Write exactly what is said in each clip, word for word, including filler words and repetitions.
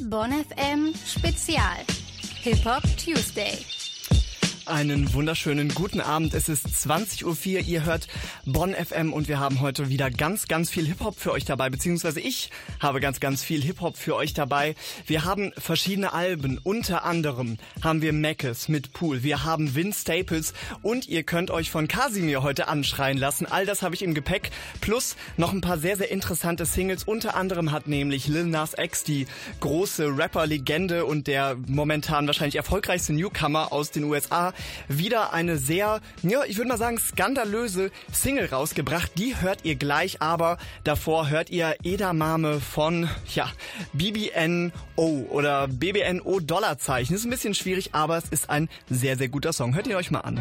Bonn F M Spezial Hip-Hop Tuesday. Einen wunderschönen guten Abend. Es ist zwanzig Uhr vier. Ihr hört Bonn F M und wir haben heute wieder ganz, ganz viel Hip-Hop für euch dabei, beziehungsweise ich habe ganz, ganz viel Hip-Hop für euch dabei. Wir haben verschiedene Alben. Unter anderem haben wir Mackes mit Pool. Wir haben Vince Staples und ihr könnt euch von Casimir heute anschreien lassen. All das habe ich im Gepäck. Plus noch ein paar sehr, sehr interessante Singles. Unter anderem hat nämlich Lil Nas X, die große Rapper-Legende und der momentan wahrscheinlich erfolgreichste Newcomer aus den U S A, wieder eine sehr, ja, ich würde mal sagen, skandalöse Single rausgebracht. Die hört ihr gleich, aber davor hört ihr Edamame von, ja, B B N O oder B B N O Dollarzeichen. Ist ein bisschen schwierig, aber es ist ein sehr, sehr guter Song. Hört ihn euch mal an.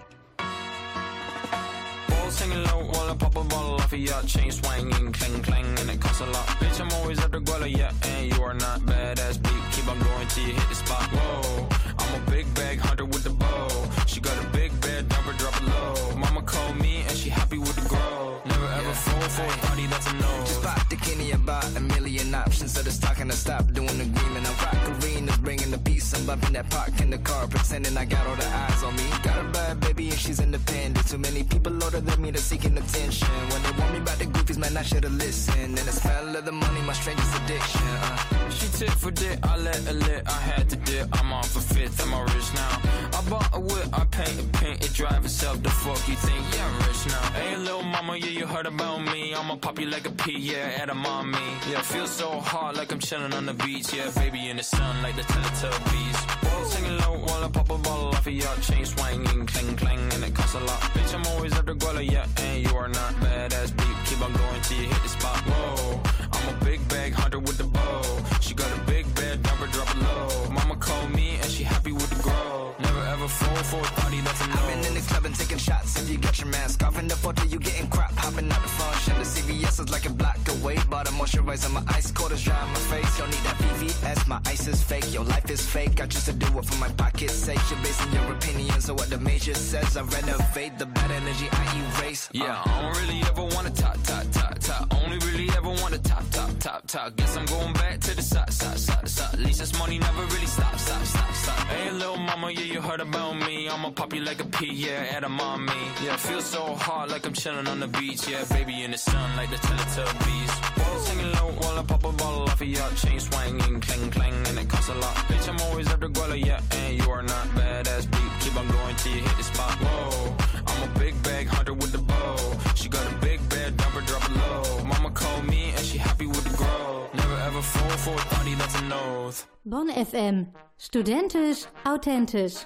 Singing low while I pop a bottle off of ya. Chain swinging, clang clang, and it costs a lot. Bitch, I'm always at the guala, yeah, and you are not badass beat. Keep on going till you hit the spot. Whoa, I'm a big bag hunter with the bow. She got a big bed, drop her, drop it low. Mama called me and she happy with the grow. Never ever yeah. fall for a party that's a no. Just pop the Kenny about a million options. So the stock and I stop doing the agreement. I'm rock arenas, bringing the peace. I'm bumping that park in the car, pretending I got all the eyes on me. Got a bad baby and she's independent. Too many people older than me to seeking attention. When they want me about the goofies, man, I should've listened. And the smell of the money, my strangest addiction. Uh. She tit for dick, I let her lit. I had to dip, I'm off a fifth, I'm all rich now. I bought a whip, I paint a paint, it drive itself. The fuck you think? Yeah, I'm rich now. Hey, little mama, yeah, you heard about me. I'ma pop you like a pea, yeah, at a mommy. Yeah, feel so hot like I'm chilling on the beach. Yeah, baby in the sun like the Teletubbies. Singing low while I pop a bottle off of ya. Chain swinging, clang clang, and it costs a lot. Bitch, I'm always at the guala, yeah, and you are not badass beat. Keep on going till you hit the spot. Whoa, I'm a big bag hunter with the bow. She got a big bed, drop her, drop it low. Mama called me and she happy with the grow. Never ever fall for a party that's a no. I've been in the club and taking shots. If you got your mask off in the photo, you getting crap. Hopping out the function. The C V S is like a block away. Bought a moisturizer, my ice cold is dry on my face. Don't need that V V S, my ice is fake. Your life is fake. I just to do it for my pocket's sake. You're basing your opinions on what the major says. I renovate the bad energy I erase. Uh. Yeah, I don't really ever want to top, top, top, top. Only really ever want to top, top, top, top. Guess I'm going back to the side, side, side, side. At least this money never really stop, stop, stop, stop. Hey, little mama, yeah, you heard about me. I'ma pop you like a pea, yeah, at a mommy. Yeah, feel so hot like I'm chilling on the beach. Yeah, baby in the sun like the Teletubbies. Singing low while I pop a bottle off of ya. Chain swinging, clang clang, and it costs a lot. Bitch, I'm always at the guala, yeah, and you are not badass beat. Keep on going till you hit the spot. Whoa, I'm a big bag hunter with the bow. She got a big bed, drop her, drop it low. Mama called me and she happy with the grow. Never ever fall for a party that's a no. Bonn F M. Studentisch, authentisch.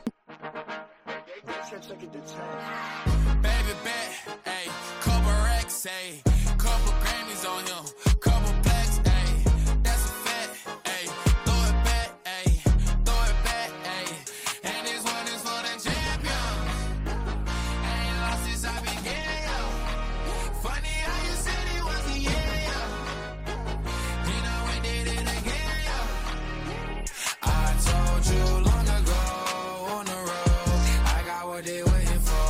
Baby bet, ayy, couple racks, ayy, couple Grammys on him, couple plaques, ayy, that's a fact, ayy, throw it back, ayy, throw it back, ayy, and this one is for the champion, ain't lost since I began, yo, funny how you said it was a yeah, yo, you know we did it again, yo, I told you long ago on the road, I got what they waiting for.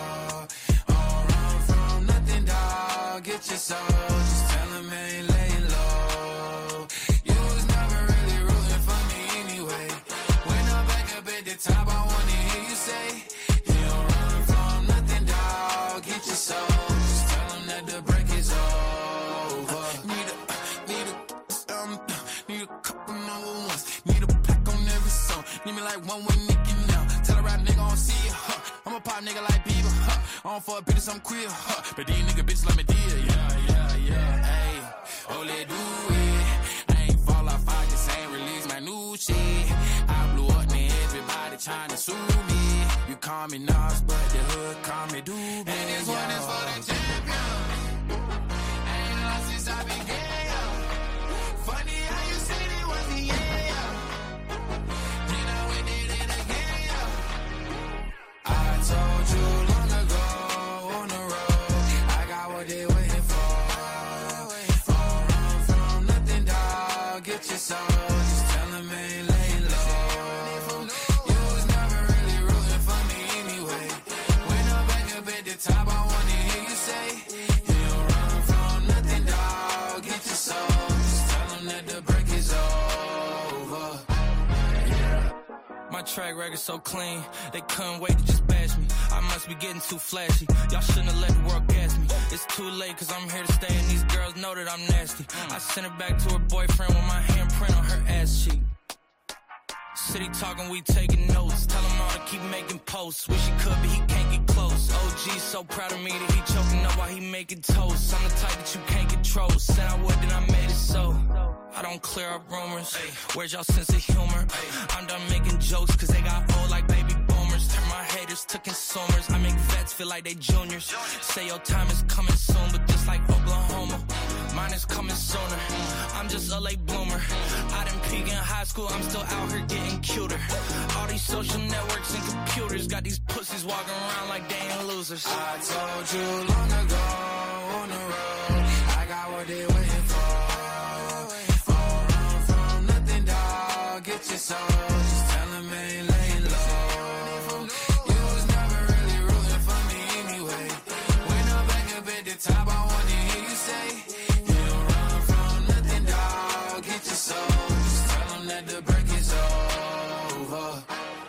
Get your soul, just tell him I ain't laying low. You was never really rooting for me anyway. When I'm back up at the top, I wanna hear you say, you don't run from nothing, dawg. Get your soul, just tell him that the break is over. Need a, need a, um, need a couple number ones. Need a pack on every song. Need me like one with Nicki now. Tell a rap nigga I don't see it, huh. I'm a pop nigga like Bieber, huh. I don't fuck bitches, I'm queer, huh. But these nigga bitches like me dear, yeah, yeah, yeah, ayy. Oh, let do it. I ain't fall off, I just ain't release my new shit. I blew up, man, everybody trying to sue me. You call me Nas, but the hood call me Doobie. And this yo. One is for the champion. Ain't lost since I began, yo. Funny how you said it was the yeah, yo. You know we did it again, yo. I told you long ago on the road, I got what they waiting for. Don't run from nothing, dawg. Get your soul, just tell them I ain't laying low. You was never really rooting for me anyway. When I'm back up at the top, I wanna hear you say, you don't run from nothing, dawg. Get your soul, just tell them that the break is over. track record so clean, they couldn't wait to just bash me. I must be getting too flashy. Y'all shouldn't have let the world gas me. It's too late cause I'm here to stay and these girls know that I'm nasty. I sent her back to her boyfriend with my handprint on her ass cheek. City talking, we taking notes. Tell him all to keep making posts. Wish he could, but he can't get close. O G's so proud of me that he choking up while he making toast. I'm the type that you can't control. Said I would, then I made it so. I don't clear up rumors. Where's y'all sense of humor? I'm done making jokes cause they got old like baby boomers. Turn my haters to consumers. I make vets feel like they juniors. Say your time is coming soon, but just like Oklahoma, mine is coming sooner. I'm just a late bloomer. I didn't peak in high school, I'm still out here getting cuter. All these social networks and computers got these pussies walking around like they ain't losers. I told you long ago on the road, I got what they waiting for. All run from nothing, dog. Get your soul, just tell them ain't laying low. You was never really rooting for me anyway. When I'm back up at the top, I wanna hear you say, you don't run from nothing, dog. Get your soul, just tell them that the break is over.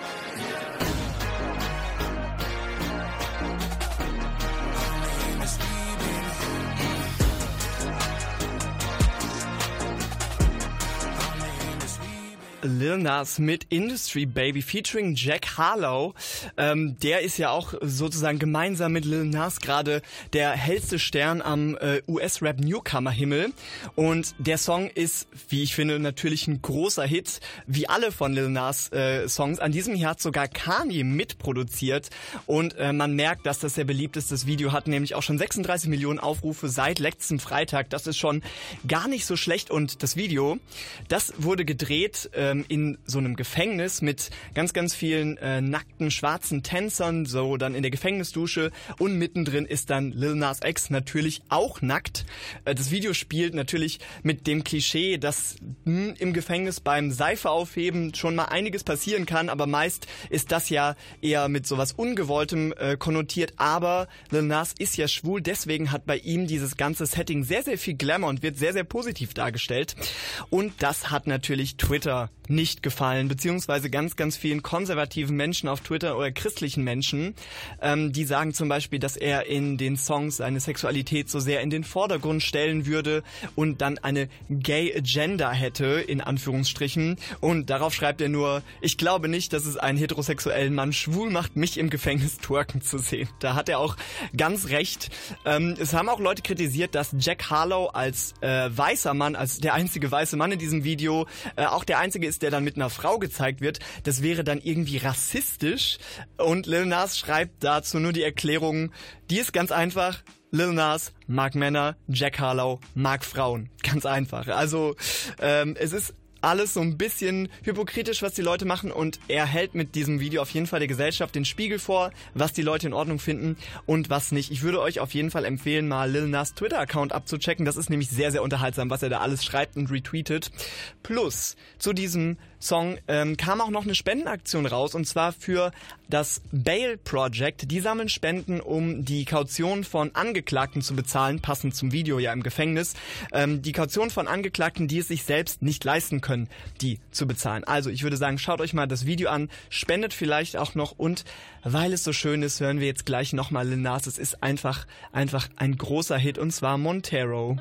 Lil Nas mit Industry Baby featuring Jack Harlow. Ähm, der ist ja auch sozusagen gemeinsam mit Lil Nas gerade der hellste Stern am äh, U S-Rap-Newcomer-Himmel. Und der Song ist, wie ich finde, natürlich ein großer Hit, wie alle von Lil Nas äh, Songs. An diesem Jahr hat sogar Kanye mitproduziert und äh, man merkt, dass das sehr beliebt ist. Das Video hat nämlich auch schon sechsunddreißig Millionen Aufrufe seit letztem Freitag. Das ist schon gar nicht so schlecht. Und das Video, das wurde gedreht äh, in so einem Gefängnis mit ganz, ganz vielen äh, nackten schwarzen Tänzern, so dann in der Gefängnisdusche, und mittendrin ist dann Lil Nas X natürlich auch nackt. Äh, das Video spielt natürlich mit dem Klischee, dass mh, im Gefängnis beim Seife aufheben schon mal einiges passieren kann, aber meist ist das ja eher mit sowas Ungewolltem äh, konnotiert, aber Lil Nas ist ja schwul, deswegen hat bei ihm dieses ganze Setting sehr, sehr viel Glamour und wird sehr, sehr positiv dargestellt, und das hat natürlich Twitter nicht gefallen, beziehungsweise ganz, ganz vielen konservativen Menschen auf Twitter oder christlichen Menschen, ähm, die sagen zum Beispiel, dass er in den Songs seine Sexualität so sehr in den Vordergrund stellen würde und dann eine Gay Agenda hätte, in Anführungsstrichen, und darauf schreibt er nur, ich glaube nicht, dass es einen heterosexuellen Mann schwul macht, mich im Gefängnis twerken zu sehen. Da hat er auch ganz recht. Ähm, es haben auch Leute kritisiert, dass Jack Harlow als äh, weißer Mann, als der einzige weiße Mann in diesem Video, äh, auch der einzige ist, der dann mit einer Frau gezeigt wird, das wäre dann irgendwie rassistisch, und Lil Nas schreibt dazu nur die Erklärung, die ist ganz einfach: Lil Nas mag Männer, Jack Harlow mag Frauen. Ganz einfach. Also ähm, es ist alles so ein bisschen hypokritisch, was die Leute machen, und er hält mit diesem Video auf jeden Fall der Gesellschaft den Spiegel vor, was die Leute in Ordnung finden und was nicht. Ich würde euch auf jeden Fall empfehlen, mal Lil Nas Twitter-Account abzuchecken. Das ist nämlich sehr, sehr unterhaltsam, was er da alles schreibt und retweetet. Plus, zu diesem Song ähm, kam auch noch eine Spendenaktion raus, und zwar für das Bail Project. Die sammeln Spenden, um die Kaution von Angeklagten zu bezahlen, passend zum Video ja im Gefängnis. Ähm, die Kaution von Angeklagten, die es sich selbst nicht leisten können, die zu bezahlen. Also ich würde sagen, schaut euch mal das Video an, spendet vielleicht auch noch, und weil es so schön ist, hören wir jetzt gleich nochmal Lil Nas. Es ist einfach, einfach ein großer Hit, und zwar Montero.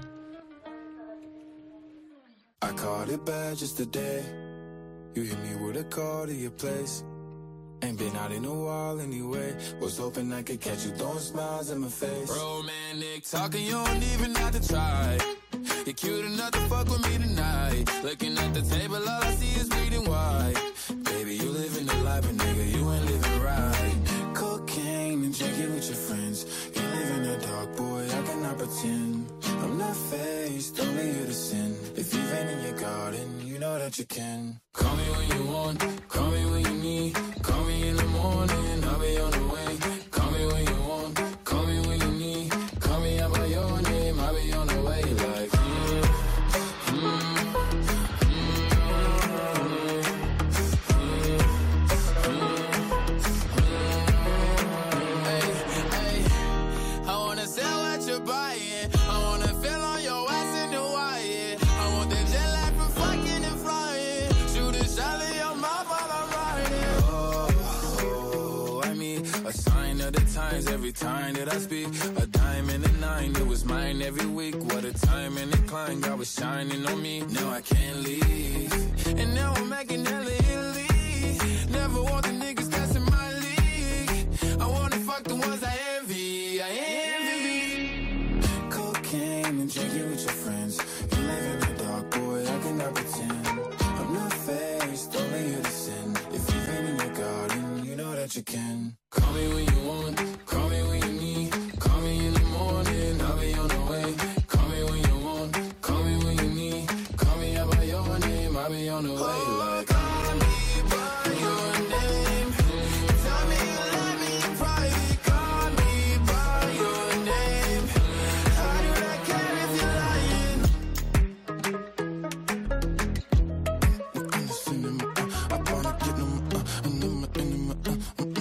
I caught it bad just today. You hit me with a call to your place. Ain't been out in a while anyway. Was hoping I could catch you throwing smiles in my face. Romantic talking, you don't even have to try. You're cute enough to fuck with me tonight. Looking at the table, all I see is bleeding white. Baby, you living the life, but nigga, you ain't living right. Cocaine and drinking with your friends. You live in the dark, boy, I cannot pretend. I'm not faced, only here to sin. If you've been in your garden, you know that you can. Call me when you want, call me when you need. Call me in the morning, I'll be on the way. Call me when you want, call me when you need. Call me out by your name, I'll be on the way. Like, mm, mm, mm, mm, hey, hey, I wanna sell what you're buying. I wanna feel on your ass in Hawaii. I want that jet lag from fucking and flying. Shoot a shot in your mouth while I'm riding. every time that I speak. A dime and a nine, it was mine every week. What a time and a climb, God was shining on me. Now I can't leave, and now I'm making hella Italy. Never want the niggas that's in my league. I wanna fuck the ones I envy, I envy. Cocaine and drinking with your friends. You live in the dark, boy, I cannot pretend. I'm not faced, only here to sin. If you've been in your garden, you know that you can. Call me when you want, call me when you need. Call me in the morning, I'll be on the way. Call me when you want, call me when you need. Call me out by your name, I'll be on the way. Like, call me by your name. Tell me you love me in private. Call me by your name. How do I care if you're lying? In the cinema, I wanna get them, uh, in the, in the, uh,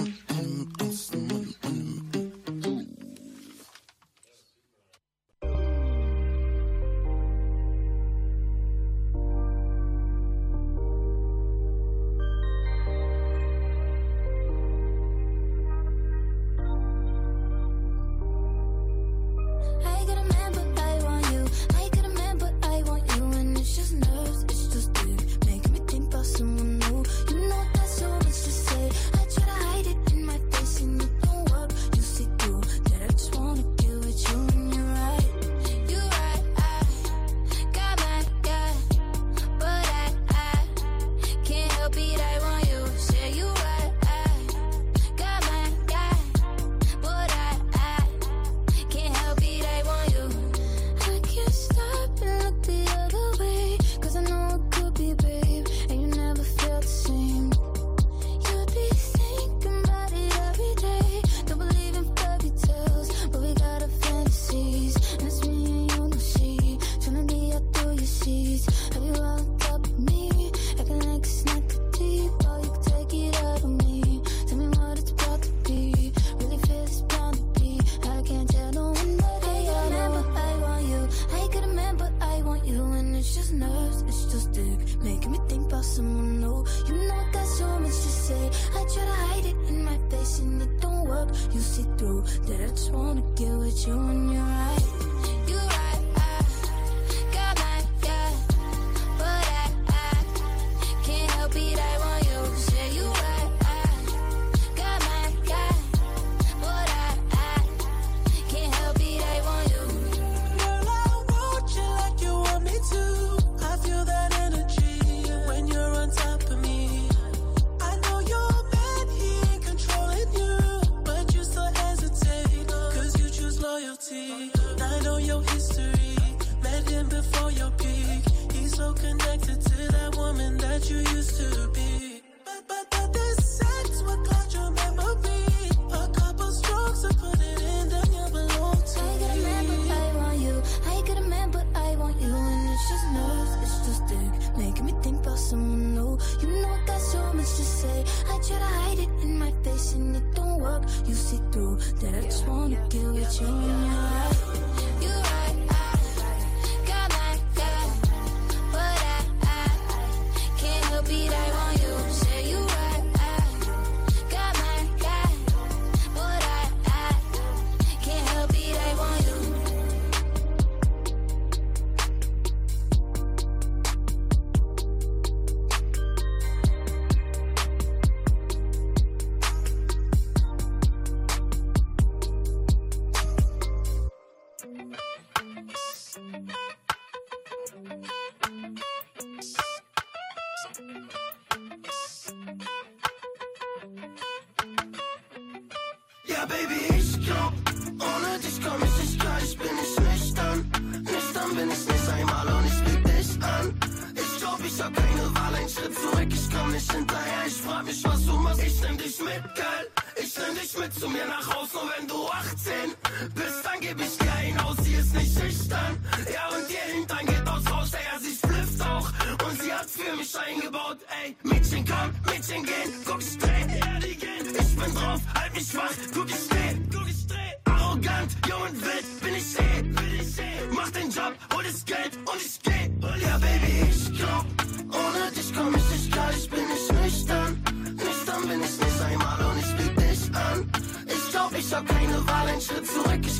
Ja, Baby, ich glaub, ohne dich komm ich nicht klar, ich bin nicht nüchtern. Nüchtern bin ich nicht einmal und ich blick dich an. Ich glaub, ich hab keine Wahl, ein Schritt zurück, ich komm nicht hinterher. Ich frag mich, was du machst, ich nehm dich mit, geil. Ich nehm dich mit zu mir nach Haus, nur wenn du achtzehn bist, dann geb ich dir ein Haus, sie ist nicht schüchtern. Ja, und ihr Hintern geht aus Rausch, ja, sie splifft auch. Und sie hat für mich eingebaut, ey. Mädchen komm, Mädchen gehen, guck straight, ja, die gehen. Ich bin drauf, halt mich wach, guck ich dreh, guck ich dreh. Arrogant, jung und wild, bin ich eh, bin ich eh. Mach den Job, hol das Geld und ich geh. Ja, Baby, ich glaub, ohne dich komm ich nicht klar, ich bin nicht nüchtern. Nüchtern bin ich nicht einmal und ich blick dich an. Ich glaub, ich hab keine Wahl,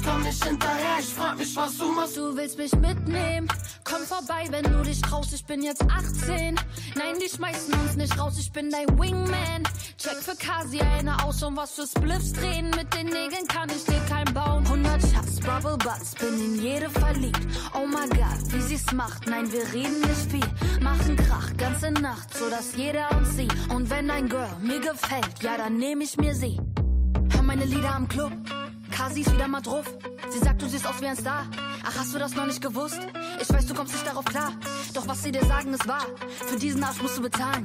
komm nicht hinterher. Ich frag mich, was du machst. Du willst mich mitnehmen? Komm vorbei, wenn du dich traust. Ich bin jetzt achtzehn. Nein, die schmeißen uns nicht raus. Ich bin dein Wingman. Check für Kasi eine aus und was für Spliffs drehen. Mit den Nägeln kann ich dir kein bauen. hundert Shots, Bubble Butts, bin in jede verliebt. Oh my God, wie sie's macht. Nein, wir reden nicht viel. Machen Krach, ganze Nacht, so dass jeder uns sieht. Und wenn dein Girl mir gefällt, ja, dann nehm ich mir sie. Hör meine Lieder am Club. Kasi ist wieder mal drauf. Sie sagt, du siehst aus wie ein Star. Ach, hast du das noch nicht gewusst? Ich weiß, du kommst nicht darauf klar. Doch was sie dir sagen, ist wahr. Für diesen Arsch musst du bezahlen.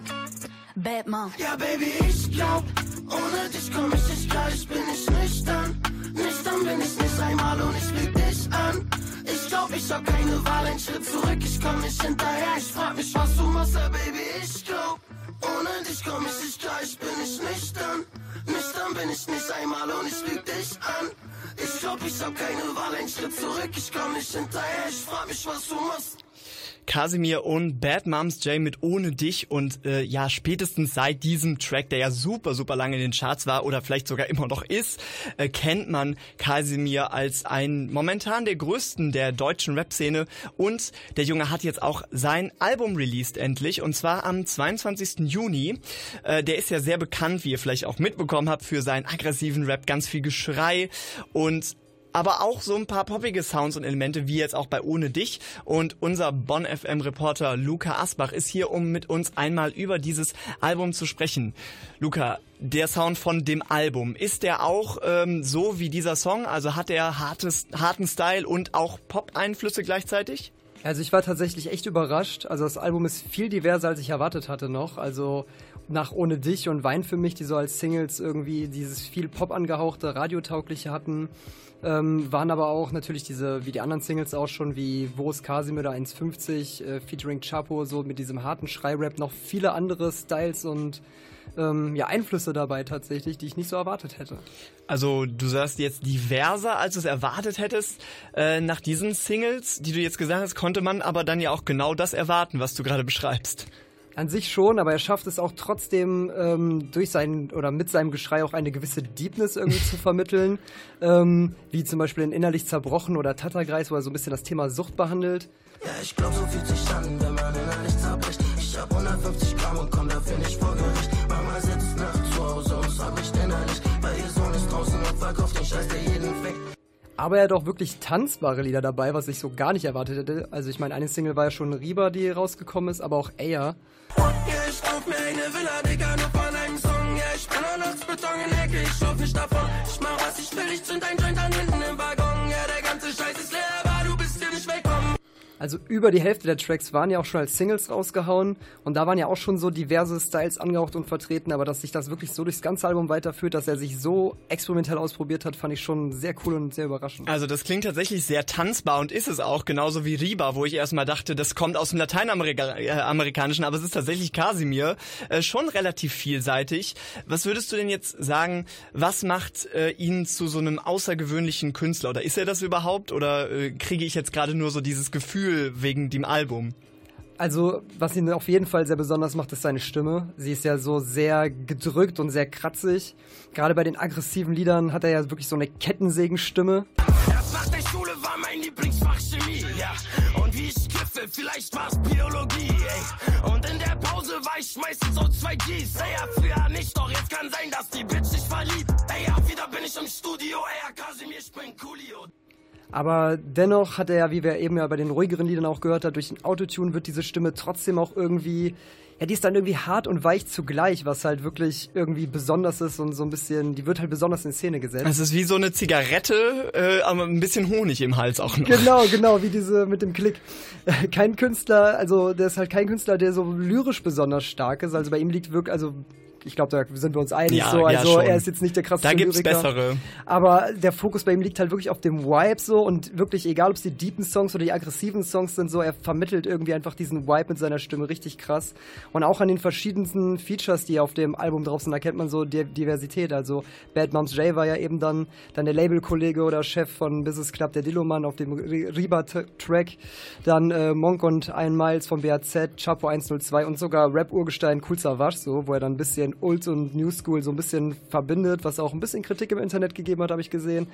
Bad Mom. Ja, Baby, ich glaub, ohne dich komm ich nicht klar. Ich bin nicht nüchtern. Nüchtern bin ich nicht einmal und ich lüg dich an. Ich glaub, ich hab keine Wahl, ein Schritt zurück. Ich komm nicht hinterher. Ich frag mich, was du machst. Ja, Baby, ich glaub, ohne dich komm ich nicht klar. Ich bin nicht nüchtern. Nüchtern bin ich nicht einmal und ich lüg dich an. Ich glaub, ich hab keine Wahl, ein Schritt zurück. Ich komm nicht hinterher. Ich frag mich, was du machst. Casimir und Bad Moms J mit Ohne dich und äh, ja, spätestens seit diesem Track, der ja super, super lange in den Charts war oder vielleicht sogar immer noch ist, äh, kennt man Casimir als einen momentan der größten der deutschen Rap-Szene und der Junge hat jetzt auch sein Album released endlich und zwar am zweiundzwanzigsten Juni. Äh, der ist ja sehr bekannt, wie ihr vielleicht auch mitbekommen habt, für seinen aggressiven Rap, ganz viel Geschrei und aber auch so ein paar poppige Sounds und Elemente, wie jetzt auch bei Ohne dich. Und unser Bonn F M-Reporter Luca Asbach ist hier, um mit uns einmal über dieses Album zu sprechen. Luca, der Sound von dem Album, ist der auch ähm, so wie dieser Song? Also hat er hartes, harten Style und auch Pop-Einflüsse gleichzeitig? Also ich war tatsächlich echt überrascht. Also das Album ist viel diverser, als ich erwartet hatte noch. Also nach Ohne dich und Wein für mich, die so als Singles irgendwie dieses viel Pop angehauchte, radiotaugliche hatten, ähm, waren aber auch natürlich diese, wie die anderen Singles auch schon, wie Wo ist Casimir oder eins fünfzig, äh, featuring Chapo, so mit diesem harten Schrei-Rap, noch viele andere Styles und ähm, ja, Einflüsse dabei tatsächlich, die ich nicht so erwartet hätte. Also du sagst jetzt diverser, als du es erwartet hättest. Äh, nach diesen Singles, die du jetzt gesagt hast, konnte man aber dann ja auch genau das erwarten, was du gerade beschreibst. An sich schon, aber er schafft es auch trotzdem ähm, durch seinen oder mit seinem Geschrei auch eine gewisse Deepness irgendwie zu vermitteln, ähm, wie zum Beispiel in Innerlich zerbrochen oder Tatterkreis, wo er so ein bisschen das Thema Sucht behandelt. Ja, ich glaub, so fühlt sich an, wenn man innerlich zerbricht. Ich hab hundertfünfzig Gramm und komm dafür nicht vor Gericht. Mama sitzt nachts zu Hause und sorgt nicht innerlich, weil ihr Sohn ist draußen und verkauft den Scheiß, der jeden fickt. Aber er hat auch wirklich tanzbare Lieder dabei, was ich so gar nicht erwartet hätte. Also ich meine, eine Single war ja schon Riba, die rausgekommen ist, aber auch Eya. Ja, ich kauf mir eine Villa, Digga, nur von einem Song. Ja, ich bin nur noch Beton in der Ecke, ich lauf nicht davon. Ich mach was ich will, ich zünd ein Joint an hinten im Waggon. Ja, der ganze Scheiß ist leer, aber du bist hier nicht willkommen. Also über die Hälfte der Tracks waren ja auch schon als Singles rausgehauen und da waren ja auch schon so diverse Styles angehaucht und vertreten, aber dass sich das wirklich so durchs ganze Album weiterführt, dass er sich so experimentell ausprobiert hat, fand ich schon sehr cool und sehr überraschend. Also das klingt tatsächlich sehr tanzbar und ist es auch, genauso wie Riba, wo ich erstmal dachte, das kommt aus dem Lateinamerikanischen, aber es ist tatsächlich Casimir, äh, schon relativ vielseitig. Was würdest du denn jetzt sagen, was macht äh, ihn zu so einem außergewöhnlichen Künstler oder ist er das überhaupt oder äh, kriege ich jetzt gerade nur so dieses Gefühl wegen dem Album? Also, was ihn auf jeden Fall sehr besonders macht, ist seine Stimme. Sie ist ja so sehr gedrückt und sehr kratzig. Gerade bei den aggressiven Liedern hat er ja wirklich so eine Kettensägenstimme. Erst nach der Schule war mein Lieblingsfach Chemie, ja. Und wie ich kiffe, vielleicht war's Biologie, ey. Und in der Pause war ich meistens so zwei Gs. Ey, ja, früher nicht, doch jetzt kann sein, dass die Bitch sich verliebt. Ey, ja, wieder bin ich im Studio, ey, ja, Casimir, ich bin Coolio. Aber dennoch hat er ja, wie wir eben ja bei den ruhigeren Liedern auch gehört haben, durch den Autotune wird diese Stimme trotzdem auch irgendwie, ja, die ist dann irgendwie hart und weich zugleich, was halt wirklich irgendwie besonders ist und so ein bisschen, die wird halt besonders in Szene gesetzt. Es ist wie so eine Zigarette, äh, aber ein bisschen Honig im Hals auch noch. Genau, genau, wie diese mit dem Klick. Kein Künstler, also der ist halt kein Künstler, der so lyrisch besonders stark ist, also bei ihm liegt wirklich, also ich glaube, da sind wir uns einig, ja, so, also ja, er ist jetzt nicht der krasseste Lyriker. Da gibt's Lyriker, bessere. Aber der Fokus bei ihm liegt halt wirklich auf dem Vibe so und wirklich, egal ob es die deepen Songs oder die aggressiven Songs sind, so, er vermittelt irgendwie einfach diesen Vibe mit seiner Stimme richtig krass. Und auch an den verschiedensten Features, die auf dem Album drauf sind, erkennt man so die Diversität. Also Bad Moms J war ja eben dann, dann der Labelkollege oder Chef von Business Club, der Dilloman auf dem Riba-Track, dann äh, Monk und Ein Miles von B A Z, Chapo eins null zwei und sogar Rap-Urgestein Kool Savas, so, wo er dann ein bisschen Old und New School so ein bisschen verbindet, was auch ein bisschen Kritik im Internet gegeben hat, habe ich gesehen.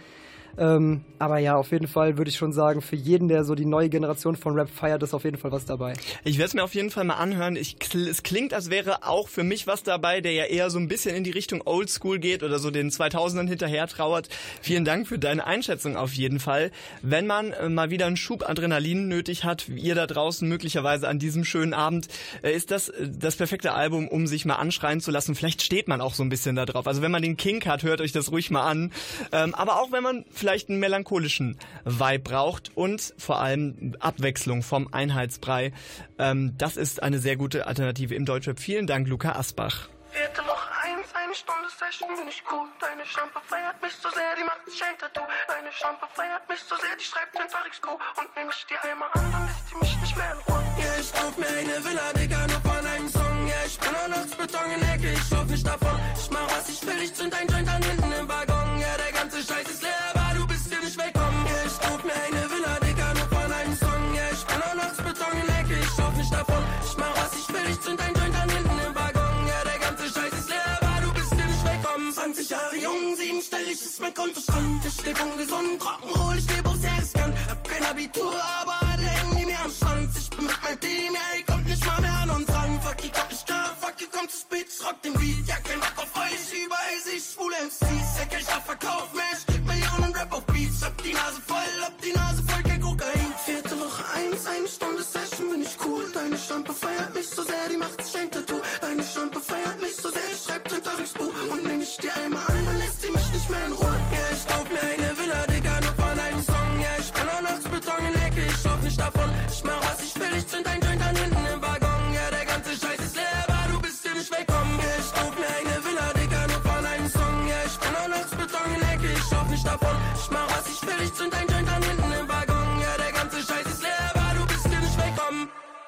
Ähm, aber ja, auf jeden Fall würde ich schon sagen, für jeden, der so die neue Generation von Rap feiert, ist auf jeden Fall was dabei. Ich werde es mir auf jeden Fall mal anhören. Ich, es klingt, als wäre auch für mich was dabei, der ja eher so ein bisschen in die Richtung Oldschool geht oder so den zweitausendern hinterher trauert. Vielen Dank für deine Einschätzung auf jeden Fall. Wenn man äh, mal wieder einen Schub Adrenalin nötig hat, wie ihr da draußen möglicherweise an diesem schönen Abend, äh, ist das äh, das perfekte Album, um sich mal anschreien zu lassen. Vielleicht steht man auch so ein bisschen da drauf. Also wenn man den Kink hat, hört euch das ruhig mal an. Ähm, aber auch wenn man vielleicht einen melancholischen Vibe braucht und vor allem Abwechslung vom Einheitsbrei. Ähm, das ist eine sehr gute Alternative im Deutschrap. Vielen Dank, Luca Asbach. Vierte Woche eins, eine Stunde Session, bin ich cool. Deine Schlampe feiert mich so sehr, die macht sich ein Tattoo. Deine Schlampe feiert mich so sehr, die schreibt den X-Q. Und nehm ich die einmal an, dann lässt die mich nicht mehr in Ruhe. Ja, ich kauf mir eine Villa, Digga, nur von einem Song. Ja, ich bin auch nachts Beton in der Ecke, ich lauf nicht davon. Ich mach was ich will, ich zünd ein Joint an hinten im Waggon. Ja, der ganze Scheiß ist leer, aber du bist hier nicht willkommen. Ja, ich kauf mir eine Villa, Digga, nur von einem Song. Ja, ich bin auch nachts Beton in der Ecke, ich lauf nicht davon. Ich mach was ich will, ich zünd ein Joint an hinten im Waggon. Ja, der ganze Scheiß ist leer, aber du bist hier nicht willkommen. zwanzig Jahre jung, siebenstellig ist mein Kontostand. Ich leb ungesund, Rock'n'Roll, ich leb auf Selbstkant. Hab kein Abitur, aber alle hängen die mir am Schwanz. Ich bin mit meinem Team, ja, ihr kommt nicht mal mehr an uns ran. Fuck, ihr kommt nicht klar, fuck, ihr kommt zu spät, ich rock den Beat. Ja, kein Bock auf euch, überall seh ich schwule M Cs. Ja, kein Verkauf mehr, ich krieg Millionen Rap auf Beats. Hab die Nase voll, hab die Nase voll, kein Kokain. Vierte Woche eins, eine Stunde Session, bin ich cool. Deine Schlampe feiert mich so sehr, die macht sich ein Tattoo. Deine Schlampe feiert mich so sehr, ich schreib den Buch. Und nehm ich die einmal an, dann lässt sie mich nicht mehr in Ruhe. Ja, ich kauf mir eine Villa, Digga, nur von einem Song. Ja, ich bin auch nachts Beton in der Ecke, ich lauf nicht davon. Ich mach was ich will, ich zünd ein Joint an hinten im Waggon. Ja, der ganze Scheiß ist leer, aber du bist hier nicht willkommen. Ja, ich kauf mir eine Villa, Digga, nur von einem Song. Ja, ich bin auch nachts Beton in der Ecke, ich lauf nicht davon. Ich mach was ich will, ich zünd ein Joint an hinten im Waggon. Ja, der ganze Scheiß ist leer, aber du bist hier nicht willkommen.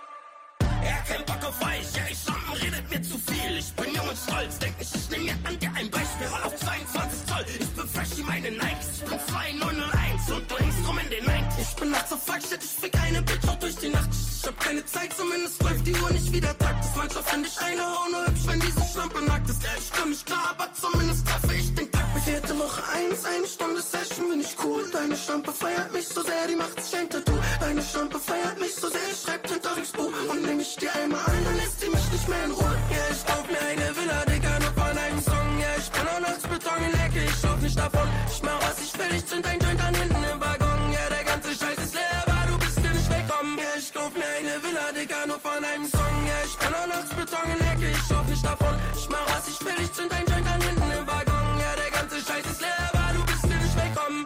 Ja, kein Bock auf euch, ja, ich Schlampen redet mir zu viel. Ich bin jung und stolz, denk nicht, ich nehm mir an dir ein Beispiel. Roll auf zweiundzwanzig Zoll, ich bin fresh wie meine Nikes. Ich bin zwei neun null eins und du hängst rum in den neunzig. Ich bin nachts auf Fuck, shit, ich fick eine Bitch auch durch die Nacht. Ich hab keine Zeit, zumindest läuft die Uhr nicht wieder Takt. Manchmal find ich eine Hau nur hübsch, wenn diese Schlampe nackt ist. Ja, ich komm nicht klar, aber zumindest treffe ich den Takt. Vierte Woche eins, eine Stunde Session, bin ich cool. Deine Schlampe feiert mich so sehr, die macht sich ein Tattoo. Deine Schlampe feiert mich so sehr, ich schreib den X-Buch. Und nehm ich die einmal an, dann lässt sie mich nicht mehr in Ruhe. Ja, ich kauf mir eine Villa, Digga, nur von einem Song. Ja, ich bin auch nachts Beton in der Ecke, ich lauf nicht davon. Ich mach was ich will, ich zünd ein Joint an hinten im Waggon. Ja, der ganze Scheiß ist leer, aber du bist hier nicht willkommen. Ja, ich kauf mir eine Villa, Digga, nur von einem Song. Ja, ich bin auch nachts Beton in der Ecke, ich lauf nicht davon. Ich mach was ich will, ich zünd ein Joint an hinten im Waggon. Ja, der ganze Scheiß ist leer, aber du bist hier nicht willkommen.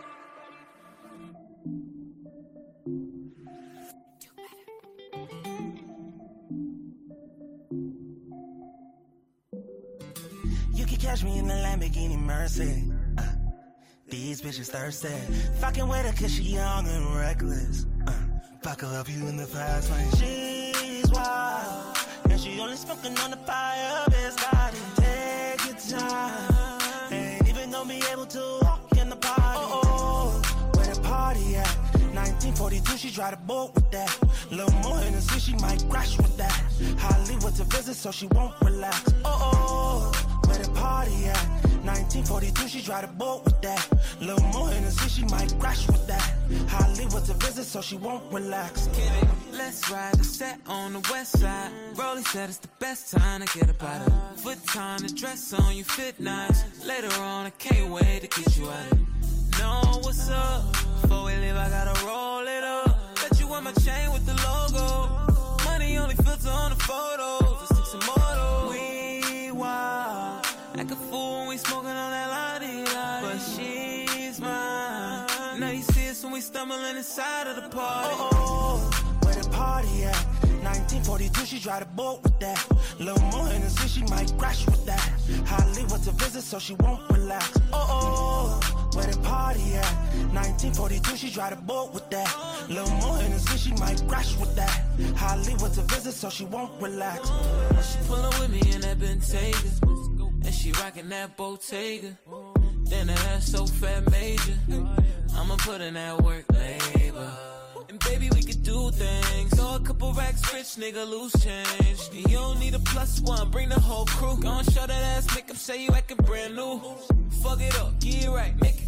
You can catch me in the Lamborghini Mercy. Uh, these bitches thirsty. Fucking with her cause she young and reckless. Uh, fuck her up you in the fast lane. She's wild. And she only smoking on the fire. Best body. Take your time. Ain't even gonna be able to walk in the party. Oh, oh, where the party at? nineteen forty-two, she tried to boat with that. Little more Hennessy, she might crash with that. Hollywood's a visit, so she won't relax. Oh, oh, where the party at? nineteen forty-two, she tried to boat with that. Little more Hennessy, she might crash with that. Hollywood's a visit, so she won't relax. Let's ride the set on the west side. Rolly said it's the best time to get up out of it. Foot time, the dress on you fit nice. Later on, I can't wait to get you out of it. Know what's up? Before we leave, I gotta roll it up. Bet you want my chain with the logo. Money only filter on the photos. Let's take some more. We wild. Act a fool when we smoking on that la-di-da. But she's mine. Now you see us when we stumbling inside of the party. Oh, oh, where the party at? nineteen forty-two, she tried to boat with that. Little more Hennessy, she might crash with that. Hollywood's a visit, so she won't relax. Oh, oh, where the party at? nineteen forty-two, she tried to boat with that. Little more Hennessy, she might crash with that. Hollywood's a visit, so she won't relax. She pullin' with me in that Bentayga, and she rockin' that Bottega. Then that ass so fat major, I'ma put in that work labor. And baby, we could do things. Throw a couple racks, rich nigga, loose change. And you don't need a plus one, bring the whole crew. Gon' show that ass, make them say you actin' brand new. Fuck it up, get it right, make it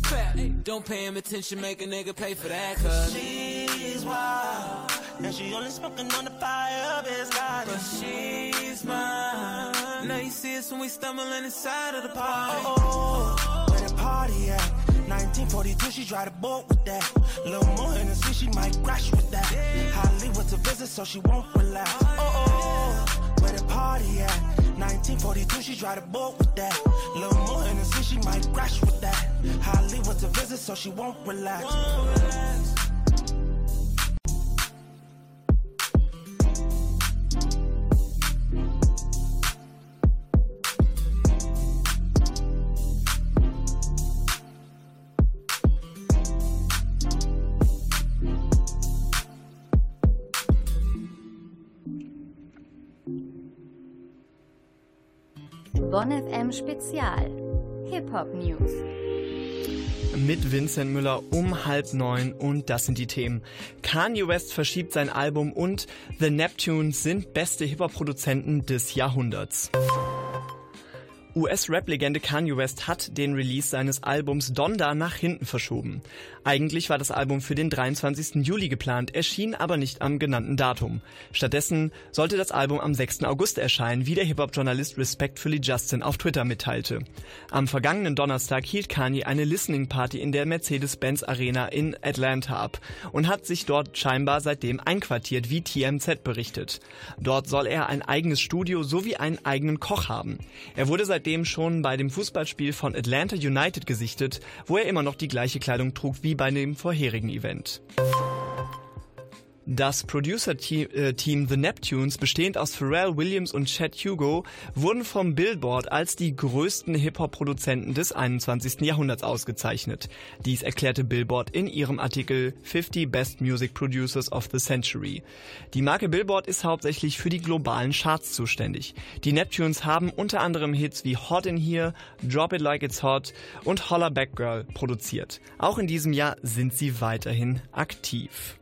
Crap, don't pay him attention, make a nigga pay for that, cause she's wild, and she only smoking on the fire of his God. But she's mine. Now you see us when we stumbling inside of the party. Oh, oh, where the party at? nineteen forty-two, she tried to bolt with that. Little more Hennessy, she might crash with that. Hollywood's a visit, so she won't relax. Oh, oh, where the party at? nineteen forty-two, she tried to bolt with that. Little more Hennessy, she might crash with that. Hollywood's a visit, so she won't relax. Won't relax. Bonn F M Spezial Hip-Hop News mit Vincent Müller um halb neun und das sind die Themen. Kanye West verschiebt sein Album und The Neptunes sind beste Hip-Hop-Produzenten des Jahrhunderts. U S-Rap-Legende Kanye West hat den Release seines Albums Donda nach hinten verschoben. Eigentlich war das Album für den dreiundzwanzigsten Juli geplant, erschien aber nicht am genannten Datum. Stattdessen sollte das Album am sechsten August erscheinen, wie der Hip-Hop-Journalist Respectfully Justin auf Twitter mitteilte. Am vergangenen Donnerstag hielt Kanye eine Listening-Party in der Mercedes-Benz Arena in Atlanta ab und hat sich dort scheinbar seitdem einquartiert, wie T M Z berichtet. Dort soll er ein eigenes Studio sowie einen eigenen Koch haben. Er wurde seitdem schon bei dem Fußballspiel von Atlanta United gesichtet, wo er immer noch die gleiche Kleidung trug wie bei dem vorherigen Event. Das Producer-Team The Neptunes, bestehend aus Pharrell Williams und Chad Hugo, wurden vom Billboard als die größten Hip-Hop-Produzenten des einundzwanzigsten Jahrhunderts ausgezeichnet. Dies erklärte Billboard in ihrem Artikel fifty Best Music Producers of the Century. Die Marke Billboard ist hauptsächlich für die globalen Charts zuständig. Die Neptunes haben unter anderem Hits wie Hot in Here, Drop It Like It's Hot und Holla Back Girl produziert. Auch in diesem Jahr sind sie weiterhin aktiv.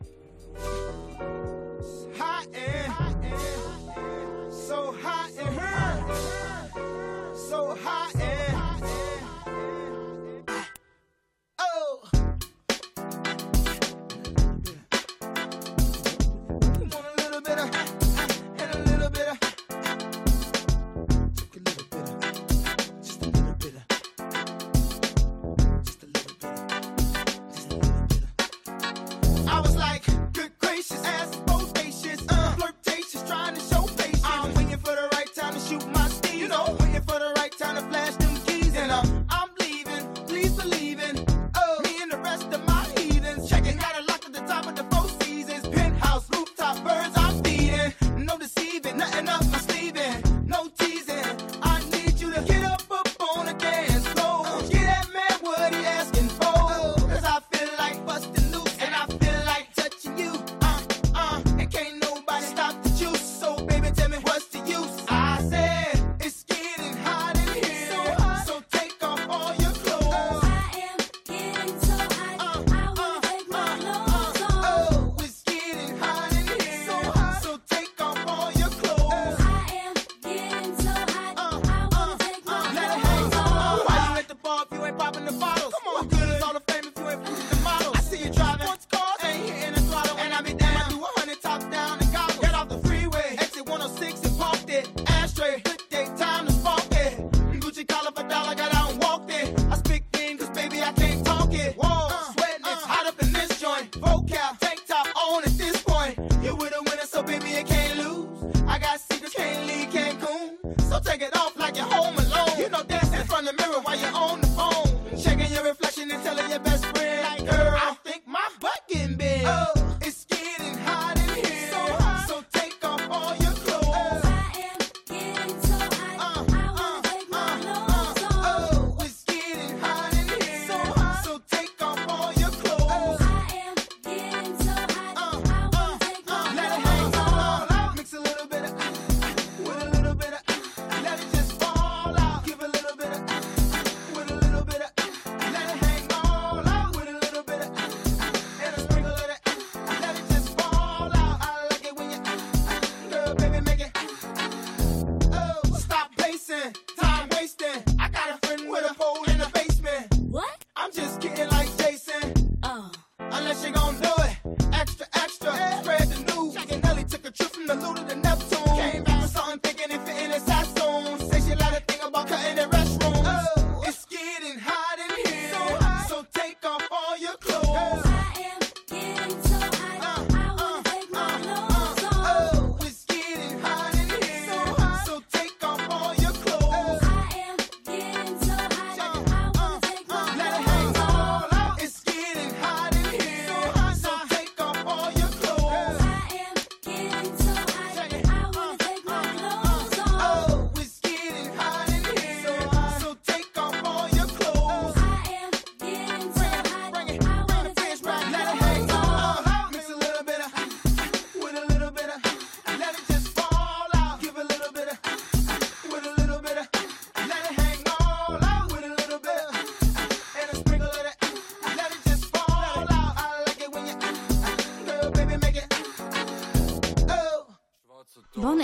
Let it just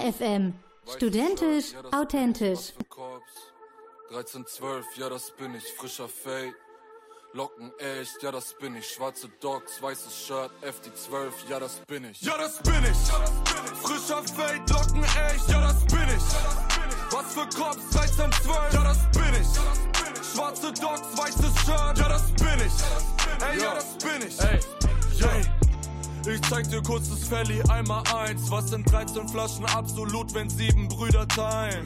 F M. Studentisch, authentisch. dreizehn zwölf, ja das bin ich, frischer Fade. Locken echt, ja das bin ich, schwarze Docs, weißes Shirt, F D zwölf, ja das bin ich. Ja das bin ich, frischer Fade, Locken echt, ja das bin ich. Was für Cops, dreizehn zwölf, ja das bin ich. Schwarze Docs, weißes Shirt, ja das bin ich. Ey, ja das bin ich. Ey, yeah. Ich zeig dir kurz das Felly einmal eins. Was sind dreizehn Flaschen absolut, wenn sieben Brüder teilen?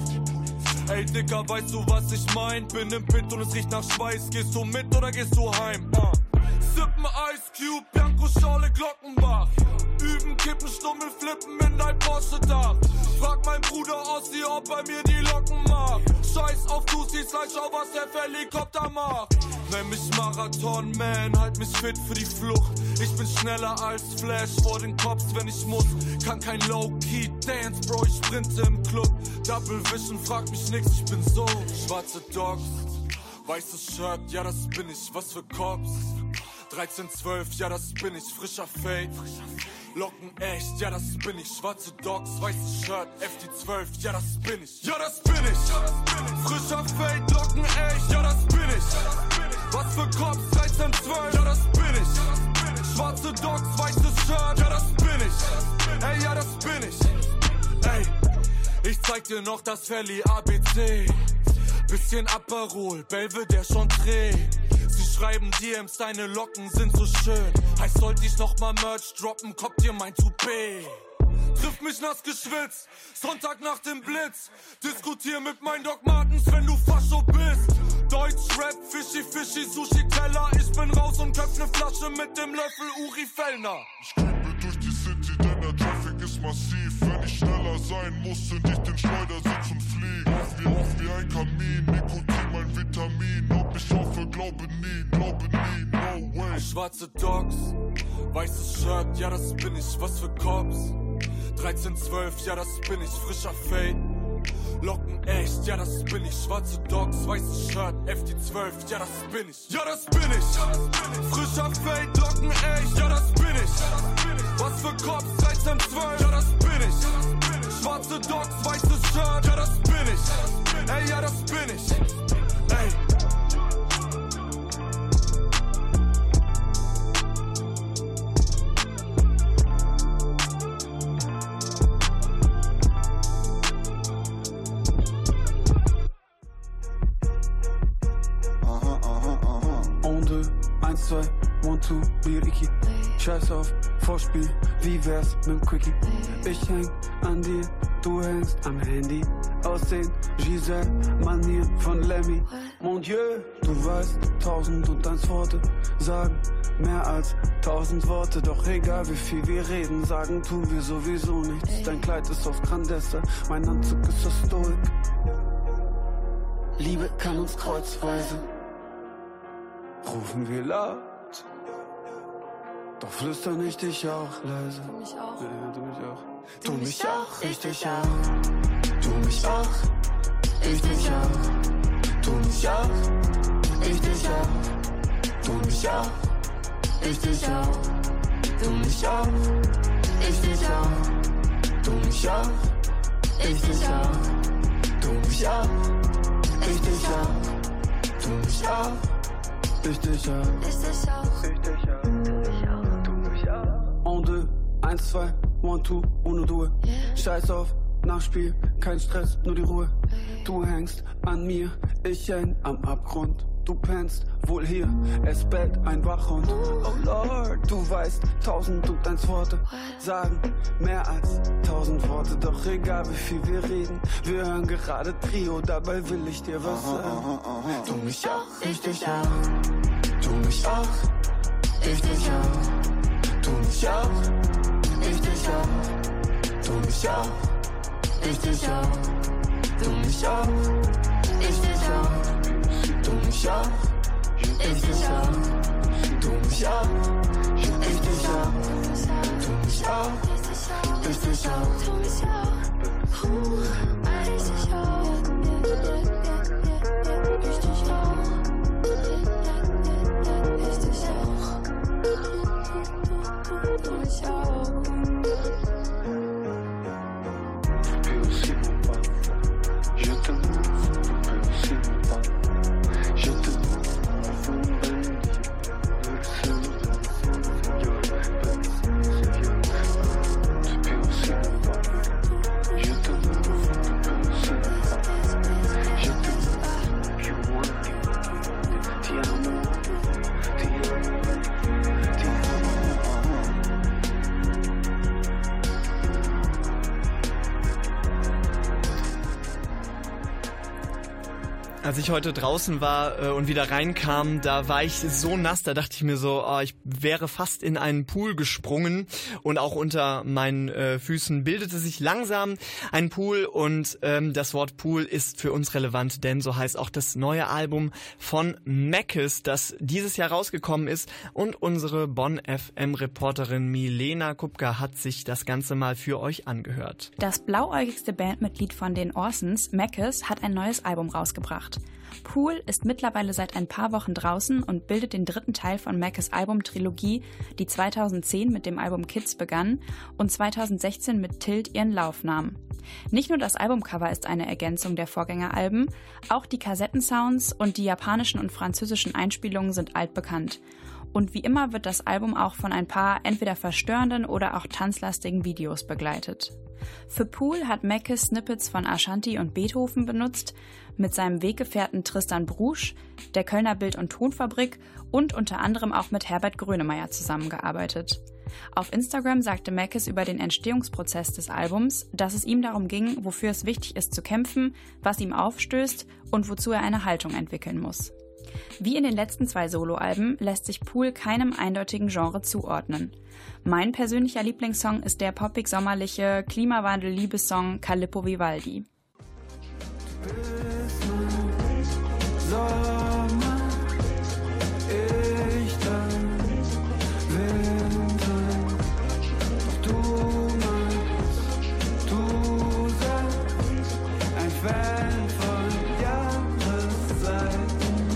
Ey Dicker, weißt du was ich mein? Bin im Pit und es riecht nach Schweiß. Gehst du mit oder gehst du heim? Uh. Sippen Ice Cube, Bianco Schorle Glockenbach. Üben, kippen, Stummel, flippen in dein Porsche-Dach. Frag mein Bruder Ossi, ob er mir die Locken macht. Scheiß auf Tussis, gleich schau was der Helikopter macht. Nenn mich Marathon Man, halt mich fit für die Flucht. Ich bin schneller als Flash vor den Cops, wenn ich muss. Kann kein Low-Key Dance, Bro, ich sprinte im Club. Double Vision, frag mich nix, ich bin so. Schwarze Dogs, weißes Shirt, ja das bin ich, was für Cops. dreizehn zwölf, ja das bin ich, frischer Fade. Locken echt, ja das bin ich, schwarze Dogs, weißes Shirt, F D zwölf, ja das bin ich. Ja das bin ich, frischer Fade, Locken echt, ja das bin ich. Was für Cops, dreizehn zwölf, ja das bin ich. Schwarze Dogs, weißes Shirt, ja das bin ich. Ey, ja das bin ich. Ey, ich zeig dir noch das Felly A B C. Bisschen Aperol, Belvedere schon trägt. Sie schreiben D Ms, deine Locken sind so schön. Heißt, sollte ich noch mal Merch droppen, kommt dir mein Toupet. Triff mich nass geschwitzt, Sonntag nach dem Blitz. Diskutier mit meinen Doc Martens, wenn du Fascho bist. Deutsch Rap, Fischi, Fischi, Sushi, Teller. Ich bin raus und köpf ne Flasche mit dem Löffel Uri Fellner. Ich creepe durch die City, denn der Traffic ist massiv. Wenn ich schneller sein muss, zünd ich den Schleudersitz und flieg. Auf wie, auf wie ein Kamin, Nikotin mein Vitamin. Ob ich hoffe, glaube nie, glaube nie, no way. Schwarze Dogs, weißes Shirt, ja das bin ich, was für Cops. dreizehn zwölf, ja das bin ich, frischer Fade. Locken echt, ja das bin ich, schwarze Dogs, weißes Shirt, F D zwölf, ja das bin ich. Ja das bin ich, frischer Fade, Locken echt, ja das bin ich. Was für Cops, dreizehn zwölf, ja das bin ich. Schwarze Dogs, weißes Shirt, ja das bin ich. Ey, ja das bin ich. Ey. eins, zwei, one, two, Liriki. Scheiß auf Vorspiel, wie wär's mit'm Quickie? Ich häng an dir, du hängst am Handy. Aussehen, Giselle, Manier von Lemmy. Mon Dieu, du weißt, tausend und eins Worte sagen mehr als tausend Worte. Doch egal wie viel wir reden, sagen tun wir sowieso nichts. Dein Kleid ist aus Grandessa, mein Anzug ist aus Stoik. Liebe kann uns kreuzweise. Rufen wir laut, doch flüstern ich dich auch leise. Du mich auch. Ja, du mich auch. Du, du mich auch, ich dich auch. Du mich auch, ich dich auch. Du mich auch, ich dich auch. Du mich auch, ich dich auch. Du mich auch, ich dich auch. Du mich auch, ich dich auch. Du mich auch, ich dich auch. Du mich auch. Ich dich auch, ich dich auch, ich dich auch, du mich auch. En deux, eins, zwei, one, two, ohne Ruhe. Yeah. Scheiß auf, Nachspiel, kein Stress, nur die Ruhe. Hey. Du hängst an mir, ich häng am Abgrund. Du pennst wohl hier, es bellt ein Wachhund. Oh Lord, du weißt, tausend und eins Worte sagen mehr als tausend Worte. Doch egal wie viel wir reden, wir hören gerade Trio, dabei will ich dir was sagen. Du mich auch, ich dich auch. Du mich auch, ich dich auch. Du mich auch, ich dich auch. Du mich auch, ich dich auch. Du mich auch, ich dich auch. Du mich auch, ich dich auch. Du mich auch, ich dich auch. Du mich auch, ich dich auch. Du mich auch, ich dich auch. Ich dich auch. Ich dich auch. Du mich auch. Als ich heute draußen war äh, und wieder reinkam, da war ich so nass, da dachte ich mir so, oh, ich wäre fast in einen Pool gesprungen und auch unter meinen äh, Füßen bildete sich langsam ein Pool und ähm, das Wort Pool ist für uns relevant, denn so heißt auch das neue Album von Meckes, das dieses Jahr rausgekommen ist und unsere Bonn F M-Reporterin Milena Kupka hat sich das Ganze mal für euch angehört. Das blauäugigste Bandmitglied von den Orsons, Meckes, hat ein neues Album rausgebracht. Pool ist mittlerweile seit ein paar Wochen draußen und bildet den dritten Teil von Meckes Albumtrilogie, die zweitausendzehn mit dem Album Kids begann und zweitausendsechzehn mit Tilt ihren Lauf nahm. Nicht nur das Albumcover ist eine Ergänzung der Vorgängeralben, auch die Kassettensounds und die japanischen und französischen Einspielungen sind altbekannt. Und wie immer wird das Album auch von ein paar entweder verstörenden oder auch tanzlastigen Videos begleitet. Für Pool hat Meckes Snippets von Ashanti und Beethoven benutzt, mit seinem Weggefährten Tristan Brusch, der Kölner Bild- und Tonfabrik und unter anderem auch mit Herbert Grönemeyer zusammengearbeitet. Auf Instagram sagte Meckes über den Entstehungsprozess des Albums, dass es ihm darum ging, wofür es wichtig ist zu kämpfen, was ihm aufstößt und wozu er eine Haltung entwickeln muss. Wie in den letzten zwei Soloalben lässt sich Pool keinem eindeutigen Genre zuordnen. Mein persönlicher Lieblingssong ist der poppig-sommerliche Klimawandel-Liebessong Calippo Vivaldi. Sommer, ich dann Winter, doch du meinst, du sagst, ein Fan von Jahreszeiten.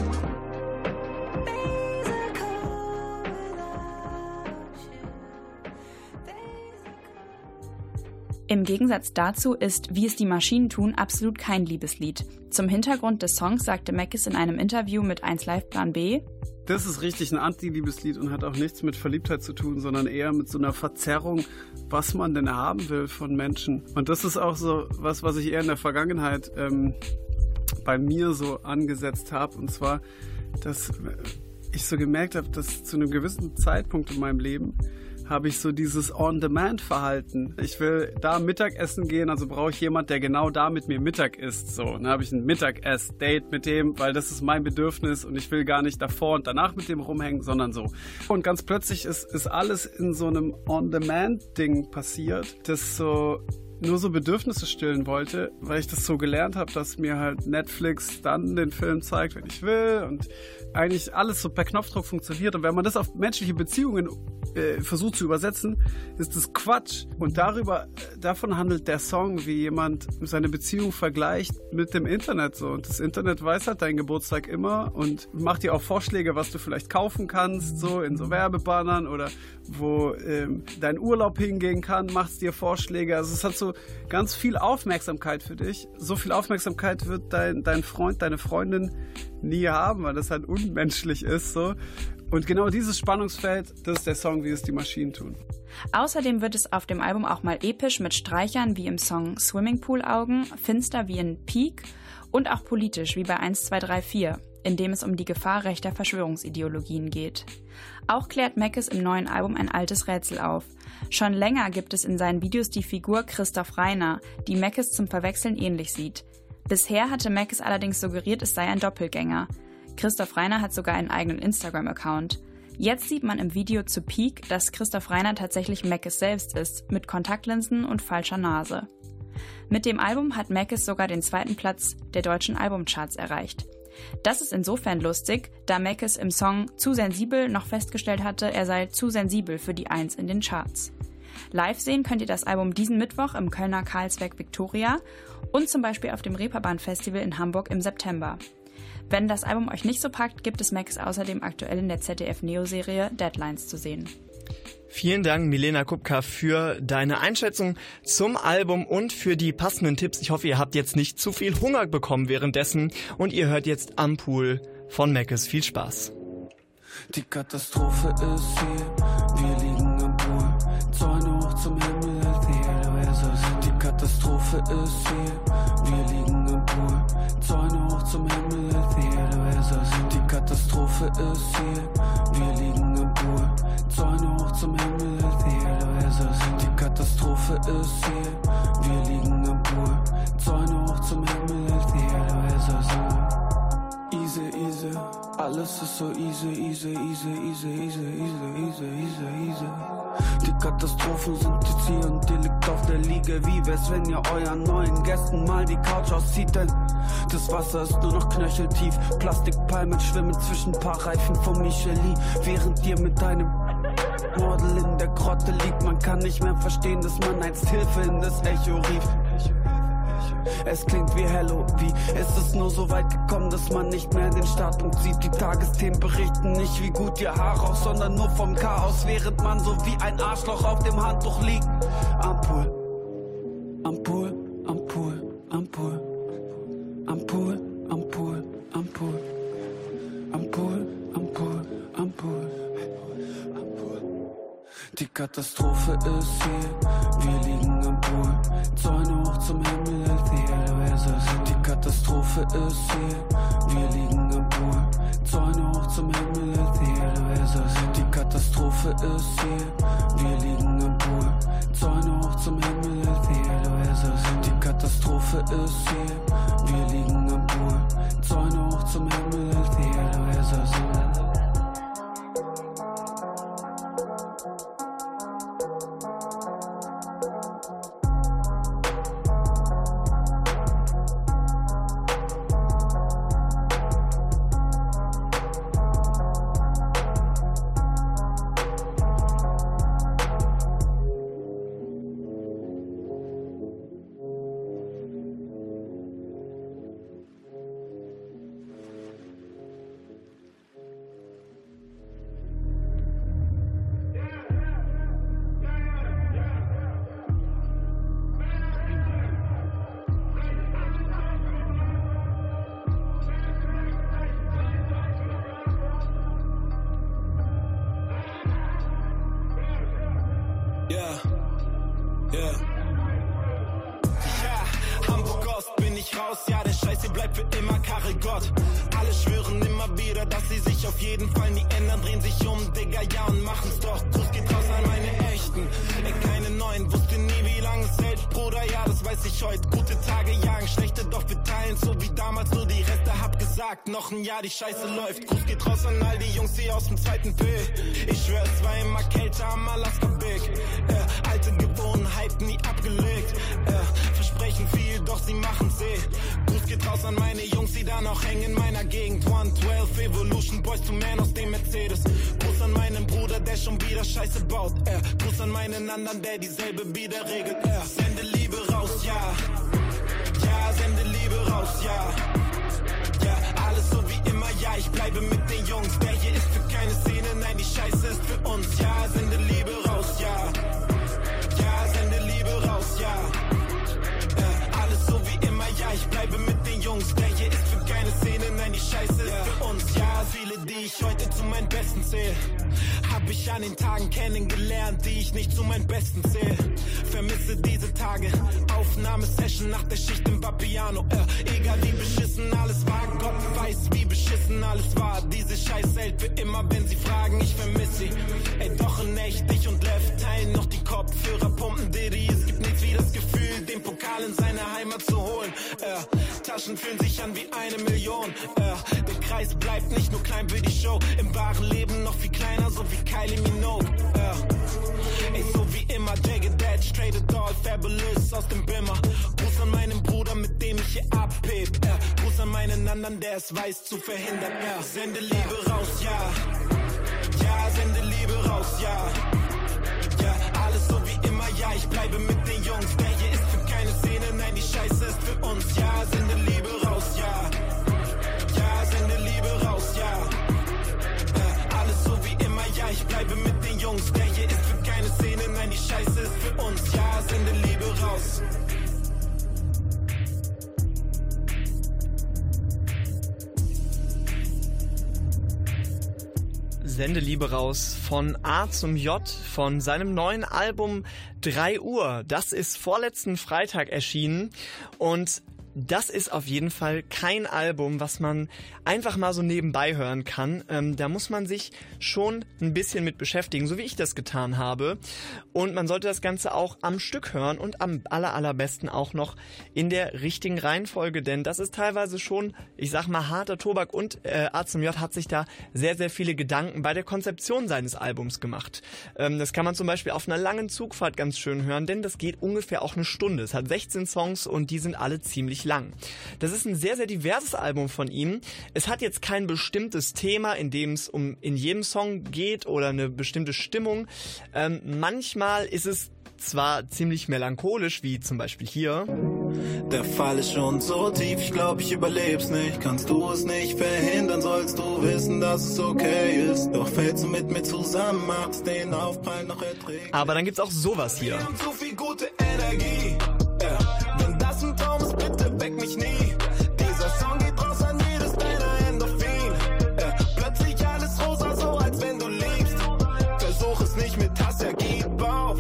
Im Gegensatz dazu ist Wie es die Maschinen tun absolut kein Liebeslied. Zum Hintergrund des Songs sagte Meckes in einem Interview mit eins Live Plan B: Das ist richtig ein Anti-Liebeslied und hat auch nichts mit Verliebtheit zu tun, sondern eher mit so einer Verzerrung, was man denn haben will von Menschen. Und das ist auch so was, was ich eher in der Vergangenheit ähm, bei mir so angesetzt habe. Und zwar, dass ich so gemerkt habe, dass zu einem gewissen Zeitpunkt in meinem Leben habe ich so dieses On-Demand-Verhalten. Ich will da Mittagessen gehen, also brauche ich jemand, der genau da mit mir Mittag isst. So, dann habe ich ein Mittagess-Date mit dem, weil das ist mein Bedürfnis und ich will gar nicht davor und danach mit dem rumhängen, sondern so. Und ganz plötzlich ist, ist alles in so einem On-Demand-Ding passiert, das so nur so Bedürfnisse stillen wollte, weil ich das so gelernt habe, dass mir halt Netflix dann den Film zeigt, wenn ich will und eigentlich alles so per Knopfdruck funktioniert. Und wenn man das auf menschliche Beziehungen äh, versucht zu übersetzen, ist das Quatsch. Und darüber, davon handelt der Song, wie jemand seine Beziehung vergleicht mit dem Internet. So. Und das Internet weiß halt deinen Geburtstag immer und macht dir auch Vorschläge, was du vielleicht kaufen kannst, so in so Werbebannern oder wo ähm, dein Urlaub hingehen kann, macht es dir Vorschläge. Also es hat so ganz viel Aufmerksamkeit für dich. So viel Aufmerksamkeit wird dein, dein Freund, deine Freundin nie haben, weil das halt unmenschlich ist. So. Und genau dieses Spannungsfeld, das ist der Song, wie es die Maschinen tun. Außerdem wird es auf dem Album auch mal episch mit Streichern wie im Song Swimmingpool-Augen, finster wie in Peak und auch politisch wie bei eins zwei drei vier, in dem es um die Gefahr rechter Verschwörungsideologien geht. Auch klärt Meckes im neuen Album ein altes Rätsel auf. Schon länger gibt es in seinen Videos die Figur Christoph Reiner, die Meckes zum Verwechseln ähnlich sieht. Bisher hatte Meckes allerdings suggeriert, es sei ein Doppelgänger. Christoph Reiner hat sogar einen eigenen Instagram-Account. Jetzt sieht man im Video zu Peak, dass Christoph Reiner tatsächlich Meckes selbst ist, mit Kontaktlinsen und falscher Nase. Mit dem Album hat Meckes sogar den zweiten Platz der deutschen Albumcharts erreicht. Das ist insofern lustig, da Meckes im Song Zu sensibel noch festgestellt hatte, er sei zu sensibel für die Eins in den Charts. Live sehen könnt ihr das Album diesen Mittwoch im Kölner Karlsberg Victoria und zum Beispiel auf dem Reeperbahn Festival in Hamburg im September. Wenn das Album euch nicht so packt, gibt es Meckes außerdem aktuell in der Z D F-Neo-Serie Deadlines zu sehen. Vielen Dank, Milena Kupka, für deine Einschätzung zum Album und für die passenden Tipps. Ich hoffe, ihr habt jetzt nicht zu viel Hunger bekommen währenddessen und ihr hört jetzt Am Pool von Meckes. Viel Spaß. Die Katastrophe ist hier, wir liegen am Pool, Zäune hoch zum Himmel, Theodor ist es. Die Katastrophe ist hier, wir liegen am Pool, Zäune hoch zum Himmel, Theodor ist es. Die Katastrophe ist hier, wir liegen am Pool, Zäune hoch zum Himmel, Theodor ist es. Die Katastrophe ist hier, wir liegen am Pool, Zäune hoch zum Himmel, Theodor ist es. Alles ist so easy, easy, easy, easy, easy, easy, easy, easy, easy. Die Katastrophen sind jetzt hier und ihr liegt auf der Liege. Wie wär's, wenn ihr euren neuen Gästen mal die Couch auszieht, denn das Wasser ist nur noch knöcheltief. Plastikpalmen schwimmen zwischen paar Reifen von Michelin. Während ihr mit deinem Model in der Grotte liegt, man kann nicht mehr verstehen, dass man einst Hilfe in das Echo rief. Es klingt wie Hello, wie ist es nur so weit gekommen, dass man nicht mehr den Startpunkt sieht. Die Tagesthemen berichten nicht, wie gut ihr Haar raucht, sondern nur vom Chaos, während man so wie ein Arschloch auf dem Handtuch liegt. Am Pool, am Pool, am Pool, am Pool, am Pool, am Pool, am Pool, am Pool, am Pool, am Pool. Die Katastrophe ist hier, wir liegen am Pool, Zäune hoch zum Himmel, el cielo es así. Die Katastrophe ist hier, wir liegen am Pool, Zäune hoch zum Himmel, el cielo es así. Die Katastrophe ist hier, wir liegen am Pool, Zäune hoch zum Himmel, el cielo es así. Die Katastrophe ist hier, wir liegen am Pool, Zäune hoch zum Himmel, el cielo es así. Noch ein Jahr, die Scheiße läuft. Gruß geht raus an all die Jungs, die aus dem zweiten P. Ich schwör, es war immer kälter am Alaska Big. Äh, alte Gewohnheiten nie abgelegt. Äh, versprechen viel, doch sie machen's eh. Gruß geht raus an meine Jungs, die da noch hängen in meiner Gegend. one twelve Evolution, Boys to Man aus dem Mercedes. Gruß an meinen Bruder, der schon wieder Scheiße baut. Äh, Gruß an meinen anderen, der dieselbe wieder regelt. Äh, sende Liebe raus, ja. Ja, sende Liebe raus, ja. Alles so wie immer, ja, ich bleibe mit den Jungs. Der hier ist für keine Szene, nein, die Scheiße ist für uns. Ja, sende Liebe raus, ja. Ja, sende Liebe raus, ja. Äh, alles so wie immer, ja, ich bleibe mit den Jungs. Der hier ist für keine Szene, nein, die Scheiße ist für uns. Ja, viele, die ich heute zu meinen Besten zähle, hab ich an den Tagen kennengelernt, die ich nicht zu meinen Besten zähle. Vermisse diese Tage, Aufnahmesession nach der Schicht im Vapiano. Äh, egal wie beschissen alles war, Gott weiß wie beschissen alles war. Diese Scheiße hält für immer, wenn sie fragen, ich vermisse sie. Ey, doch in echt, ich und Lev teilen noch die Kopfhörer, pumpen Diddy. Es gibt nichts wie das Gefühl, den Pokal in seine Heimat zu holen. Äh, Taschen fühlen sich an wie eine Million. Äh, der Kreis bleibt nicht nur klein für die Show, im wahren Leben noch viel kleiner, so wie Kylie Minogue. Äh, ey, so wie immer, Jagged Edge, Traded Doll, Fabulous aus dem Bimmer. Gruß an meinen Bruder, mit dem ich hier abheb. Äh, Gruß an meinen anderen, der es weiß zu verhindern. Äh, sende Liebe raus, ja. Ja, sende Liebe raus, ja. Ja, alles so wie immer, ja, ich bleibe mit den Jungs. Der hier ist für keine Szene, nein, die Scheiße ist für uns. Ja, sende Liebe raus, ja. Ja, sende Liebe raus, ja. Äh, alles so wie immer, ja, ich bleibe mit den Jungs. Der hier ist für keine Szene, nein, die Scheiße ist für uns. Ja, sende Liebe raus. Sende Liebe raus von A zum J von seinem neuen Album drei Uhr. Das ist vorletzten Freitag erschienen und das ist auf jeden Fall kein Album, was man einfach mal so nebenbei hören kann. Ähm, da muss man sich schon ein bisschen mit beschäftigen, so wie ich das getan habe. Und man sollte das Ganze auch am Stück hören und am aller, allerbesten auch noch in der richtigen Reihenfolge, denn das ist teilweise schon, ich sag mal, harter Tobak und äh, A zum J hat sich da sehr, sehr viele Gedanken bei der Konzeption seines Albums gemacht. Ähm, das kann man zum Beispiel auf einer langen Zugfahrt ganz schön hören, denn das geht ungefähr auch eine Stunde. Es hat sechzehn Songs und die sind alle ziemlich lang. Das ist ein sehr, sehr diverses Album von ihm. Es hat jetzt kein bestimmtes Thema, in dem es um in jedem Song geht oder eine bestimmte Stimmung. Ähm, manchmal ist es zwar ziemlich melancholisch, wie zum Beispiel hier. Der Fall ist schon so tief, ich glaube, ich überleb's nicht. Kannst du es nicht verhindern, sollst du wissen, dass es okay ist. Doch fällst du mit mir zusammen, machst den Aufprall noch erträglich. Aber dann gibt's auch sowas hier. Wir haben zu viel gute Energie. Ja. Wenn das ein Traum ist, bitte weck mich nie. Dieser Song geht raus an jedes deiner Endorphin. Ja. Plötzlich alles rosa, so als wenn du liebst. Versuch es nicht mit Hass, ja, gib auf.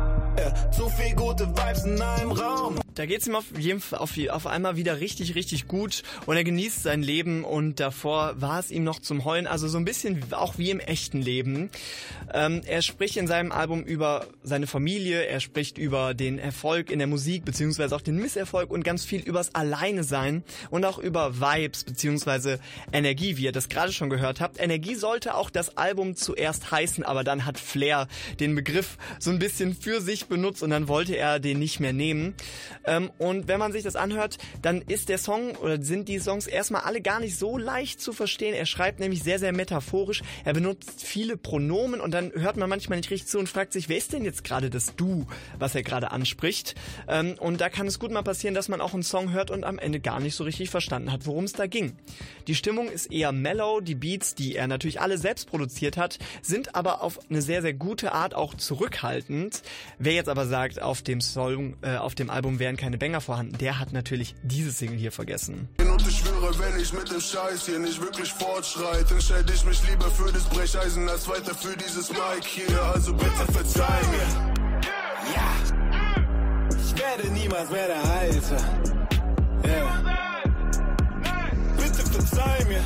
Ja. Zu viel gute Vibes in einem Raum. Da geht's ihm auf, jeden, auf, auf einmal wieder richtig, richtig gut und er genießt sein Leben und davor war es ihm noch zum Heulen, also so ein bisschen auch wie im echten Leben. Ähm, er spricht in seinem Album über seine Familie, er spricht über den Erfolg in der Musik beziehungsweise auch den Misserfolg und ganz viel übers Alleine-Sein und auch über Vibes beziehungsweise Energie, wie ihr das gerade schon gehört habt. Energie sollte auch das Album zuerst heißen, aber dann hat Flair den Begriff so ein bisschen für sich benutzt und dann wollte er den nicht mehr nehmen. Ähm, und wenn man sich das anhört, dann ist der Song oder sind die Songs erstmal alle gar nicht so leicht zu verstehen. Er schreibt nämlich sehr, sehr metaphorisch. Er benutzt viele Pronomen und dann hört man manchmal nicht richtig zu und fragt sich, wer ist denn jetzt gerade das Du, was er gerade anspricht? Ähm, und da kann es gut mal passieren, dass man auch einen Song hört und am Ende gar nicht so richtig verstanden hat, worum es da ging. Die Stimmung ist eher mellow. Die Beats, die er natürlich alle selbst produziert hat, sind aber auf eine sehr, sehr gute Art auch zurückhaltend. Wer jetzt aber sagt, auf dem Song, äh, auf dem Album wären keine Banger vorhanden, der hat natürlich diese Single hier vergessen. Und ich schwöre, wenn ich mit dem Scheiß hier nicht wirklich fortschreite, entscheide ich mich lieber für das Brecheisen als weiter für dieses Mic hier. Also bitte verzeih mir. Ja, ich werde niemals mehr der Alte. Yeah. Bitte verzeih mir.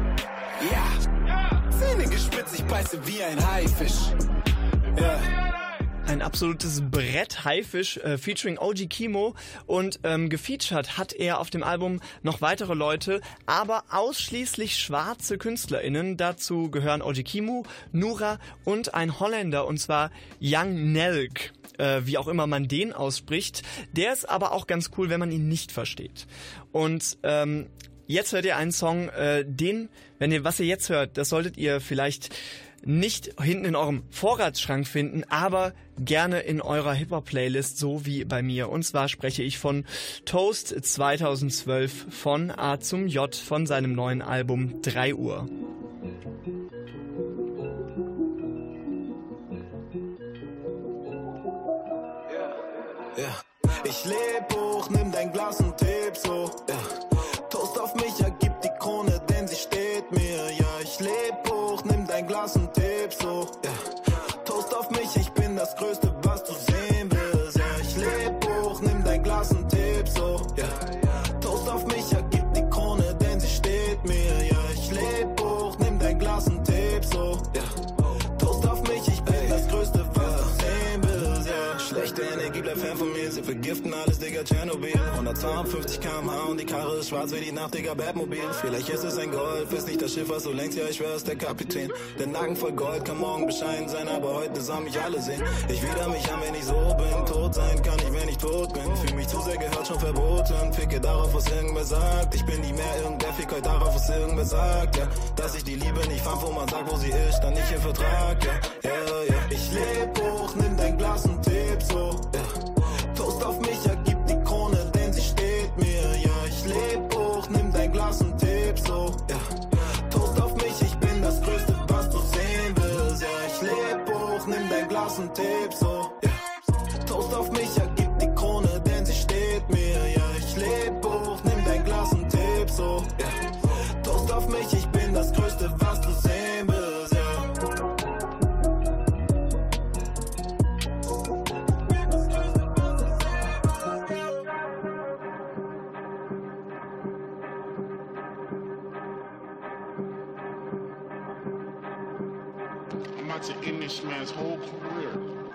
Ja, Zähne gespitzt, ich beiße wie ein Haifisch. Ja. Yeah. Ein absolutes Brett, Haifisch, äh, featuring O G Kimo und ähm, gefeatured hat er auf dem Album noch weitere Leute, aber ausschließlich schwarze KünstlerInnen. Dazu gehören O G Kimo, Nura und ein Holländer und zwar Young Nelk, äh, wie auch immer man den ausspricht. Der ist aber auch ganz cool, wenn man ihn nicht versteht. Und ähm, jetzt hört ihr einen Song, äh, den, wenn ihr, was ihr jetzt hört, das solltet ihr vielleicht nicht hinten in eurem Vorratsschrank finden, aber gerne in eurer Hip-Hop-Playlist, so wie bei mir. Und zwar spreche ich von Toast zweitausendzwölf von A zum J von seinem neuen Album drei Uhr. Ja. Ich leb hoch, nimm dein Glas und heb so. Ja. Toast auf mich, ja, gib die Krone, denn sie steht mir. Ja, ich leb hoch, nimm dein Glas und heb so. Ja. Toast auf mich, ich bin das Größte, was du sehen willst. Ja, ich leb hoch, nimm dein Glas und heb so. Ja. Toast auf mich, ja, gib die Krone, denn sie steht mir. Ja, ich leb hoch, nimm dein Glas und heb so. Ja. Toast auf mich, ich bin das Größte, was du sehen willst. Ja. Schlechte Energie, bleib fern von mir, sie vergiften alles, Digga, Tschernobyl. hundertzweiundfünfzig Kilometer pro Stunde und die Karre ist schwarz wie die Nacht, Digga, Batmobil. Vielleicht ist es ein Golf, ist nicht das Schiff, was du längst, ja, ich schwör, ist der Kapitän. Der Nacken voll Gold, kann morgen bescheiden sein, aber heute sollen mich alle sehen. Ich wieder mich an, wenn ich so bin, tot sein kann ich, wenn ich tot bin. Fühl mich zu sehr gehört, schon verboten, ficke darauf, was irgendwer sagt. Ich bin nie mehr irgendwer, fick heute darauf, was irgendwer sagt, ja. Dass ich die Liebe nicht fand, wo man sagt, wo sie ist, dann nicht im Vertrag, ja, ja, ja. Ich leb hoch, nimm dein Glas und heb so, ja. Toast auf mich, ja, gib die Krone, denn sie steht mir, ja. Ich leb hoch, nimm dein Glas und heb so, ja. Toast auf mich, ich bin das Größte, was du sehen willst, ja. Ich leb hoch, nimm dein Glas und heb so, ja. Toast auf mich, ja, gib die Krone, denn sie steht mir, ja. Ich leb hoch, nimm dein Glas und heb so, ja. Toast auf mich, ich bin das Größte, was du sehen willst, ja. about to end this man's whole career.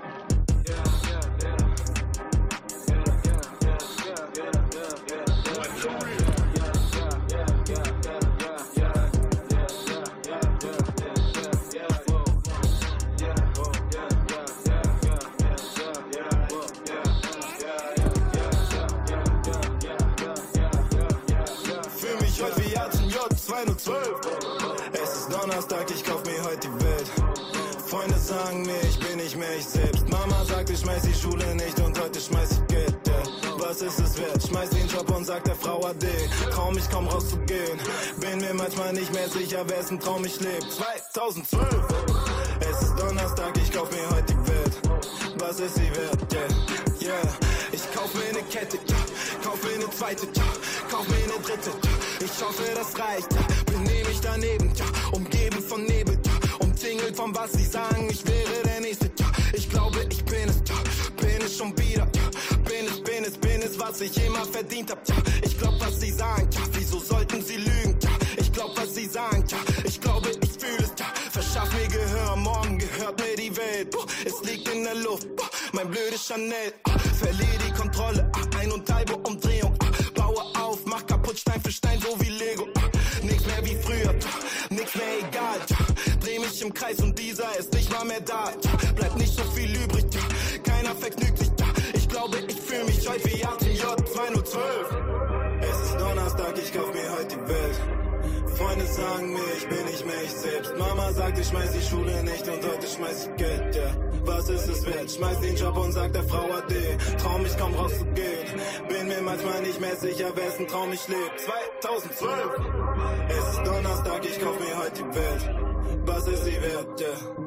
Es ist Donnerstag, ich kauf mir heute die Welt. Freunde sagen mir, ich bin nicht mehr ich selbst. Mama sagt, ich schmeiß die Schule nicht und heute schmeiß ich Geld, yeah. Was ist es wert? Schmeiß den Job und sag der Frau Ade. Trau mich kaum rauszugehen. Bin mir manchmal nicht mehr sicher, wessen Traum ich lebe. zweitausendzwölf. Es ist Donnerstag, ich kauf mir heute die Welt. Was ist sie wert, yeah, yeah. Ich kauf mir eine Kette, ja. Kauf mir eine zweite, ja. Kauf mir eine dritte, ja. Ich hoffe, das reicht, ja. Benehm mich daneben, ja. Umgeben von Nebel, ja. Umzingelt von was sie sagen, ich wäre der Nächste, ja. Ich glaube, ich bin es, ja. Bin es schon wieder, ja. Bin es, bin es, bin es, was ich immer verdient hab, ja. Ich glaub, was sie sagen, ja. Wieso sollten sie lügen, ja. Ich glaub, was sie sagen, ja. Ich glaube, ich fühle es, ja. Verschaff mir Gehör, morgen gehört mir die Welt. Oh, es liegt in der Luft, oh, mein blödes Chanel. Oh, verliere die Kontrolle, oh, ein und halbe Umdrehung. Oh, baue auf, mach kaputt Stein für Stein, so wie Lego. Oh, nix mehr wie früher, oh, nix mehr egal. Oh, dreh mich im Kreis und dieser ist nicht mal mehr da. Oh, bleibt nicht so viel übrig, oh, keiner vergnügt sich. Oh, ich glaube, ich fühle mich heute wie A T J zweitausendzwölf. Es ist Donnerstag, ich kauf mir heute die Welt. Freunde sagen mir, ich bin nicht mehr ich selbst. Mama sagt, ich schmeiß die Schule nicht und heute schmeiß ich Geld, ja. Was ist es wert? Schmeiß den Job und sag der Frau Ade. Trau mich kaum rauszugehen. Bin mir manchmal nicht mehr sicher, wessen Traum ich lebe. zweitausendzwölf. Es ist Donnerstag, ich kauf mir heute die Welt. Was ist sie wert, ja.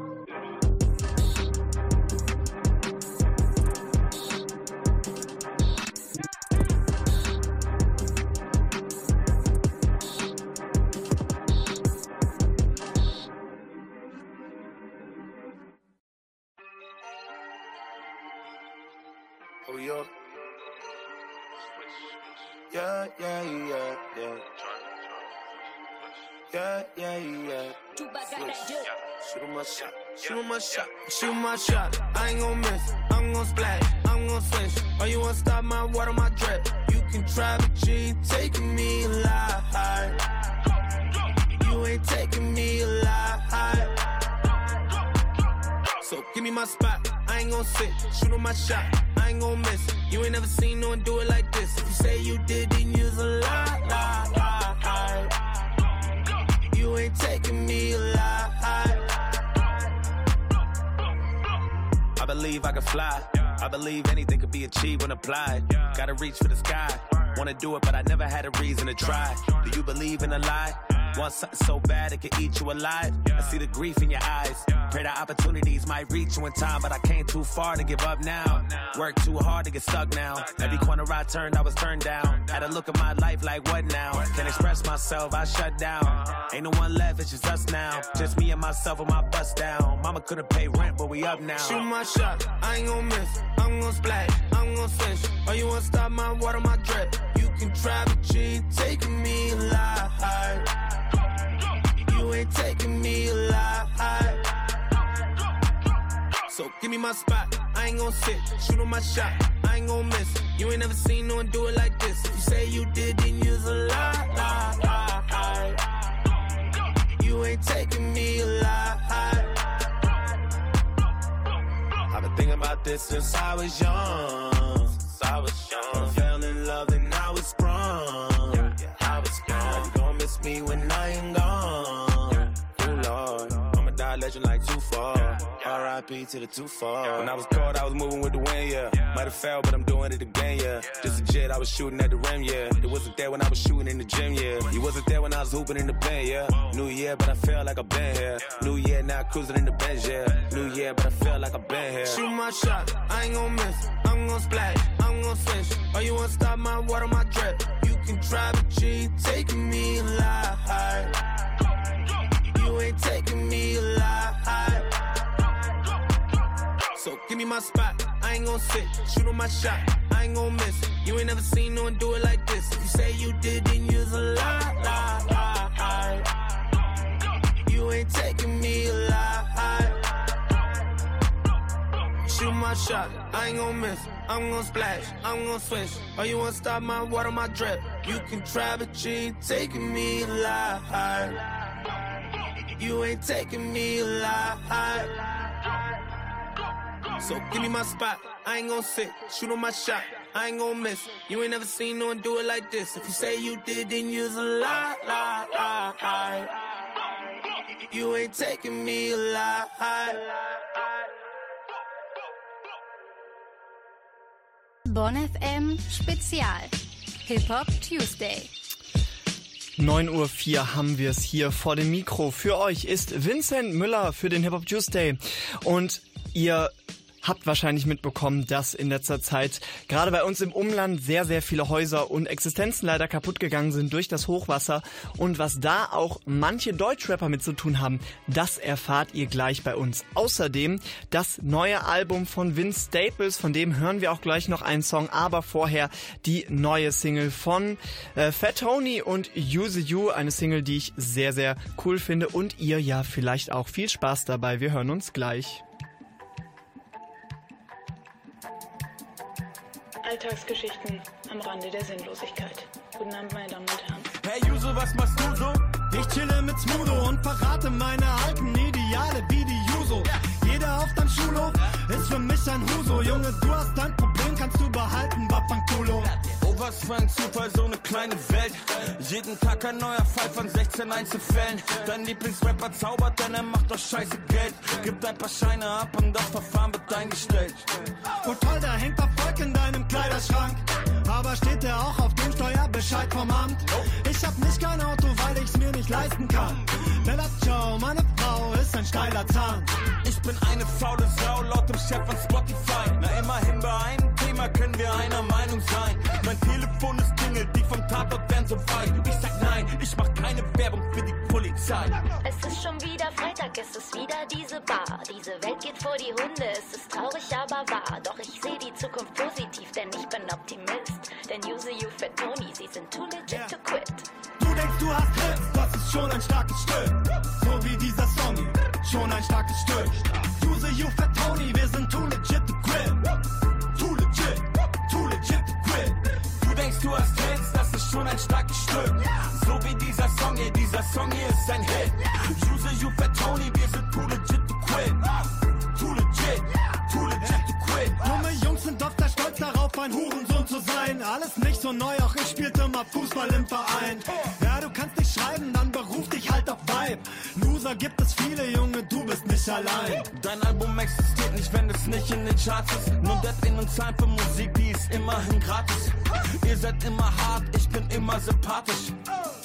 Oh, yeah. Yeah, yeah, yeah, yeah. Yeah, yeah, yeah. Shoot 'em my shot, shoot 'em my shot, shoot my shot. I ain't gon' miss, I'm gon' splash, I'm gon' switch. Oh, you wanna stop my water, my drip? You can try, but you ain't taking me alive. You ain't taking me alive. So give me my spot, I ain't gon' sit, shoot 'em my shot. I ain't gon' miss. You ain't never seen no one do it like this. If you say you did, then you's a lie, lie, lie. You ain't taking me alive. I believe I can fly. I believe anything could be achieved when applied. Gotta reach for the sky. Wanna do it, but I never had a reason to try. Do you believe in a lie? Want something so bad it can eat you alive? I see the grief in your eyes. Pray the opportunities might reach you in time, but I came too far to give up now. Work too hard to get stuck now. Every corner I turned, I was turned down. Had a look at my life like what now? Can't express myself, I shut down. Ain't no one left, it's just us now. Just me and myself with my bust down. Mama couldn't pay rent, but we up now. Shoot my shot, I ain't gon' miss. I'm gon' splash, I'm gon' switch. Oh, you wanna stop my water, my drip? You can try, but you ain't taking me alive. You ain't taking me alive. So give me my spot, I ain't gon' sit, shoot 'em my shot, I ain't gon' miss. You ain't never seen no one do it like this. If you say you did, then you's a lie, lie, lie. You ain't taking me alive. I've been thinking about this since I was young. Since I was young. I fell in love and I was sprung. I was sprung. You gon' miss me when I ain't gone. Oh Lord, I'ma die legend like too far. R I P to the too far. When I was cold, I was moving with the wind, yeah. Might have failed, but I'm doing it again, yeah. Just a jet, I was shooting at the rim, yeah. It wasn't there when I was shooting in the gym, yeah. You wasn't there when I was hooping in the pen, yeah. New year, but I feel like I've been here. New year, now cruising in the Benz, yeah. New year, but I feel like I've been here. Shoot my shot, I ain't gon' miss. I'm gon' splash, I'm gon' switch. Oh, you wanna stop my water, my drip? You can try, but you ain't taking me alive. You ain't taking me alive. So give me my spot, I ain't gon' sit, shoot 'em my shot, I ain't gon' miss. You ain't never seen no one do it like this. If you say you did, then you's a lie, lie, lie. You ain't taking me alive. my shot, I ain't gon' miss. I'm gon' splash, I'm gon' switch. Oh, you wanna stop my water, my drip? You can try, but you ain't taking me alive. You ain't taking me alive. So give me my spot, I ain't gon' sit. Shoot on my shot, I ain't gon' miss. You ain't never seen no one do it like this. If you say you did, then you's a lie, lie, lie. You ain't taking me alive. Bonn F M Spezial Hip-Hop Tuesday. neun Uhr vier haben wir es hier vor dem Mikro. Für euch ist Vincent Müller für den Hip-Hop Tuesday. Und ihr habt wahrscheinlich mitbekommen, dass in letzter Zeit gerade bei uns im Umland sehr, sehr viele Häuser und Existenzen leider kaputt gegangen sind durch das Hochwasser. Und was da auch manche Deutschrapper mit zu tun haben, das erfahrt ihr gleich bei uns. Außerdem das neue Album von Vince Staples, von dem hören wir auch gleich noch einen Song, aber vorher die neue Single von äh, Fat Tony und Use You, eine Single, die ich sehr, sehr cool finde und ihr ja vielleicht auch. Viel Spaß dabei, wir hören uns gleich. Alltagsgeschichten am Rande der Sinnlosigkeit. Guten Abend, meine Damen und Herren. Hey Juso, was machst du so? Ich chille mit Smudo und verrate meine alten Ideale wie die Juso. Jeder auf deinem Schulhof ist für mich ein Huso. Junge, du hast dein Problem, kannst du behalten, Wafankulo. Oh, was für ein Zufall, so eine kleine Welt. Jeden Tag ein neuer Fall von sechzehn Einzelfällen. Dein Lieblingsrapper zaubert, denn er macht doch scheiße Geld. Gibt ein paar Scheine ab und das Verfahren wird eingestellt. Oh toll, da hängt Erfolg in deinem Kleiderschrank. Aber steht der auch auf dem Steuerbescheid vom Amt? Ich hab nicht kein Auto, weil ich's mir nicht leisten kann. Bella ciao, meine Frau ist ein steiler Zahn. Ich bin eine faule Sau, laut dem Chef von Spotify. Na immerhin bei einem Thema können wir einer Meinung sein. Mein Telefon ist klingelt, die vom Tatort werden so weit. Ich sag nein, ich mach keine Werbung für die Polizei. Es ist schon wieder Freitag, es ist wieder diese Bar. Diese Welt geht vor die Hunde, es ist traurig, aber wahr. Doch ich sehe die Zukunft positiv, denn ich bin Optimist. Denn Use You, Fat Tony, sie sind too legit yeah. to quit. Du denkst, du hast Hits, das ist schon ein starkes Stück. So wie dieser Song hier, schon ein starkes Stück. Use You, Fat Tony, wir sind too legit to quit. Too legit, too legit to quit. Du denkst, du hast Hits, das ist schon ein starkes Stück. So wie dieser Song hier, dieser Song hier ist ein Hit. Use You, Fat Tony, wir sind too legit to quit. Too legit, too legit to quit. Dumme Jungs sind oft stolz darauf, ein Hurensohn zu sein. Alles nicht so neu, auch ich spielte mal Fußball im Verein. Ja, du kannst nicht schreiben, dann beruf dich halt auf Vibe. Loser gibt es viele, Junge, du bist nicht allein. Dein Album existiert nicht, wenn es nicht in den Charts ist. Nur Depp und Zahlen für Musik, die ist immerhin gratis. Ihr seid immer hart, ich bin immer sympathisch.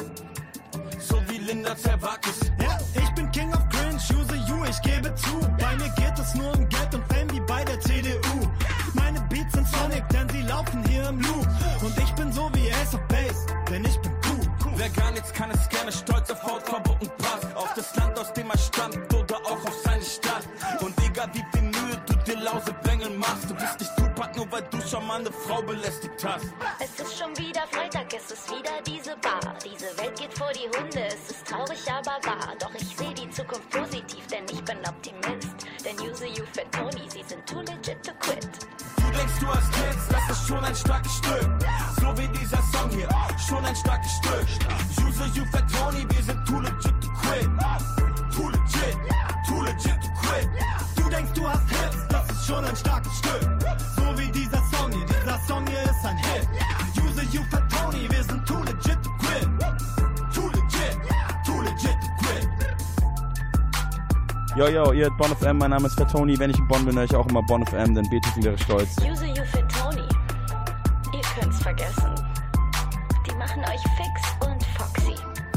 So wie Linda Zerwakis. Ja, ich bin King of Cringe, Use You, ich gebe zu. Bei mir geht es nur um Geld und Fame wie bei der C D U. Meine Beats sind Sonic, denn sie laufen hier im Loop. Und ich bin so wie Ace of Base, denn ich bin cool. Wer gar nichts kann, ist gerne stolz auf Hautfarbe und Pass. Auf das Land, aus dem er stammt oder auch auf seine Stadt. Und egal wie viel Mühe du dir Lausebengel machst, du bist nicht Tupac, nur weil du schon mal eine Frau belästigt hast. Es ist schon wieder Freitag, es ist wieder diese Bar. Diese Welt geht vor die Hunde, es ist traurig, aber wahr. Doch ich sehe die Zukunft positiv, denn ich bin Optimist. Denn Use You, Fat Tony, sie sind too legit to quit. Du denkst, du hast Hits, das ist schon ein starkes Stück. So wie dieser Song hier, schon ein starkes Stück. Use You, Fat Tony, wir sind too legit to quit. Too legit, too legit to quit. Du denkst, du hast Hits, das ist schon ein starkes Stück. So wie dieser Song hier, dieser Song hier ist ein Hit. Use You, Fat Tony, wir sind too legit to quit. Too legit, too legit to quit. Yo, yo, ihr hört Bonn F M, mein Name ist Fat Tony. Wenn ich in Bonn bin, höre ich auch immer Bonn F M, denn Beethoven wäre stolz. Use You, Fat Tony, ihr könnt's vergessen. Die machen euch fix und foxy.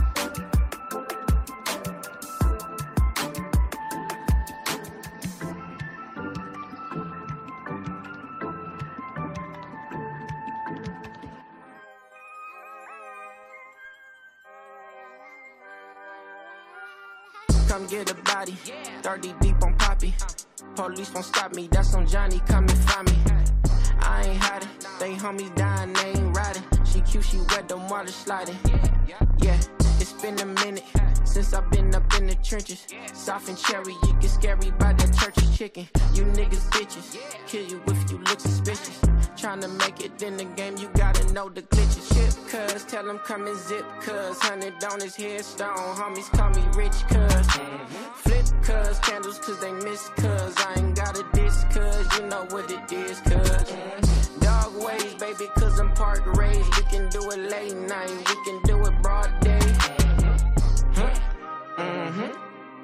Come get a body, thirty deep on Poppy. Police won't stop me, that's on Johnny, come and find me. I ain't hiding, they homies dying, they ain't riding. She cute, she wet, them water sliding. Yeah, It's been a minute since I've been up in the trenches. Soft and cherry, you get scary by that church's chicken. You niggas bitches, kill you if you look suspicious. Tryna make it in the game, you gotta know the glitches. Shit, cuz, tell him come and zip, cuz. Hundred on his headstone, homies call me rich, cuz. Flip, cuz, candles, cuz they miss, cuz. I ain't got a diss, cuz, you know what it is, cuz. Dog ways, baby, cuz I'm park raised. We can do it late night, we can do it broad day. Huh? Mm-hmm.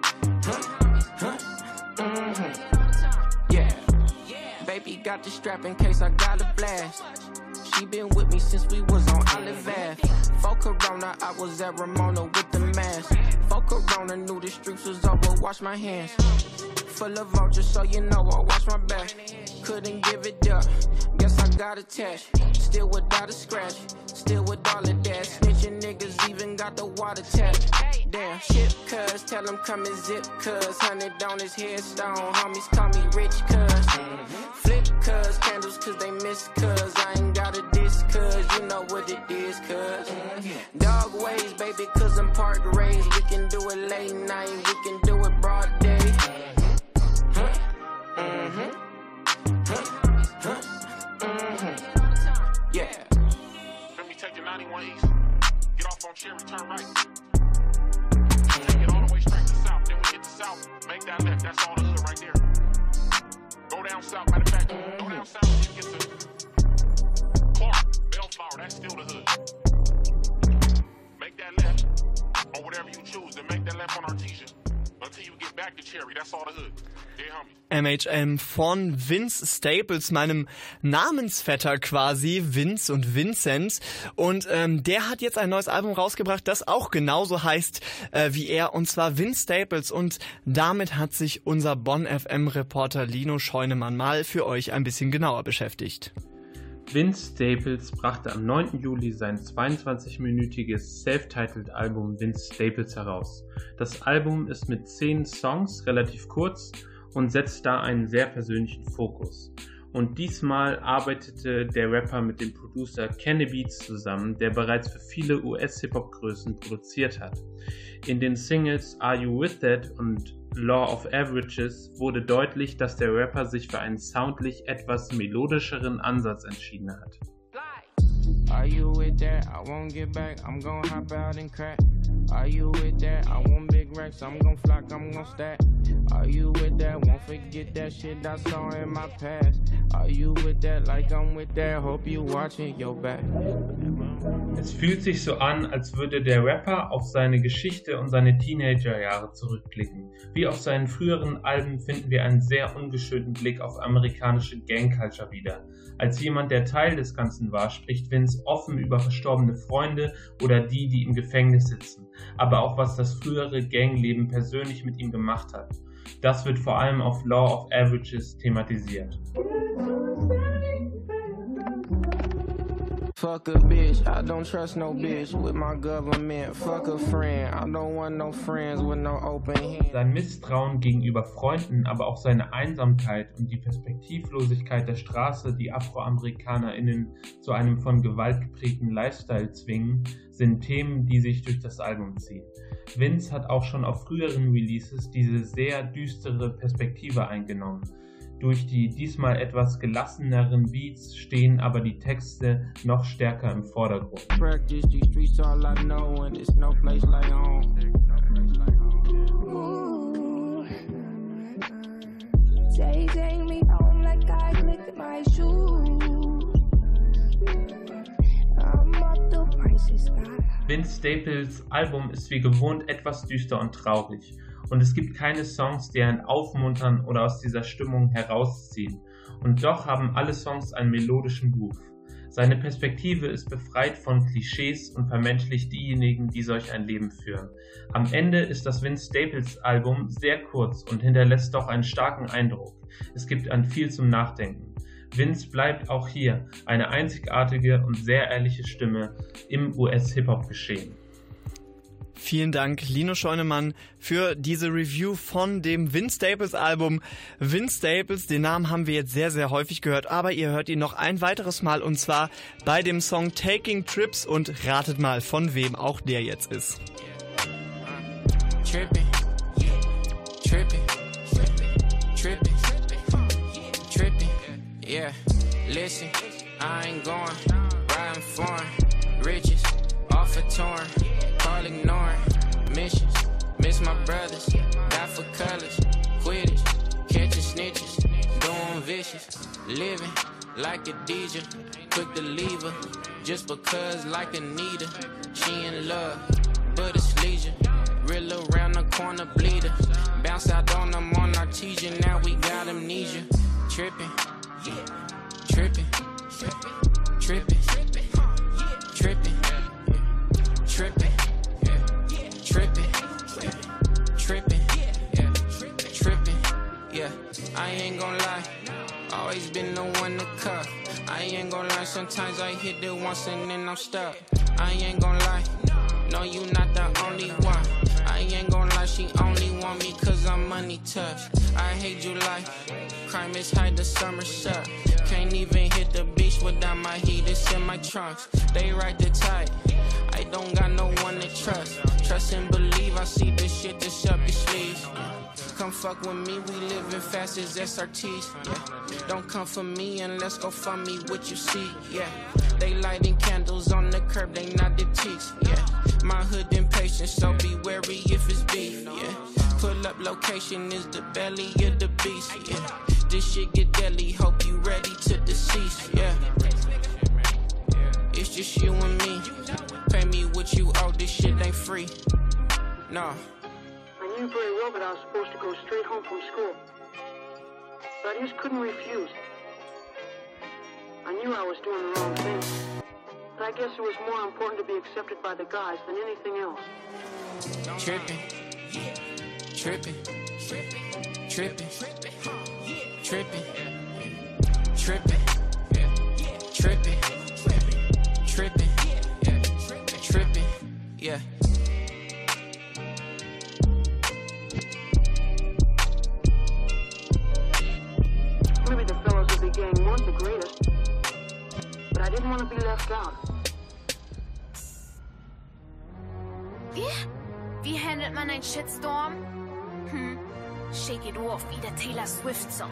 Huh? Huh? Mm-hmm. Yeah. Baby got the strap in case I got a blast. She been with me since we was on Olive Ave. For Corona, I was at Ramona with the mask. For Corona, knew the streets was over, wash my hands. Full of vultures, so you know I watch my back. Couldn't give it up, guess I got attached. Still without a scratch, still with all of that. Snitching niggas even got the water tap. Damn, shit, cuz, tell him come and zip, cuz. Hundred on his headstone, homies call me rich, cuz. Flip, cuz, candles, cuz they miss, cuz. I ain't got a diss, cuz, you know what it is, cuz. Dog ways, baby, cuz I'm park raised. We can do it late night, we can do it broad day. Huh? Mm-hmm. Huh? Huh? Mm-hmm. Yeah. Let me take the ninety-one East. Get off on Cherry, turn right. Take it all the way straight to south. Then we hit the south. Make that left. That's all the hood right there. Go down south. Matter of fact, go down south and you get to Clark, Bellflower. That's still the hood. Make that left or whatever you choose. Then make that left on Artesia until you get back to Cherry. That's all the hood. Yeah, homie. M H M von Vince Staples, meinem Namensvetter quasi, Vince und Vincent. Und ähm, der hat jetzt ein neues Album rausgebracht, das auch genauso heißt äh, wie er, und zwar Vince Staples. Und damit hat sich unser Bonn F M-Reporter Lino Scheunemann mal für euch ein bisschen genauer beschäftigt. Vince Staples brachte am neunten Juli sein zweiundzwanzig-minütiges Self-Titled-Album Vince Staples heraus. Das Album ist mit zehn Songs relativ kurz und setzt da einen sehr persönlichen Fokus. Und diesmal arbeitete der Rapper mit dem Producer Kenny Beats zusammen, der bereits für viele U S-Hip-Hop-Größen produziert hat. In den Singles Are You With That und Law of Averages wurde deutlich, dass der Rapper sich für einen soundlich etwas melodischeren Ansatz entschieden hat. Are you with that? I won't get back, I'm gon' hop out and crack. Are you with that? I want big racks, I'm gon' flock, I'm gon' stack. Are you with that? Won't forget that shit I saw in my past. Are you with that? Like I'm with that, hope you watching your back. Es fühlt sich so an, als würde der Rapper auf seine Geschichte und seine Teenagerjahre zurückblicken. Wie auf seinen früheren Alben finden wir einen sehr ungeschönten Blick auf amerikanische Gang-Culture wieder. Als jemand, der Teil des Ganzen war, spricht Vince offen über verstorbene Freunde oder die, die im Gefängnis sitzen, aber auch was das frühere Gangleben persönlich mit ihm gemacht hat. Das wird vor allem auf Law of Averages thematisiert. Fuck a bitch, I don't trust no bitch with my government. Fuck a friend, I don't want no friends with no open hand. Sein Misstrauen gegenüber Freunden, aber auch seine Einsamkeit und die Perspektivlosigkeit der Straße, die AfroamerikanerInnen zu einem von Gewalt geprägten Lifestyle zwingen, sind Themen, die sich durch das Album ziehen. Vince hat auch schon auf früheren Releases diese sehr düstere Perspektive eingenommen. Durch die diesmal etwas gelasseneren Beats stehen aber die Texte noch stärker im Vordergrund. Vince Staples Album ist wie gewohnt etwas düster und traurig. Und es gibt keine Songs, die einen aufmuntern oder aus dieser Stimmung herausziehen. Und doch haben alle Songs einen melodischen Groove. Seine Perspektive ist befreit von Klischees und vermenschlicht diejenigen, die solch ein Leben führen. Am Ende ist das Vince Staples Album sehr kurz und hinterlässt doch einen starken Eindruck. Es gibt an viel zum Nachdenken. Vince bleibt auch hier eine einzigartige und sehr ehrliche Stimme im U S-Hip-Hop-Geschehen. Vielen Dank, Lino Scheunemann, für diese Review von dem Vince Staples Album. Vince Staples, den Namen haben wir jetzt sehr, sehr häufig gehört, aber ihr hört ihn noch ein weiteres Mal und zwar bei dem Song Taking Trips und ratet mal, von wem auch der jetzt ist. Trippin', trippin', trippin', trippin', yeah, listen, I ain't going, riding foreign, riches, off a torn, call ignoring, missions, miss my brothers, die for colors, quitters, catching snitches, doing vicious, living like a D J, quick to leave her, just because like Anita, she in love, but it's leisure. Real around the corner bleeder. Bounce out on them on artesian. Now we got amnesia. Trippin', trippin', trippin', trippin', trippin', trippin', trippin', trippin'. Yeah, I ain't gon' lie. Always been the one to cut. I ain't gon' lie. Sometimes I hit it once and then I'm stuck. I ain't gon' lie. No, you not the only one. I ain't gon' lie, she only want me cause I'm money touched. I hate you like crime is high, the summer suck. Can't even hit the beach without my heat, it's in my trunks. They ride the tide, I don't got no one to trust. Trust and believe, I see this shit just up your sleeves. Come fuck with me, we living fast as S R Ts. Yeah. Don't come for me and let's go for me what you see. Yeah, they lighting candles on the curb, they not the cheeks. Yeah, my hood impatient, so be wary if it's beef. Yeah, pull up location is the belly of the beast. Yeah, this shit get deadly, hope you ready to decease. Yeah, it's just you and me. Pay me what you owe, this shit ain't free. No. I knew very well that I was supposed to go straight home from school. But I just couldn't refuse. I knew I was doing the wrong thing. But I guess it was more important to be accepted by the guys than anything else. Trippin', trippin', trippin', trippin', trippin', trippin', trippin', trippin', yeah. Maybe the fellows of the gang weren't the greatest, but I didn't want to be left out. Wie? Wie handelt man einen Shitstorm? Hm, shake it off wie der Taylor Swift-Song.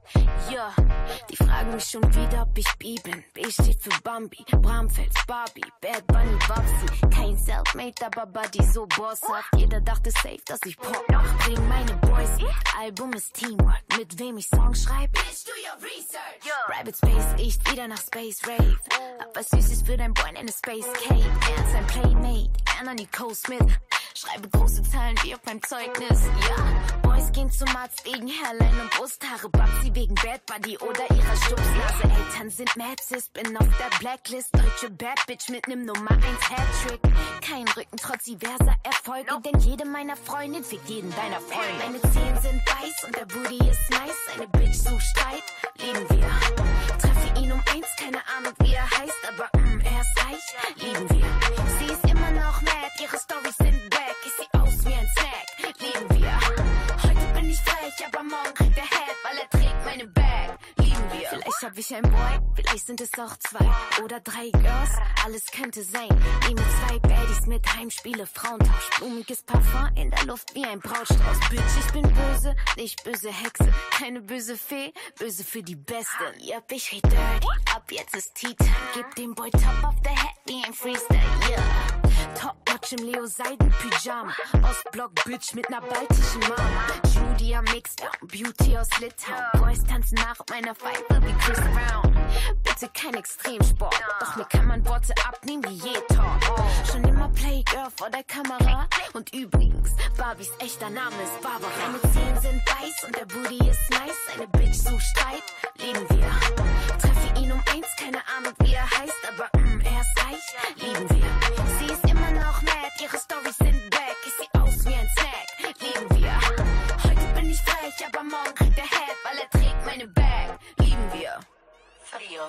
Ja, die fragen mich schon wieder, ob ich B bin. B steht für Bambi, Bramfels, Barbie, Bad Bunny, Babsi. Kein Selfmade, aber Buddy so bosshaft. Jeder dachte safe, dass ich Pop mach. Bring meine Boys mit, Album ist Teamwork. Mit wem ich Songs schreib? Bitch, do your research. Yeah. Rabbit Space riecht wieder nach Space Rave. Hab was Süßes für dein Boy in eine Space Cave. Er ist ein Playmate, Anna Nicole Smith. Schreibe große Zahlen wie auf meinem Zeugnis, ja. Boys gehen zum Arzt wegen Hairline und Brusthaare. Babsi wegen Bad Buddy oder ihrer Stupsnase. Eltern sind mad sis, bin auf der Blacklist. Deutsche Bad Bitch mit nem Nummer eins Hattrick. Kein Rücken trotz diverser Erfolge, denn jede meiner Freundin fickt jeden deiner Freunde. Meine Zehen sind weiß und der Booty ist nice. Eine Bitch sucht Streit, lieben wir. Treffe ihn um eins, keine Ahnung wie er heißt, aber mm, er ist reich, lieben wir. Sie ist immer noch mad, ihre Storys sind back. Ich seh aus wie ein Snack, lieben wir. Heute bin ich frech, aber morgen kriegt er Head, weil er trägt meine Bag, lieben wir. Vielleicht hab ich ein Boy, vielleicht sind es auch zwei oder drei Girls, alles könnte sein. Nehme zwei Baddies mit, Heimspiele, Frauentausch, blumiges Parfum in der Luft wie ein Brautstrauß. Bitch, ich bin böse, nicht böse Hexe, keine böse Fee, böse für die Beste. Yep, ich red dirty, ab jetzt ist Tea-Time. Gib dem Boy Top of the Head wie ein Freestyle, yeah. Top-Notch im Leo-Seiden-Pyjama. Ostblock Bitch mit ner baltischen Mama. Judy am Mixdown, Beauty aus Litauen. Boys tanzen nach meiner Pfeife wie Chris Brown. Bitte kein Extremsport, doch mir kann man Worte abnehmen wie je Talk. Schon immer Playgirl vor der Kamera. Und übrigens, Barbies echter Name ist Barbara. Meine Zehen sind weiß und der Booty ist nice. Eine Bitch sucht Streit, lieben wir. Treffe ihn um eins, keine Ahnung wie er heißt, aber mm, er ist reich, lieben wir. Sie ist immer noch mad, ihre Storys sind back. Ich seh aus wie ein Snack, lieben wir. Heute bin ich frech, aber morgen kriegt er Head, weil er trägt meine Bag, lieben wir. Frio.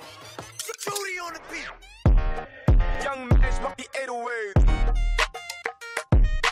Judy on the beat. Young Mash, mach die eight oh eight.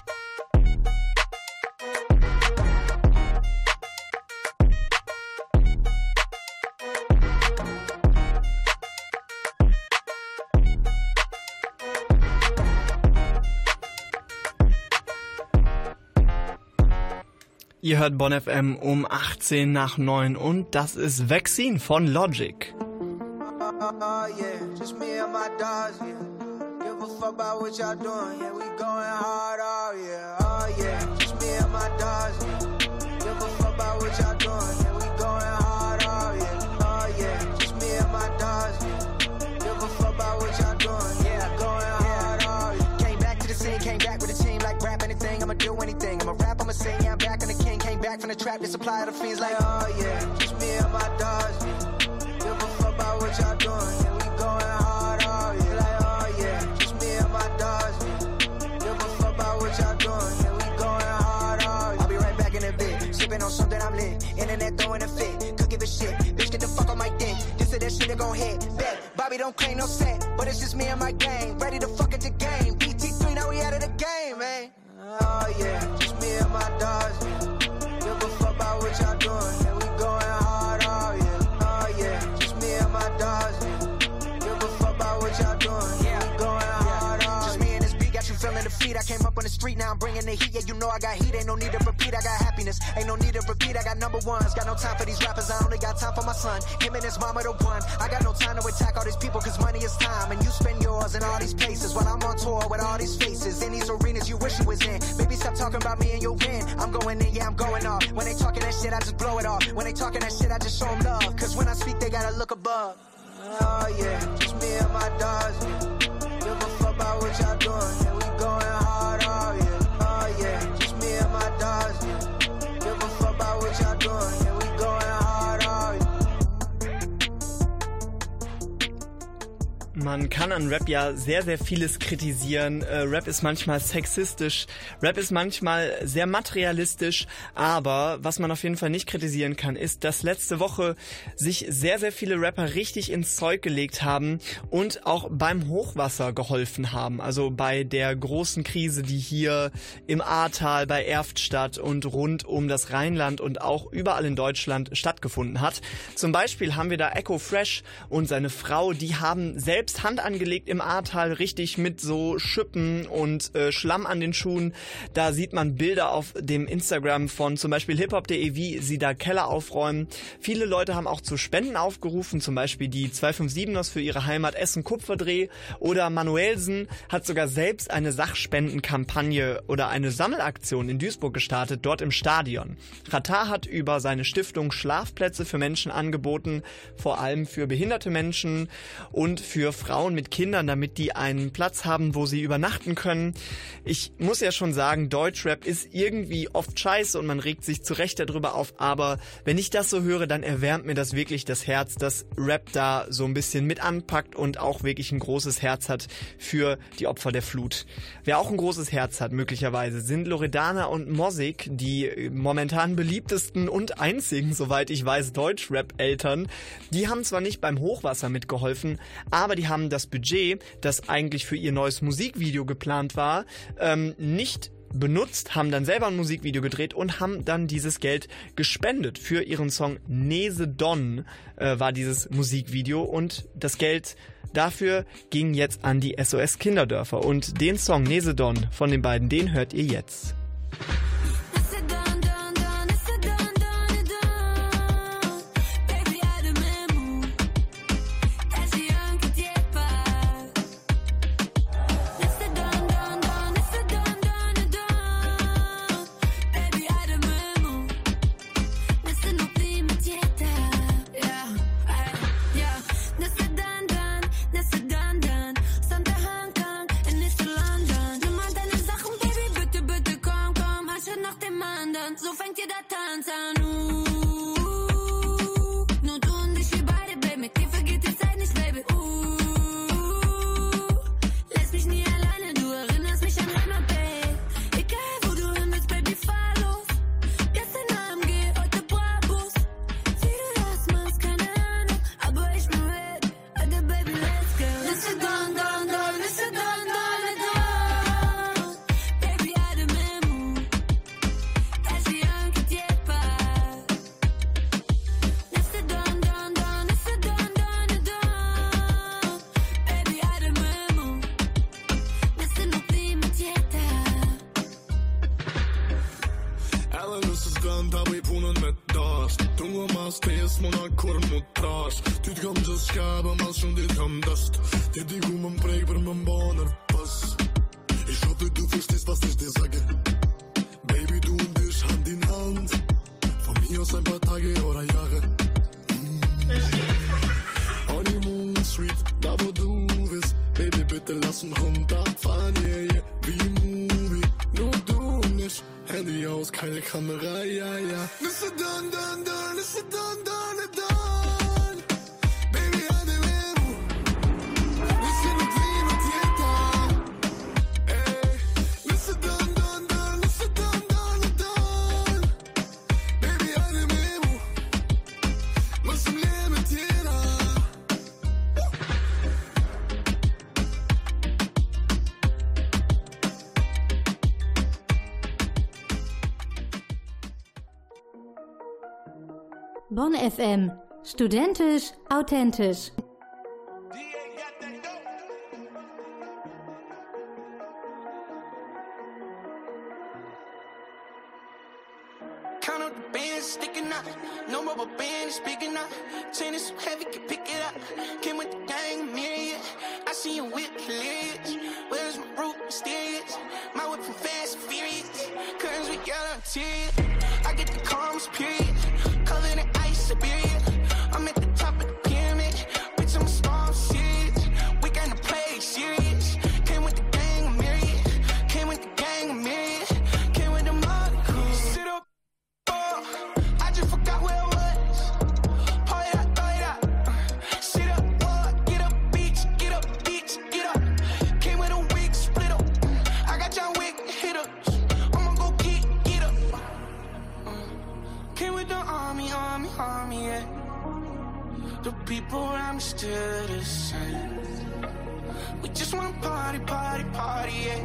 Ihr hört Bonn F M um achtzehn nach neun und das ist Vaccine von Logic. Oh yeah, just me and my dogs, yeah. Give a fuck about what y'all doing, yeah. We going hard, oh yeah, oh yeah. Just me and my dogs, yeah. Give a fuck about what y'all doing, yeah. We going hard, oh yeah, oh yeah. Just me and my dogs, yeah. Give a fuck about what y'all doing, yeah. Going hard, oh yeah. Came back to the scene, came back with a team like rap anything. I'ma do anything. I'ma rap, I'ma sing, yeah. I'm back on the king. Came back from the trap, the supply of the fiends like, oh yeah. Just me and my dogs, yeah. Give a fuck about what y'all doing, yeah. We going hard, oh yeah. Like, oh yeah. Just me and my dogs, yeah. Give a fuck about what y'all doing, yeah. We going hard, oh yeah. I'll be right back in a bit. Sipping on something I'm lit. Internet throwing a fit. Could give a shit. Bitch, get the fuck on my dick. This or that shit that gon' hit. Bet. Bobby don't claim no set. But it's just me and my gang. Ready to fuck at the game. B T three, now we out of the game, man. Oh yeah. Just me and my dogs, yeah. Give a fuck about what y'all doing, yeah. We going hard, oh yeah. Oh yeah. Just me and my dogs, yeah. Give a fuck about what y'all doing, yeah. We going hard, oh yeah. Just me and this beat got you feeling the feet. I came up on the street, now I'm bringing the heat. Yeah, you know I got heat, ain't no need to repeat. I got happiness, ain't no need to repeat. I got number ones, got no time for these rappers. I only got time for my son. Him and his mama the one. I got no time to attack all these people, cause money is time. And you spend yours in all these places while I'm on tour with all these faces. In these arenas you wish you was in. Baby, stop talking about me and your win. I'm going in, yeah, I'm going off. When they talking that shit, I just blow it off. When they talking that shit, I just show them love. Cause when I speak, they gotta look above. Oh yeah, just me and my dogs, yeah. Give a fuck about what y'all doing, yeah. We going hard, oh yeah, oh yeah. Just me and my dogs, yeah. Give a fuck about what y'all doing, yeah. We going hard, oh yeah. Man kann an Rap ja sehr, sehr vieles kritisieren. Äh, Rap ist manchmal sexistisch, Rap ist manchmal sehr materialistisch, aber was man auf jeden Fall nicht kritisieren kann, ist, dass letzte Woche sich sehr, sehr viele Rapper richtig ins Zeug gelegt haben und auch beim Hochwasser geholfen haben. Also bei der großen Krise, die hier im Ahrtal, bei Erftstadt und rund um das Rheinland und auch überall in Deutschland stattgefunden hat. Zum Beispiel haben wir da Echo Fresh und seine Frau, die haben selbst Hand angelegt im Ahrtal, richtig mit so Schippen und äh, Schlamm an den Schuhen. Da sieht man Bilder auf dem Instagram von zum Beispiel hiphop punkt de, wie sie da Keller aufräumen. Viele Leute haben auch zu Spenden aufgerufen, zum Beispiel die zwei fünf siebners für ihre Heimat Essen Kupferdreh oder Manuelsen hat sogar selbst eine Sachspendenkampagne oder eine Sammelaktion in Duisburg gestartet, dort im Stadion. Ratar hat über seine Stiftung Schlafplätze für Menschen angeboten, vor allem für behinderte Menschen und für Frauen mit Kindern, damit die einen Platz haben, wo sie übernachten können. Ich muss ja schon sagen, Deutschrap ist irgendwie oft scheiße und man regt sich zu Recht darüber auf, aber wenn ich das so höre, dann erwärmt mir das wirklich das Herz, dass Rap da so ein bisschen mit anpackt und auch wirklich ein großes Herz hat für die Opfer der Flut. Wer auch ein großes Herz hat, möglicherweise, sind Loredana und Mosik, die momentan beliebtesten und einzigen, soweit ich weiß, Deutschrap-Eltern. Die haben zwar nicht beim Hochwasser mitgeholfen, aber die haben das Budget, das eigentlich für ihr neues Musikvideo geplant war, ähm, nicht benutzt, haben dann selber ein Musikvideo gedreht und haben dann dieses Geld gespendet für ihren Song Nese Don, äh, war dieses Musikvideo und das Geld dafür ging jetzt an die S O S Kinderdörfer und den Song Nese Don von den beiden, den hört ihr jetzt. Sachen, Baby, bitte, bitte komm, komm, Land habe punen med dast Tungo mas tes mona korn mot tras Dit kam just skabe mas schon dit kam dast Dit die gummen breber men baner pass Ich hoffe du verstehst was ich dir sage Baby du und ich Hand in Hand Von mir aus ein paar Tage oder Jahre mm. Honeymoon Sweet, da wo du bist Baby bitte lass uns runterfahren yeah, yeah. Wie Movie, nur du und ich Handy aus, keine Kamera, ja, ja. Listen done, done, done, listen done, done, done. Baby, I do it. Listen to dream at the Hey, listen done, done, done, listen done, done, done. Baby, I do it. Was im Leben jeder. Bonn F M. Studentisch, authentisch. Count up the bands sticking out. No rubber band is big enough. Chain is so heavy, can pick it up. Came with the gang, myriad. I see you whip hilarious. Where's my root mysterious? My whip from fast and furious. Curtains with yellow interior. I get the calms, period. Covered in ice, Siberia. I'm at the top of the pyramid. Bitch, I'm a star, I'm serious. We got to play serious. Came with the gang, myriad. Came with the gang, myriad. Came with the mother crew. Sit up. I just forgot where I was. Pour it out, throw it out. Sit up, what? Get up, bitch. Get up, bitch. Get up. Came with a wig, split up. I got John Wick, hit up. I'ma go get, get up. Came with the army, army, army, yeah. The people around me still the same. We just wanna party, party, party, yeah.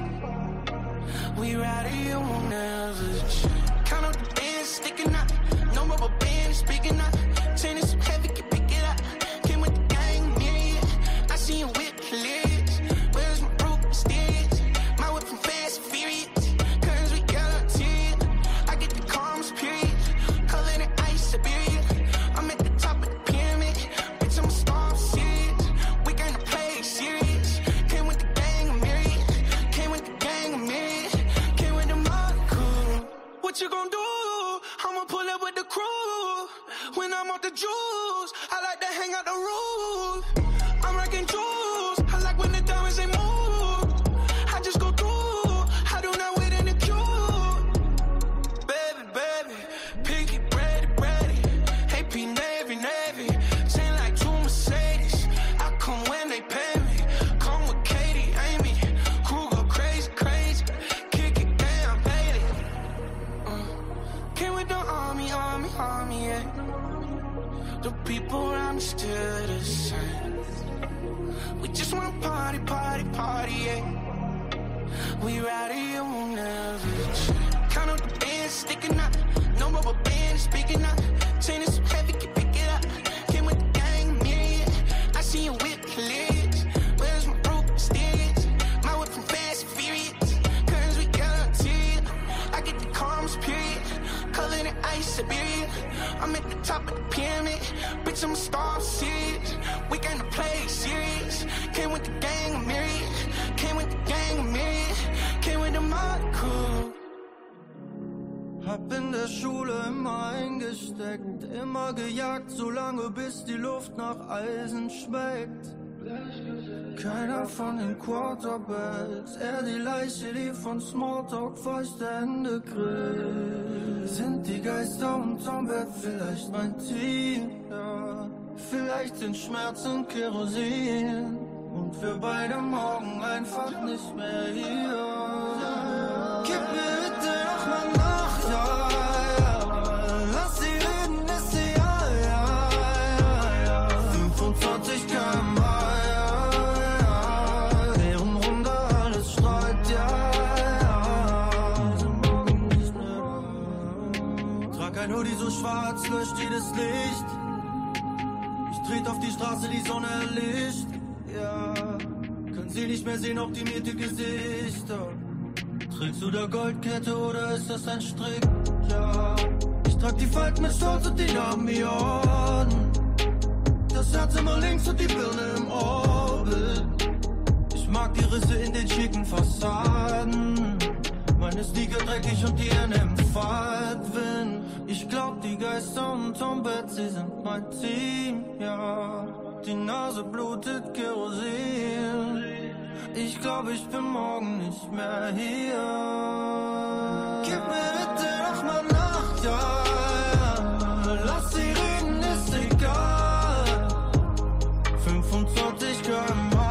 We ride it, you won't never change. Count up the bands sticking out. No rubber band is big enough. Chain is so heavy, can pick it up. Came with the gang, myriad. I see you whip hilarious. Where's my root mysterious? My whip from fast and furious. Curtains with yellow interior. I get the calms, period. Covered in ice, Siberia. I'm at the top of the pyramid. Bitch, I'm a star, I'm serious. We gonna play serious. Came with the gang, myriad. Came with the gang, myriad. Came with the mother crew. What you gonna do? I'ma pull up with the crew. When I'm off the juice, I like to hang out the roof. I'm rocking jewels. I like when the diamonds they move. I just go through. I do not wait in the queue. Baby, baby, pinky, ready, ready. A P Navy, Navy. Chain like two Mercedes. I come when they pay me. Come with Katie, Amy. Crew go crazy, crazy. Kick it down, baby. Uh, came with the army, army, army, yeah. The people around me still the same. We just wanna party, party, party, yeah. We ride it, you won't never change. Count up the bands sticking out. No rubber band is big enough. Chain is so heavy, can pick it up. Came with the gang, myriad. I see you whip hilarious. Where's my root mysterious? My whip from fast and furious. Curtains with yellow interior. I get the calms, period. Covered in ice, Siberia. I'm at the top of the pyramid. Bitch, I'm a star, I'm serious. We gonna play serious. Came with the gang, myriad. Came with the gang, myriad. Came with the mother crew. Hab in der Schule immer eingesteckt, immer gejagt, solange bis die Luft nach Eisen schmeckt. Keiner von den Quarterbacks, eher die Leiche, die von Smalltalk feuchte Hände grillt. Sind die Geister unterm Bett vielleicht mein Team? Ja, vielleicht sind Schmerzen Kerosin und wir beide morgen einfach nicht mehr hier. Gib mir bitte noch mal Nacht, ja, ja. Lass sie reden, ist sie ja, ja, ja, ja. fünfundzwanzig Kilometer pro Stunde, ja, deren Runde alles strahlt, ja, ja. Sind morgen nicht mehr da. Trag ein Hoodie so schwarz, löscht jedes Licht. Ich tret auf die Straße, die Sonne erlischt, ja. Können sie nicht mehr sehen, optimierte Gesichter. Trägst du da Goldkette oder ist das ein Strick? Ja, ich Trag die Falten mit Stolz und die Narben wie Orden. Das Herz immer links und die Birne im Orbit. Ich mag die Risse in den schicken Fassaden. Meine Sneaker dreckig und die Hände im Fahrtwind. Ich glaub, die Geister unterm Bett, sie sind mein Team, ja. Die Nase blutet Kerosin. Ich glaub, ich bin morgen nicht mehr hier. Gib mir bitte noch mal Nacht, ja, ja. Lass sie reden, ist egal. fünfundzwanzig Kilometer pro Stunde.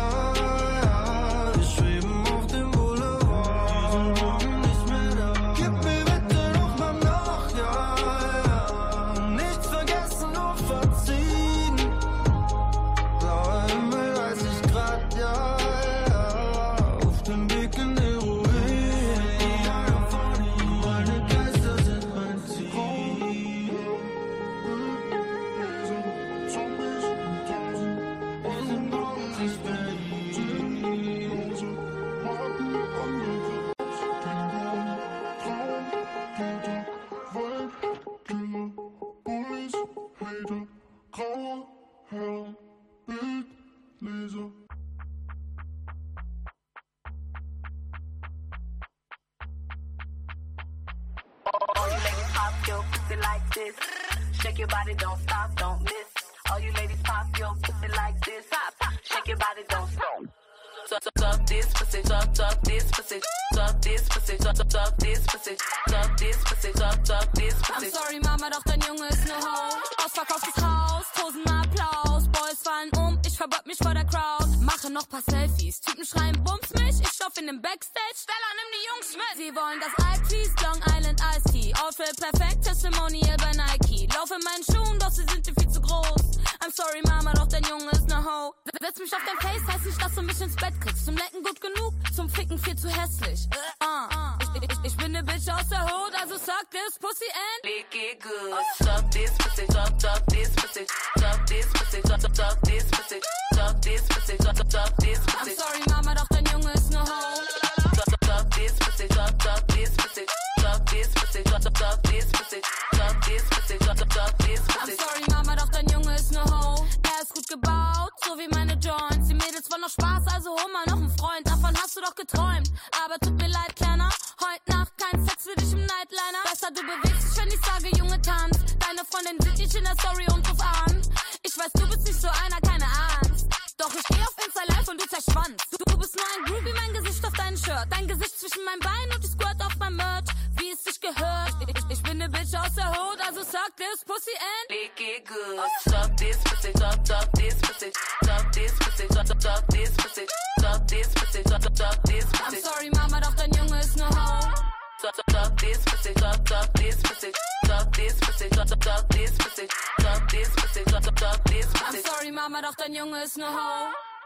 Shake your body, don't stop, don't miss. All you ladies pop your pussy like this. Pop, pop. Shake your body, don't stop. Suck, suck, suck this pussy, suck, suck this pussy, suck this pussy, suck, suck, suck this pussy, suck this pussy, suck, suck this pussy. I'm sorry, Mama, doch dein Junge ist ne Ho. Ausverkauftes Haus, tausendmal Applaus. Boys fallen um, ich verbeug mich vor der Crowd. Mache noch paar Selfies, Typen schreien, bums mich. Ich stoff in dem Backstage, Stella, nimm die Jungs mit. Sie wollen das Altis, Long Island Iced Tea. Outfit perfekt, Testimonial bei Nike. Lauf in meinen Schuhen, doch sie sind dir viel zu groß. I'm sorry, Mama, doch dein Junge ist ne Ho. Setz mich auf dein Face, heißt nicht, dass du mich ins Bett kriegst. Zum Lecken gut genug, zum Ficken viel zu hässlich. Uh, ich, ich, ich bin ne Bitch aus der Hood, also suck this pussy and lick it good. Suck this pussy, suck, suck this pussy, suck this pussy, suck, suck this pussy, suck this pussy, suck, suck this pussy. I'm sorry, Mama, doch dein Junge ist ne Ho. Suck, suck this pussy, suck, suck this pussy, suck this pussy, suck, suck this pussy, suck this pussy, suck, suck this pussy. I'm sorry, Mama, doch dein Junge ist ne Ho. Er ist gut gebaut, so wie meine Joints. Die Mädels wollen noch Spaß, also hol mal noch einen Freund. Davon hast du doch geträumt. Aber tut mir leid, Kleiner, heute Nacht kein Sex für dich im Nightliner. Besser du bewegst dich, wenn ich sage, Junge, tanz. Deine Freundin sieht dich in der Story und ruf an. Ich weiß, du bist nicht so einer, keine Angst. Doch ich geh auf Insta live und du zerschwanzt. Du, du bist nur ein Groovy, mein Gesicht auf dein Shirt. Dein Gesicht zwischen meinen Beinen und ich squirt auf mein Merch. Wie es sich gehört. Ich, ich, ich bin ne Bitch aus der Hood, also suck this pussy and lick it good. Suck this pussy, suck, suck this pussy, suck this pussy, suck, suck this pussy, suck this pussy, suck, suck this pussy. I'm sorry, Mama, doch dein Junge ist ne Ho. Suck, suck this pussy, suck, suck this pussy, suck this pussy, suck, suck this pussy, suck this pussy, suck, suck this pussy. I'm sorry, Mama, doch dein Junge ist ne Ho.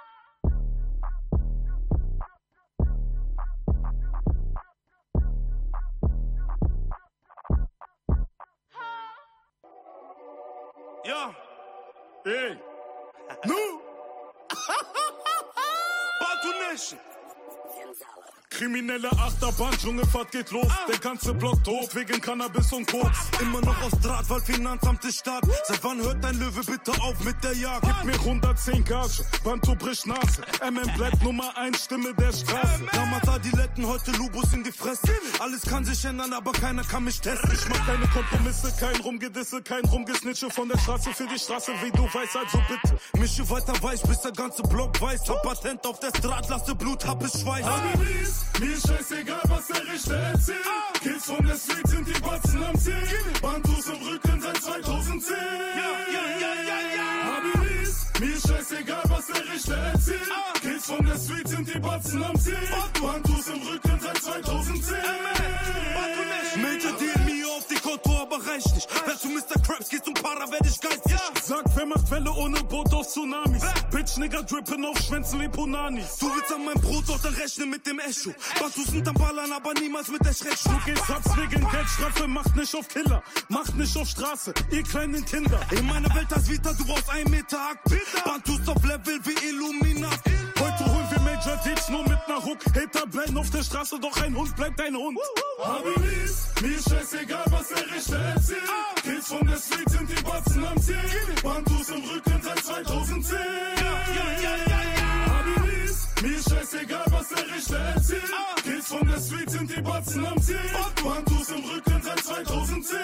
Ja, ey, nu, Baltonation. Kriminelle Achterbahn, Dschungelfahrt geht los. Ah. Der ganze Block tot wegen Cannabis und Koks. Immer noch aus Draht, weil Finanzamt ist stark. Seit wann hört dein Löwe bitte auf mit der Jagd? Gib mir hundertzehn Gage, Banto bricht Nase. M M bleibt Nummer eins, Stimme der Straße. Damals Adiletten, heute Lubus in die Fresse. Alles kann sich ändern, aber keiner kann mich testen. Ich mach keine Kompromisse, kein Rumgedisse, kein Rumgesnitche von der Straße für die Straße, wie du weißt, also bitte. Mische weiter weich, bis der ganze Block weiß. Hab Patent auf der Draht, lasse Blut, hab es Schweiß. Mir ist scheißegal, was der Richter erzählt. Ah. Kids von der Street sind die Batzen am Zählen. Bantus im Rücken seit zweitausendzehn. Ja, ja, ja, ja, ja. Habilis, mir ist scheißegal, was der Richter erzählt. Ah. Kids von der Street sind die Batzen am Zählen. Bantus im Rücken seit zweitausendzehn. Major D M I auf die Konto, aber reicht nicht. Wer zu Mister Krabs geht zum Para, werd ich geistig. Ja. Sag, wer macht Welle ohne Boot auf Tsunamis. Bitch, Nigga, drippen auf Schwänzen wie Punanis. Du willst an meinem Brot, doch dann rechne mit dem Echo. Bantus sind am Ballern, aber niemals mit der Schreckschau. Du gehst Satz wegen Geldstrafe, macht nicht auf Killer. Macht nicht auf Straße, ihr kleinen Kinder. In meiner Welt als Vita, du brauchst ein Meter Akt. Bantus auf Level wie Illuminat. Heute holen wir Major Deeds nur mit ner Hook. Hater bleiben auf der Straße, doch ein Hund bleibt ein Hund. Habilis, mir ist scheißegal, was der Richter erzählt. Kids von der Street sind die Batzen am Ziel. Bantus im Rücken seit zweitausendzehn. Habilis, mir ist scheißegal, was der Richter erzählt. Kids von der Street sind die Batzen am Ziel. Bantus im Rücken seit zweitausendzehn.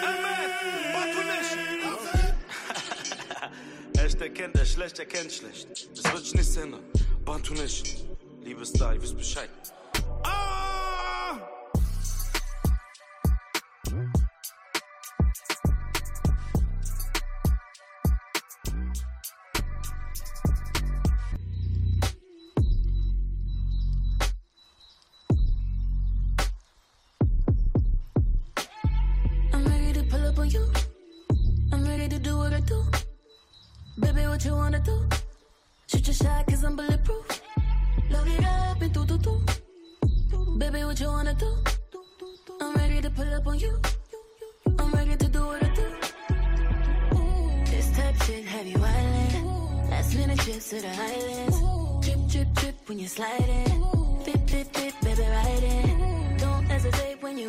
Echt erkennt er schlecht, er kennt schlecht. Es wird sich nichts ändern. Bantu nicht. Liebe ist da, ihr wisst Bescheid. Ah! I'm ready to pull up on you. I'm ready to do what I do. Baby, what you wanna do? Shoot your shot cause I'm bulletproof. Load it up and do do do. Baby, what you wanna do? I'm ready to pull up on you. I'm ready to do what I do. This type shit have you wildin'. Last minute trips to the islands. Drip, drip, drip when you're sliding. Fit, fit, fit, baby, ride it. Don't hesitate when you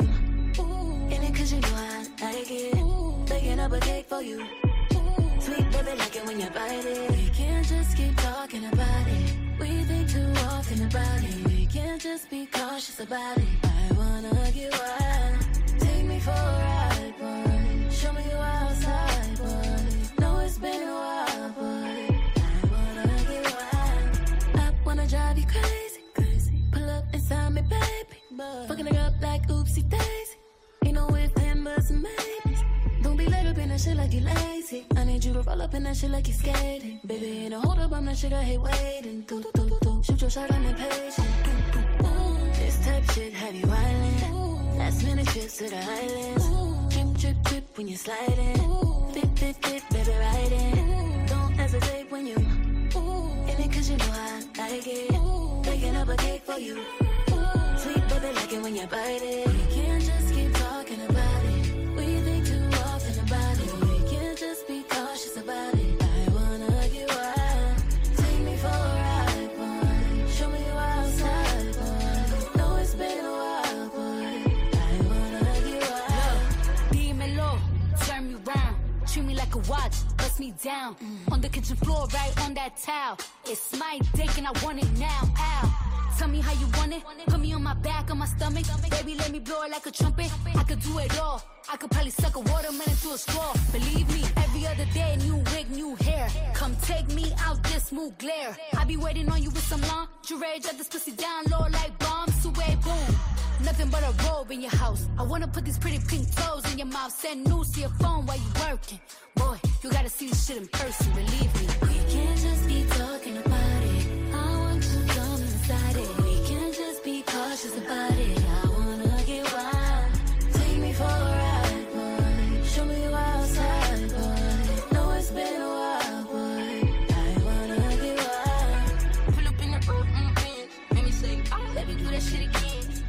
in it cause you know I like it. Baking up a cake for you. Sweet baby, like it when you bite it. We can't just keep talking about it. We think too often about it. We can't just be cautious about it. I wanna get wild. Take me for a ride, boy. Show me you outside, boy. Know it's been a while, boy. I wanna get wild. I wanna drive you crazy, crazy. Pull up inside me, baby. Fucking it up like oopsie daisy. Ain't no if, then, but some maybes. Don't be laid up in that shit like you lazy. I need you to roll up in that shit like you skating. Baby, ain't no hold up, I'm that shit I hate waiting. Do, do, do, do. Shoot your shot, I'm impatient. Do, do, do. This type shit have you wildin'. Last minute trips to the islands. Drip, drip, drip when you're sliding. Fit, fit, fit, baby, ride it. Don't hesitate when you in it cause you know I like it. Baking up a cake for you. Sweet baby, like it when you bite it. We can't just keep talking about it. We think too often about it. We can't just be cautious about it. I wanna get wild. Take me for a ride, boy. Show me you outside, boy. Know it's been a while, boy. I wanna get wild. Dímelo, turn me round. Treat me like a watch, bust me down. Mm. On the kitchen floor, right on that towel. It's my dick and I want it now. Ow. Tell me how you want it. Put me on my back, on my stomach. Baby, let me blow it like a trumpet. I could do it all. I could probably suck a watermelon through a straw. Believe me, every other day, new wig, new hair. Come take me out this smooth glare. I be waiting on you with some lingerie. Drop this pussy down low like bombs. Away, boom. Nothing but a robe in your house. I wanna put these pretty pink toes in your mouth. Send news to your phone while you working. Boy, you gotta see this shit in person, believe me. We can't just be talking about it. I want you to come inside it. We can't just be cautious about it. I wanna get wild. Take me for a ride, boy. Show me you outside, boy. Know it's been a while, boy. I wanna get wild. Pull up in the road, mm, mm, make me say, oh, let me do that shit again.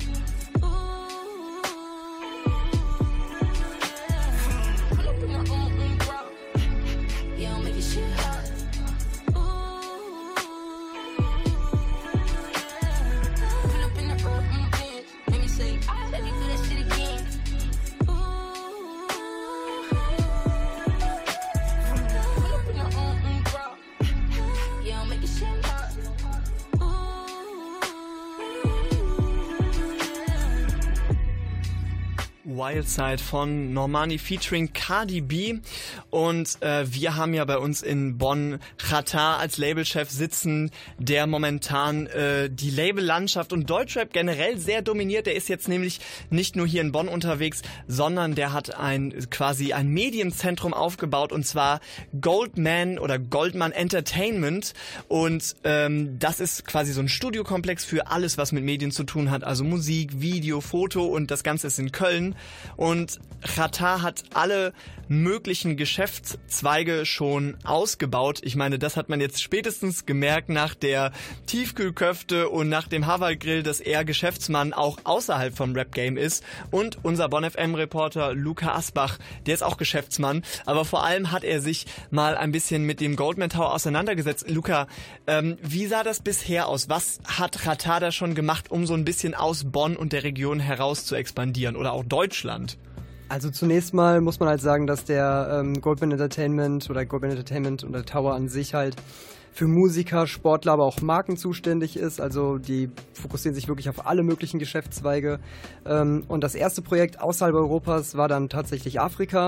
Wildside von Normani featuring Cardi B und äh, wir haben ja bei uns in Bonn Xatar als Labelchef sitzen, der momentan äh, die Labellandschaft und Deutschrap generell sehr dominiert. Der ist jetzt nämlich nicht nur hier in Bonn unterwegs, sondern der hat ein quasi ein Medienzentrum aufgebaut und zwar Goldman oder Goldman Entertainment und ähm, das ist quasi so ein Studiokomplex für alles, was mit Medien zu tun hat, also Musik, Video, Foto und das Ganze ist in Köln. Und Xatar hat alle möglichen Geschäftszweige schon ausgebaut. Ich meine, das hat man jetzt spätestens gemerkt nach der Tiefkühlköfte und nach dem Havalgrill, dass er Geschäftsmann auch außerhalb vom Rap-Game ist. Und unser Bonn F M-Reporter Luca Asbach, der ist auch Geschäftsmann. Aber vor allem hat er sich mal ein bisschen mit dem Goldman Tower auseinandergesetzt. Luca, ähm, wie sah das bisher aus? Was hat Xatar da schon gemacht, um so ein bisschen aus Bonn und der Region heraus zu expandieren oder auch Deutschland? Also zunächst mal muss man halt sagen, dass der ähm, Goldman Entertainment oder Goldman Entertainment und der Tower an sich halt für Musiker, Sportler, aber auch Marken zuständig ist. Also die fokussieren sich wirklich auf alle möglichen Geschäftszweige. Ähm, und das erste Projekt außerhalb Europas war dann tatsächlich Afrika.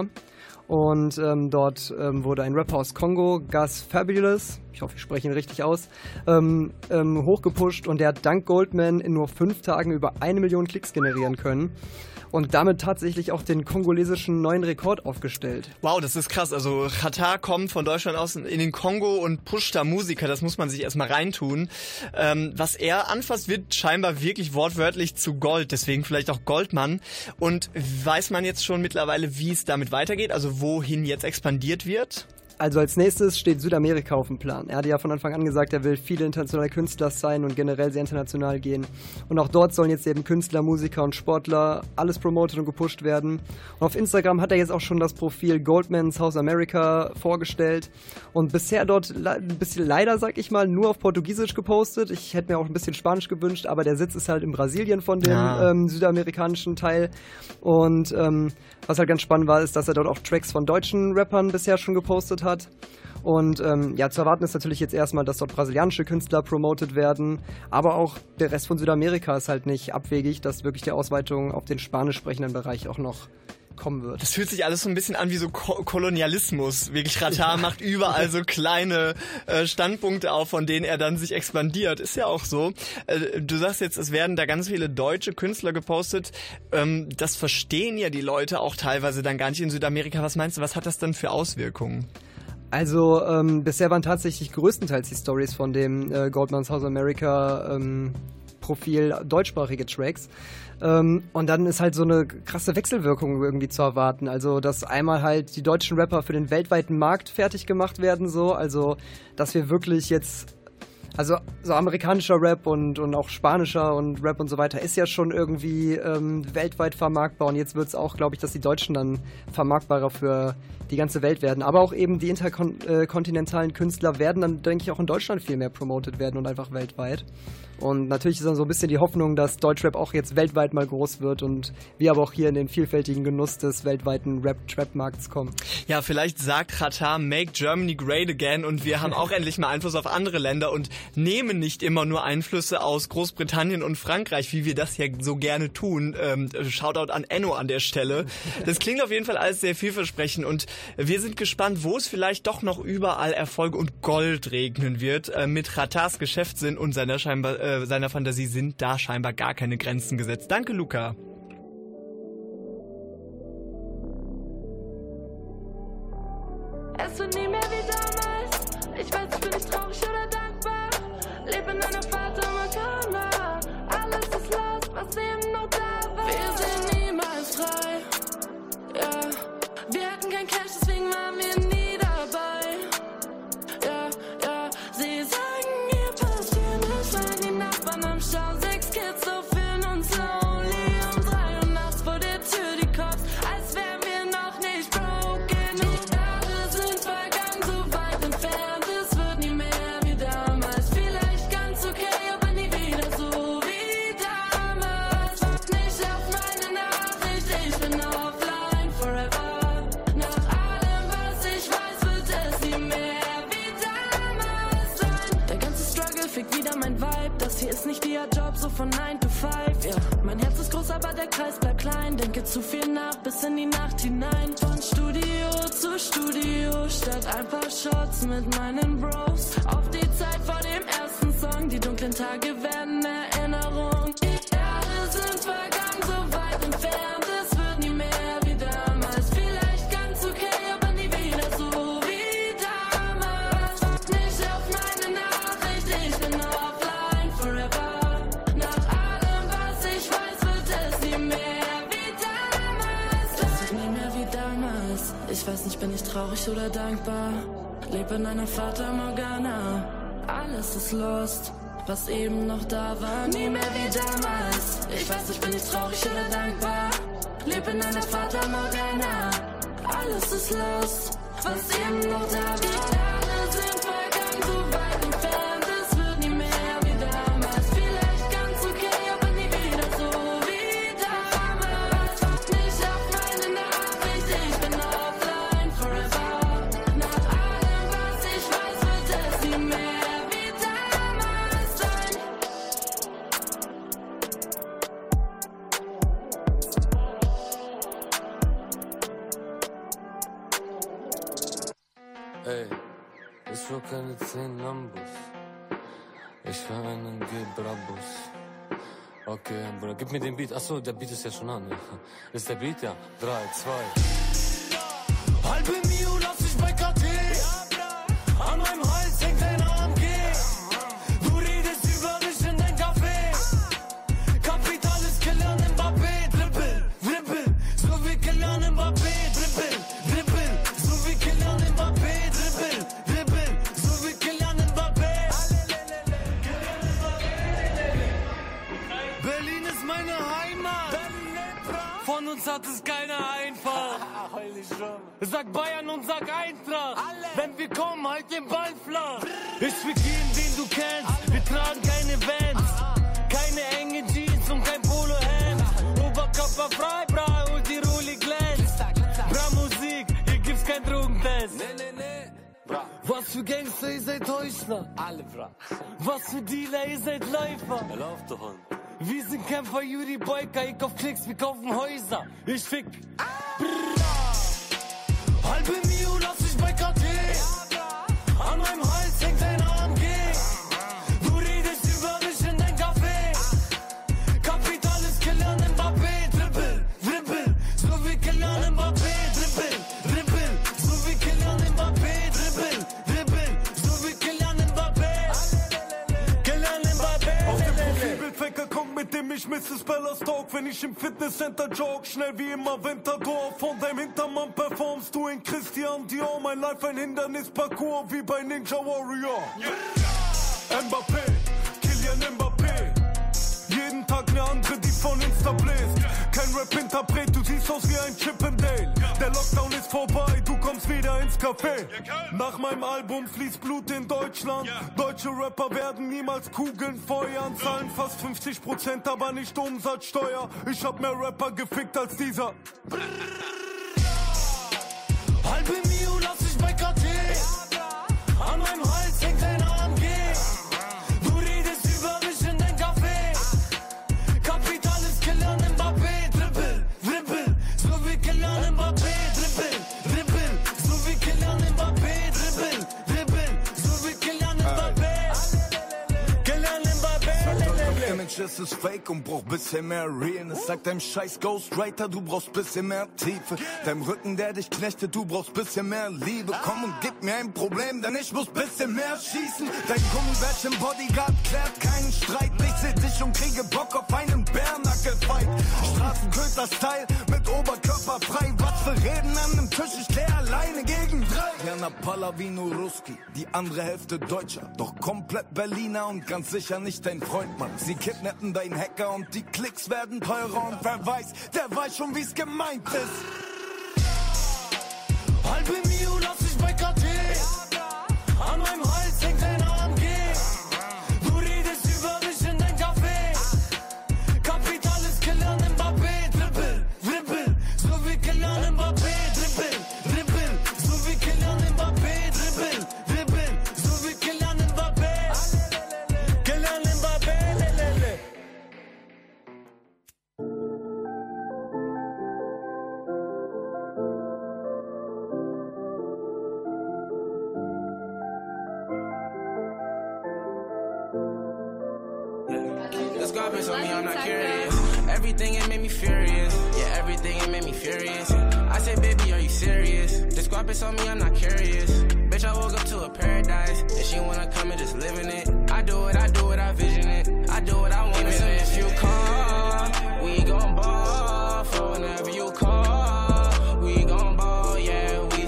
Und ähm, dort ähm, wurde ein Rapper aus Kongo, Gus Fabulous, ich hoffe, ich spreche ihn richtig aus, ähm, ähm, hochgepusht und der hat dank Goldman in nur fünf Tagen über eine Million Klicks generieren können. Und damit tatsächlich auch den kongolesischen neuen Rekord aufgestellt. Wow, das ist krass. Also Xatar kommt von Deutschland aus in den Kongo und pusht da Musiker. Das muss man sich erstmal reintun. Ähm, was er anfasst, wird scheinbar wirklich wortwörtlich zu Gold. Deswegen vielleicht auch Goldmann. Und weiß man jetzt schon mittlerweile, wie es damit weitergeht? Also wohin jetzt expandiert wird? Also als nächstes steht Südamerika auf dem Plan. Er hatte ja von Anfang an gesagt, er will viele internationale Künstler sein und generell sehr international gehen. Und auch dort sollen jetzt eben Künstler, Musiker und Sportler alles promotet und gepusht werden. Und auf Instagram hat er jetzt auch schon das Profil Goldman South America vorgestellt und bisher dort ein bisschen leider, sag ich mal, nur auf Portugiesisch gepostet. Ich hätte mir auch ein bisschen Spanisch gewünscht, aber der Sitz ist halt in Brasilien von dem ja. ähm, südamerikanischen Teil. Und ähm, was halt ganz spannend war, ist, dass er dort auch Tracks von deutschen Rappern bisher schon gepostet hat. Hat. Und ähm, ja, zu erwarten ist natürlich jetzt erstmal, dass dort brasilianische Künstler promotet werden, aber auch der Rest von Südamerika ist halt nicht abwegig, dass wirklich die Ausweitung auf den spanisch sprechenden Bereich auch noch kommen wird. Das fühlt sich alles so ein bisschen an wie so Ko- Kolonialismus. Wirklich, Xatar macht überall so kleine äh, Standpunkte auf, von denen er dann sich expandiert. Ist ja auch so. Äh, du sagst jetzt, es werden da ganz viele deutsche Künstler gepostet. Ähm, das verstehen ja die Leute auch teilweise dann gar nicht in Südamerika. Was meinst du, was hat das dann für Auswirkungen? Also ähm, bisher waren tatsächlich größtenteils die Stories von dem äh, Goldman South America ähm, Profil deutschsprachige Tracks. Ähm, und dann ist halt so eine krasse Wechselwirkung irgendwie zu erwarten. Also, dass einmal halt die deutschen Rapper für den weltweiten Markt fertig gemacht werden, so. Also, dass wir wirklich jetzt, also so amerikanischer Rap und, und auch spanischer und Rap und so weiter ist ja schon irgendwie ähm, weltweit vermarktbar. Und jetzt wird es auch, glaube ich, dass die Deutschen dann vermarktbarer für die ganze Welt werden. Aber auch eben die interkontinentalen Künstler werden dann, denke ich, auch in Deutschland viel mehr promotet werden und einfach weltweit. Und natürlich ist dann so ein bisschen die Hoffnung, dass Deutschrap auch jetzt weltweit mal groß wird und wir aber auch hier in den vielfältigen Genuss des weltweiten Rap-Trap-Markts kommen. Ja, vielleicht sagt Xatar, make Germany great again und wir haben auch endlich mal Einfluss auf andere Länder und nehmen nicht immer nur Einflüsse aus Großbritannien und Frankreich, wie wir das ja so gerne tun. Ähm, Shoutout an Enno an der Stelle. Das klingt auf jeden Fall alles sehr vielversprechend und wir sind gespannt, wo es vielleicht doch noch überall Erfolg und Gold regnen wird. Äh, mit Xatars Geschäftssinn und seiner scheinbar äh, seiner Fantasie sind da scheinbar gar keine Grenzen gesetzt. Danke, Luca. Es wird nie mehr wie damals. Ich weiß, ich bin nicht traurig oder dankbar. Lebe in einer Fata Morgana. Alles ist lost, was eben noch da war. Wir sind niemals frei. Ja, wir hatten kein Cash, deswegen waren wir nie dabei. Ja, ja, sie sagen, ihr passiert nicht, weil die Nachbarn am Stau sechs Kids so fühlen uns lonely. Um drei Uhr nachts vor der Tür die Cops, als wären wir noch nicht broken. Die Jahre sind vergangen, so weit entfernt, es wird nie mehr wie damals. Vielleicht ganz okay, aber nie wieder so wie damals. Wart nicht auf meine Nachricht, ich bin offline forever. Nach allem, was ich weiß, wird es nie mehr wie damals sein. Der ganze Struggle fickt wieder mein Vibe. Das hier ist nicht ihr Job, so von nine to five. Ja, mein Herz ist groß, aber der Kreis bleibt klein. Denke zu viel nach, bis in die Nacht hinein. Von Studio zu Studio, statt ein paar Shots mit meinen Bros. Auf die Zeit vor dem ersten Song, die dunklen Tage werden Erinnerung. Die Jahre sind vergangen, so weit entfernt, es wird nie mehr wie damals. Vielleicht ganz okay, aber nie wieder so wie damals. Wart nicht auf meine Nachricht, ich bin offline forever. Nach allem, was ich weiß, wird es nie mehr wie damals Ich weiß nicht, bin ich traurig oder dankbar? Leb in einer Fata Morgana. Alles ist lost, was eben noch da war, nie mehr wie damals. Ich weiß nicht, bin ich traurig oder dankbar? Leb in einer Fata Morgana. Alles ist lost, was eben noch da war. Die Sterne sind vergangen, so weit entfernt. Es wird nie mehr wie damals. Vielleicht ganz okay, aber nie wieder so wie damals. Wacht nicht auf meine Nachricht, ich bin offline forever. Nach allem, was ich weiß, wird es nie mehr wie damals sein. Ey, ich fahr keine zehn Lambos. Ich fahr einen Gebrabus. Okay, Bruder, gib mir den Beat. Achso, der Beat ist ja schon an. Ja. Ist der Beat? Ja. Drei, zwei. Halbe Mio lass ich bei K T. An meinem Hals hängt ein A M G. Du redest über mich in dein Café. Kapital ist Kylian Mbappé. Dribbel, dribbel, so wie Kylian Mbappé. Dribbel, dribbel, so wie Kylian Mbappé. Dribbel, dribbel, so wie Kylian Mbappé. Berlin ist meine Heimat. Von uns hat es keiner einfach. Sag Bayern und sag Eintracht. Wenn wir kommen, halt den Ball flach. Ich fick jeden, den du kennst. Wir tragen keine Vans. Keine enge Jeans und kein Polohemd. Oberkörper frei, bra, und die Rolli glänzt. Bra Musik, hier gibt's kein Drogentest. Nee, nee, nee. Bra. Was für Gangster, ihr seid Heuchler. Alle, bra. Was für Dealer, ihr seid Läufer. Er läuft doch an. Wir sind Kämpfer, Juri Boyka, ich kauf Klicks, wir kaufen Häuser. Ich fick. Halbe Mio lass ich bei K T. An meinem Hals hängt ein A M G. Du redest über mich in dein Café. Kapital ist Kylian Mbappé. Dribbel, dribbel, so wie Kylian Mbappé. Dribbel, dribbel, so wie Kylian Mbappé. Dribbel, dribbel, so wie Kylian Mbappé. Kylian Mbappé. Auf dem Profilbildfaker kommt, mit dem ich Misses Bellas Talk. Wenn ich im Fitnesscenter jog, schnell wie immer Winterdorf. Von deinem Hintermann performst du in Christian Dior. Mein Life ein Hindernisparcours wie bei Ninja Warrior. Yeah. Mbappé, Kylian Mbappé. Jeden Tag eine andere, die von Insta bläst. Kein Rap-Interpret, du siehst aus wie ein Chippendale. Der Lockdown ist vorbei, du kommst wieder ins Café. Nach meinem Album fließt Blut in Deutschland. Deutsche Rapper werden niemals Kugeln feuern. Zahlen fast fünfzig Prozent, aber nicht Umsatzsteuer. Ich hab mehr Rapper gefickt als dieser. Halbe Mio lass ich bei K T. An meinem Hals hängt ein A M G. Du redest über mich in dein Café. Kapital ist Kylian Mbappé. Dribbel, dribbel, so wie Kylian Mbappé. Dribbel, dribbel, so wie Kylian Mbappé. Dribbel, dribbel, so wie Kylian Mbappé. Kylian Mbappé. Sagt eurem Image, es ist fake und braucht bisschen mehr Realness. Sagt deinem scheiß Ghostwriter, du brauchst bisschen mehr Tiefe. Deinem Rücken, der dich knechtet, du brauchst bisschen mehr Liebe. Komm und gib mir ein Problem, denn ich muss bisschen mehr schießen. Dein Gummibärch im Bodyguard klärt keinen Streit. Ich seh dich und kriege Bock auf einen Bärnackelfight. Straßenköter-Style mit Oberkörper frei. Was für Reden an dem Tisch, ich klär alleine gegen drei. Jana Palavino Ruski, die andere Hälfte Deutscher. Doch komplett Berliner und ganz sicher nicht dein Freund, Mann. Sie kidnappen deinen Hacker und die Klicks werden teurer. Und wer weiß, der weiß schon, wie's gemeint ist. Halbe Mio lass ich bei K T. An meinem Hals hängt ein A M G. Du redest über mich in dein Café. Kapital ist Kylian Mbappé. Dribbel, dribbel, so wie Kylian Mbappé. Dribbel, dribbel, so wie Kylian Mbappé. Dribbel, dribbel, so wie Kylian Mbappé. Kylian Mbappé, lelele. This garbage on me, I'm not curious. Everything it made me furious. Yeah, everything it made me furious. I said, baby, are you serious? This garbage on me, I'm not curious. Bitch, I woke up to a paradise. And she wanna come and just live in it. I do it, I do it, I vision it. I do what I want. So if you come, we gon' ball. For whenever you call, we gon' ball. Yeah, we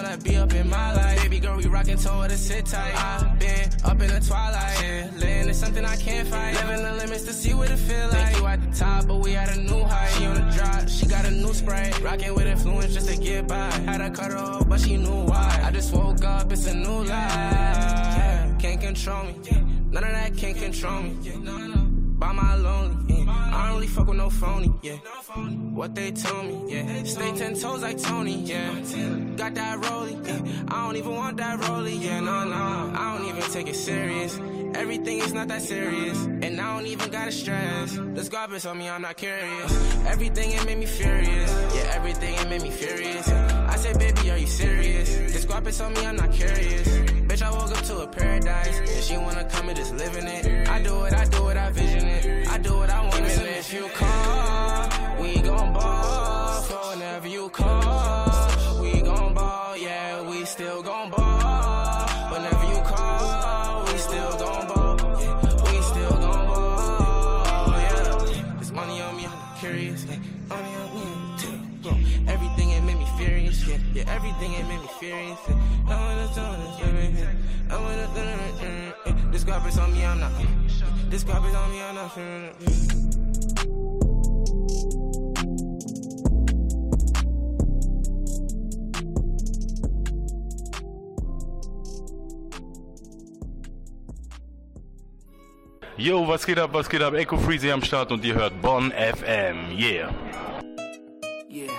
wanna be up in my life. Baby girl, we rockin', told her to sit tight. I've been up in the twilight, yeah. Living is something I can't fight. Living the limits to see what it feel like. Think you at the top, but we at a new height. She on the drop, she got a new spray. Rockin' with influence just to get by. Had to cut her off, but she knew why. I just woke up, it's a new life. Can't control me, none of that can't control me. By my lonely, yeah. I don't really fuck with no phony, yeah. What they told me, yeah. Stay ten toes like Tony, yeah. Got that rollie, yeah. I don't even want that rollie, yeah. No, no, I don't even take it serious. Everything is not that serious, and I don't even gotta stress. This garbage on me, I'm not curious. Everything it made me furious, yeah. Everything it made me furious. I said, baby, are you serious? This garbage on me, I'm not curious. Bitch, I woke up to a paradise, and she wanna come and just live in it. I do it, I do it, I vision it. I do what I want. Even if you call, we gon' ball. So whenever you call, we gon' ball. Yeah, we still gon' ball. Whenever you call, we still gon' ball. Yeah, we still gon' ball. Yeah, this money on me, I'm curious. Yeah, money on me, yeah. Everything it made me furious. Yeah, yeah, everything it made me furious. Yeah. I wanna do this, yeah. I wanna do this, yeah. This garbage on me, I'm not. This garbage on me, I'm not feeling it. Yo, was geht ab, was geht ab? Echo Freezy am Start und ihr hört Bonn F M. Yeah. Yeah.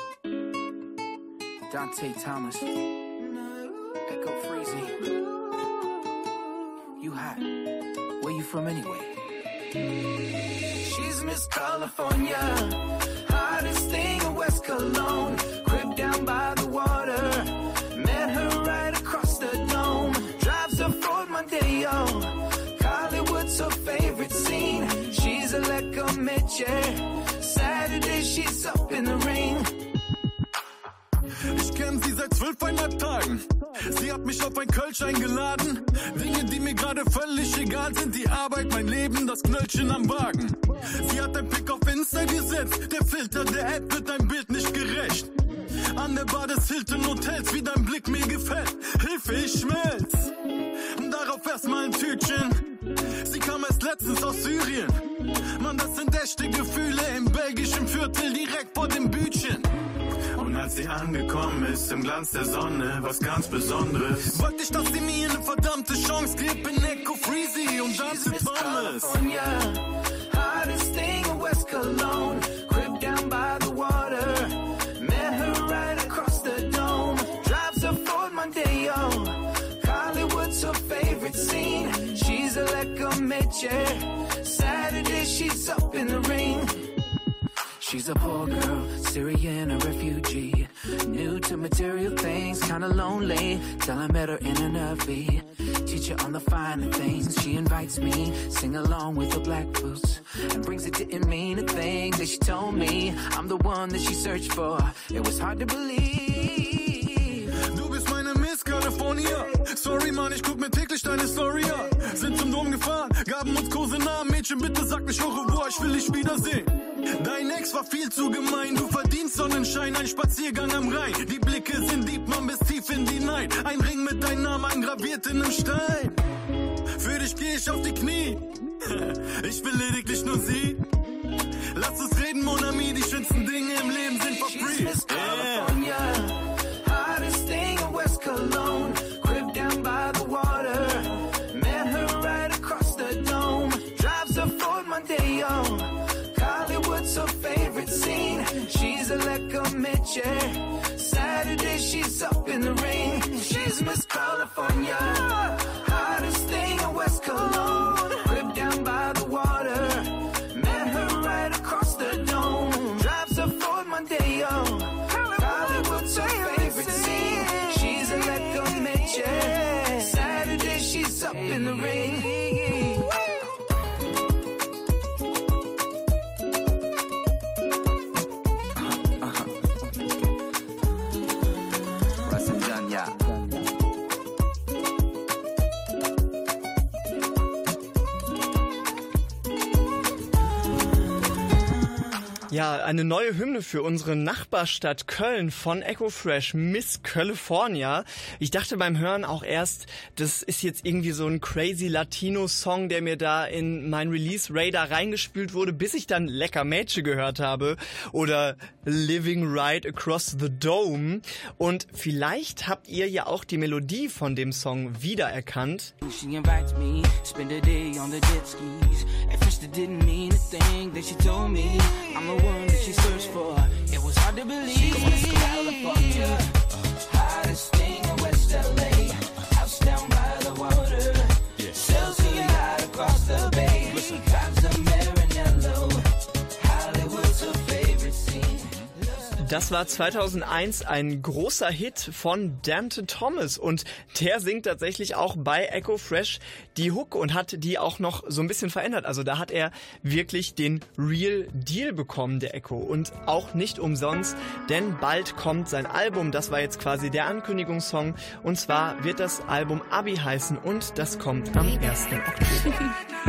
Dante Thomas. Echo Freezy. You hot. Where you from anyway? She's Miss California, hottest thing in West Cologne. Crib down by the water, met her right across the dome. Drives a Ford Mondeo, Hollywood's her favorite scene. She's a lecker Mädchen, Saturday she's up in the ring. Ich kenn sie seit zwölfeinhalb Tagen. Sie hat mich auf ein Kölsch eingeladen. Dinge, die mir gerade völlig egal sind. Die Arbeit, mein Leben, das Knöllchen am Wagen. Sie hat ein Pick auf Insta gesetzt. Der Filter der App wird dein Bild nicht gerecht. An der Bar des Hilton Hotels, wie dein Blick mir gefällt. Hilfe, ich schmelz. Darauf erstmal ein Tütchen. Sie kam erst letztens aus Syrien. Mann, das sind echte Gefühle im belgischen Viertel, direkt vor dem Bütchen. Und als sie angekommen ist, im Glanz der Sonne, was ganz Besonderes. Wollte ich, dass sie mir eine verdammte Chance gibt, in Echo Freezy und Dante Thomas. Hottest thing in West Cologne, crib down by the water, met her right across the dome. Drives a Ford Mondeo, Hollywood's her favorite scene. She's a lecker Mädchen, Saturday she's up in the ring. She's a poor girl, Syrian, a refugee. New to material things, kinda lonely. Till I met her in an R V. Teach her on the finer things. She invites me, sing along with her black boots. And brings it didn't mean a thing that she told me. I'm the one that she searched for. It was hard to believe. Du bist meine Miss California. Sorry Mann, ich guck mir täglich deine Story an. Sind zum Dom gefahren, gaben uns Kosenamen. Mädchen, bitte sag nicht au revoir, ich will dich wiedersehen. Dein Ex war viel zu gemein, du verdienst Sonnenschein, ein Spaziergang am Rhein. Die Blicke sind deep, man bis tief in die Night. Ein Ring mit deinem Namen eingraviert in einem Stein. Für dich geh ich auf die Knie, ich will lediglich nur sie. Lass uns reden, Mon Ami, die schönsten Dinge im Leben sind for free. Yeah. Hottest thing in West Cologne, crib down by the water, met her right across the dome. Drives a Ford Mondeo, Hollywood's her favorite scene. She's a lecker Mädchen, Saturday she's up in the ring. She's Miss California, hottest thing in West Cologne. Crib down by the water, met her right across the dome. Drives a Ford Mondeo, Hollywood's her favorite scene. She's a lecker Mädchen, Saturday she's up in the ring. Ja, eine neue Hymne für unsere Nachbarstadt Köln von Echo Fresh, Miss California. Ich dachte beim Hören auch erst, das ist jetzt irgendwie so ein crazy Latino-Song, der mir da in mein Release-Radar reingespült wurde, bis ich dann Lecker Mädchen gehört habe oder Living Right Across the Dome. Und vielleicht habt ihr ja auch die Melodie von dem Song wiedererkannt. She invites me, spend a day on the jet skis. At first it didn't mean a thing that she told me. I'm the one that she searched for. It was hard to believe. California, hottest thing in West L A. House down by the water. Sells a yacht across the bay. Drives a Maranello. Hollywood's her favorite scene. Das war zweitausendeins ein großer Hit von Danton Thomas und der singt tatsächlich auch bei Echo Fresh die Hook und hat die auch noch so ein bisschen verändert. Also da hat er wirklich den Real Deal bekommen, der Echo. Und auch nicht umsonst, denn bald kommt sein Album. Das war jetzt quasi der Ankündigungssong. Und zwar wird das Album Abi heißen und das kommt am ersten Oktober.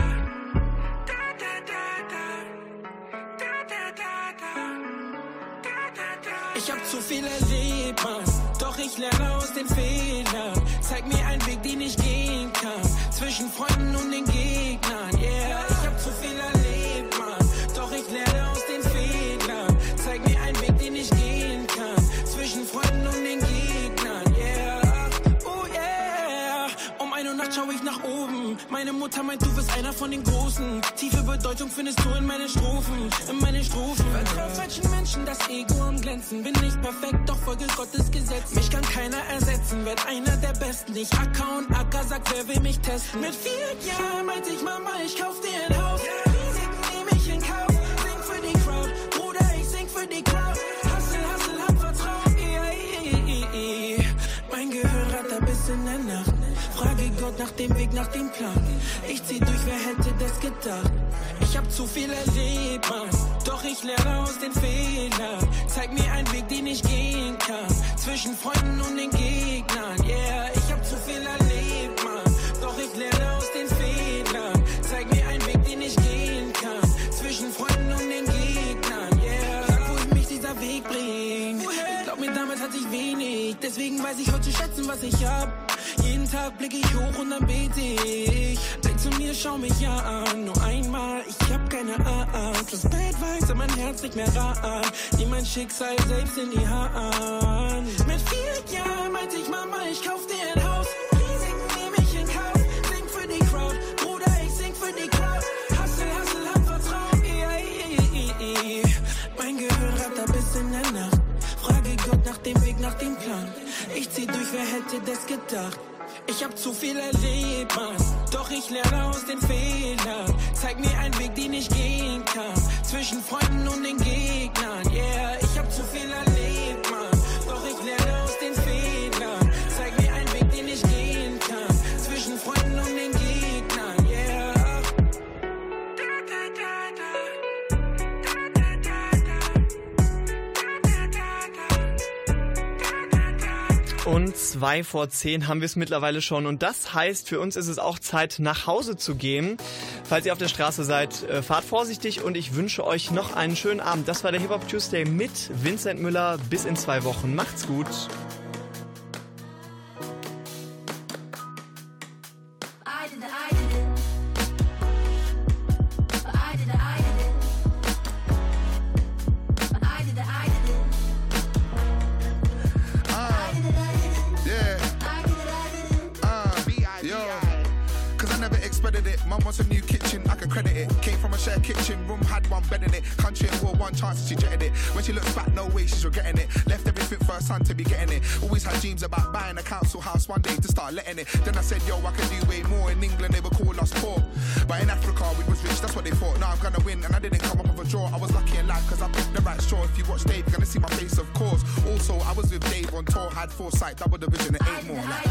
Ich hab zu viel erlebt, Mann, doch ich lerne aus den Fehlern. Zeig mir einen Weg, den ich gehen kann, zwischen Freunden und den Gegnern, yeah. Ich hab zu viel erlebt, Mann, doch ich lerne aus den Fehlern. Zeig mir einen Weg, den ich gehen kann, zwischen Freunden und den Gegnern, yeah. Oh yeah. Um ein Uhr Nacht schau ich nach oben. Meine Mutter meint, du bist einer von den Großen. Tiefe Bedeutung findest du in meinen Strophen, in meinen Strophen. Vertrau falschen Menschen, das Ego am Glänzen. Bin nicht perfekt, doch folge Gottes Gesetz. Mich kann keiner ersetzen, werd einer der Besten. Ich Acker und Acker, sag, wer will mich testen? Mit vier Jahren meinte ich, Mama, ich kauf dir ein Haus. Risiken nehm ich in Kauf, sing für die Crowd. Bruder, ich sing für die Crowd. Hustle, hustle, hab Vertrauen. Yeah, yeah, yeah, yeah. Mein Gehirn rattert bis in der Nacht. Frage Gott nach dem Weg, nach dem Plan. Ich zieh durch, wer hätte das gedacht? Ich hab zu viel erlebt, Mann, doch ich lerne aus den Fehlern. Zeig mir einen Weg, den ich gehen kann, zwischen Freunden und den Gegnern, yeah. Ich hab zu viel erlebt, Mann, doch ich lerne aus den Fehlern. Zeig mir einen Weg, den ich gehen kann, zwischen Freunden und den Gegnern, yeah. Sag, wohin mich dieser Weg bringt. Ich glaub mir, damals hatte ich wenig, deswegen weiß ich heute zu schätzen, was ich hab. Jeden Tag blick ich hoch und dann bete ich. Denk zu mir, schau mich ja an. Nur einmal, ich hab keine Angst. Das Bad weiß, aber mein Herz nicht mehr ran. Nimm mein Schicksal selbst in die Hand. Mit vier Jahren meinte ich, Mama, ich kauf dir ein Haus. Risiken nehm ich in Kauf. Sing für die Crowd. Bruder, ich sing für die Crowd. Hustle, hustle, hab Vertrauen. Yeah, yeah, yeah, yeah. Mein Gehirn rattert bis in der Nacht. Frage Gott nach dem Weg, nach dem Plan. Ich zieh durch, wer hätte das gedacht? Ich hab zu viel erlebt, Mann, doch ich lerne aus den Fehlern. Zeig mir einen Weg, den ich gehen kann, zwischen Freunden und den Gegnern, yeah. Ich hab zu viel erlebt, Mann, doch ich lerne aus den Fehlern. Zeig mir einen Weg, den ich gehen kann, zwischen Freunden und den Gegnern, yeah. Und zwei vor zehn haben wir es mittlerweile schon. Und das heißt, für uns ist es auch Zeit, nach Hause zu gehen. Falls ihr auf der Straße seid, äh, fahrt vorsichtig und ich wünsche euch noch einen schönen Abend. Das war der Hip-Hop Tuesday mit Vincent Müller. Bis in zwei Wochen. Macht's gut. Mum wants a new kitchen, I can credit it. Came from a shared kitchen, room had one bed in it. Country and war, one chance, she jetted it. When she looks back, no way, she's regretting it. Left everything for her son to be getting it. Always had dreams about buying a council house one day to start letting it. Then I said, yo, I can do way more. In England, they would call us poor. But in Africa, we was rich, that's what they thought. Now I'm gonna win, and I didn't come up with a draw. I was lucky in life, cause I picked the right straw. If you watch Dave, you're gonna see my face, of course. Also, I was with Dave on tour, had foresight, double division, it ain't more. Like.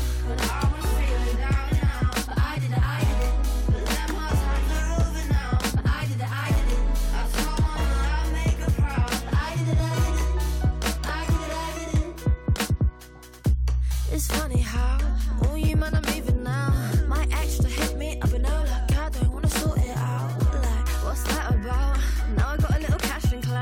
It's funny how, oh you man, I'm leaving now. My ex to hit me up and out like, God, don't wanna sort it out. Like, what's that about? Now I got a little cash in clothes.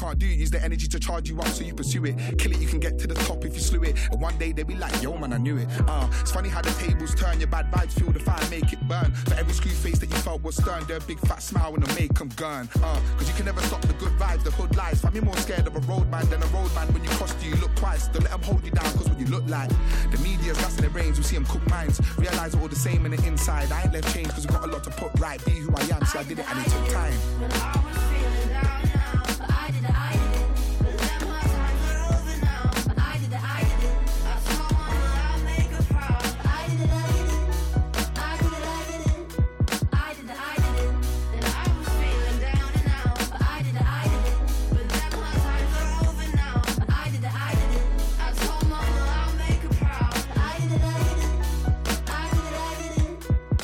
can't do, use the energy to charge you up so you pursue it. Kill it, you can get to the top if you slew it. And one day they'll be like, yo man, I knew it. Uh, it's funny how the tables turn, your bad vibes fuel the fire, make it burn. For every screw face that you felt was stern, they're a big fat smile when they make them gun. Uh, cause you can never stop the good vibes, the hood lies. Find me more scared of a road man than a road man. When you cross you, you look twice. Don't let them hold you down, cause what you look like. The media's gassing the brains, we see them cook minds. Realize we're all the same in the inside. I ain't left change cause we got a lot to put right. Be who I am, see I did it and it took time. When I was feeling down and out, but I did it, I did it. But then my times are over now. But I did it, I did it. I told mama I'll make her proud. I did it, I did it. I did it, I did it. I did it, I did it. Then I was feeling down and out, but I did it, I did it. But then my times are over now. But I did it, I did it. I told mama I'll make her proud. I did it, I did it. I did it, I did it.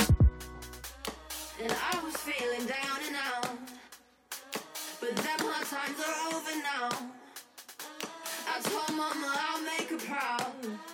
And I was feeling down and out, but then my times are over now. I told mama I'll make her proud.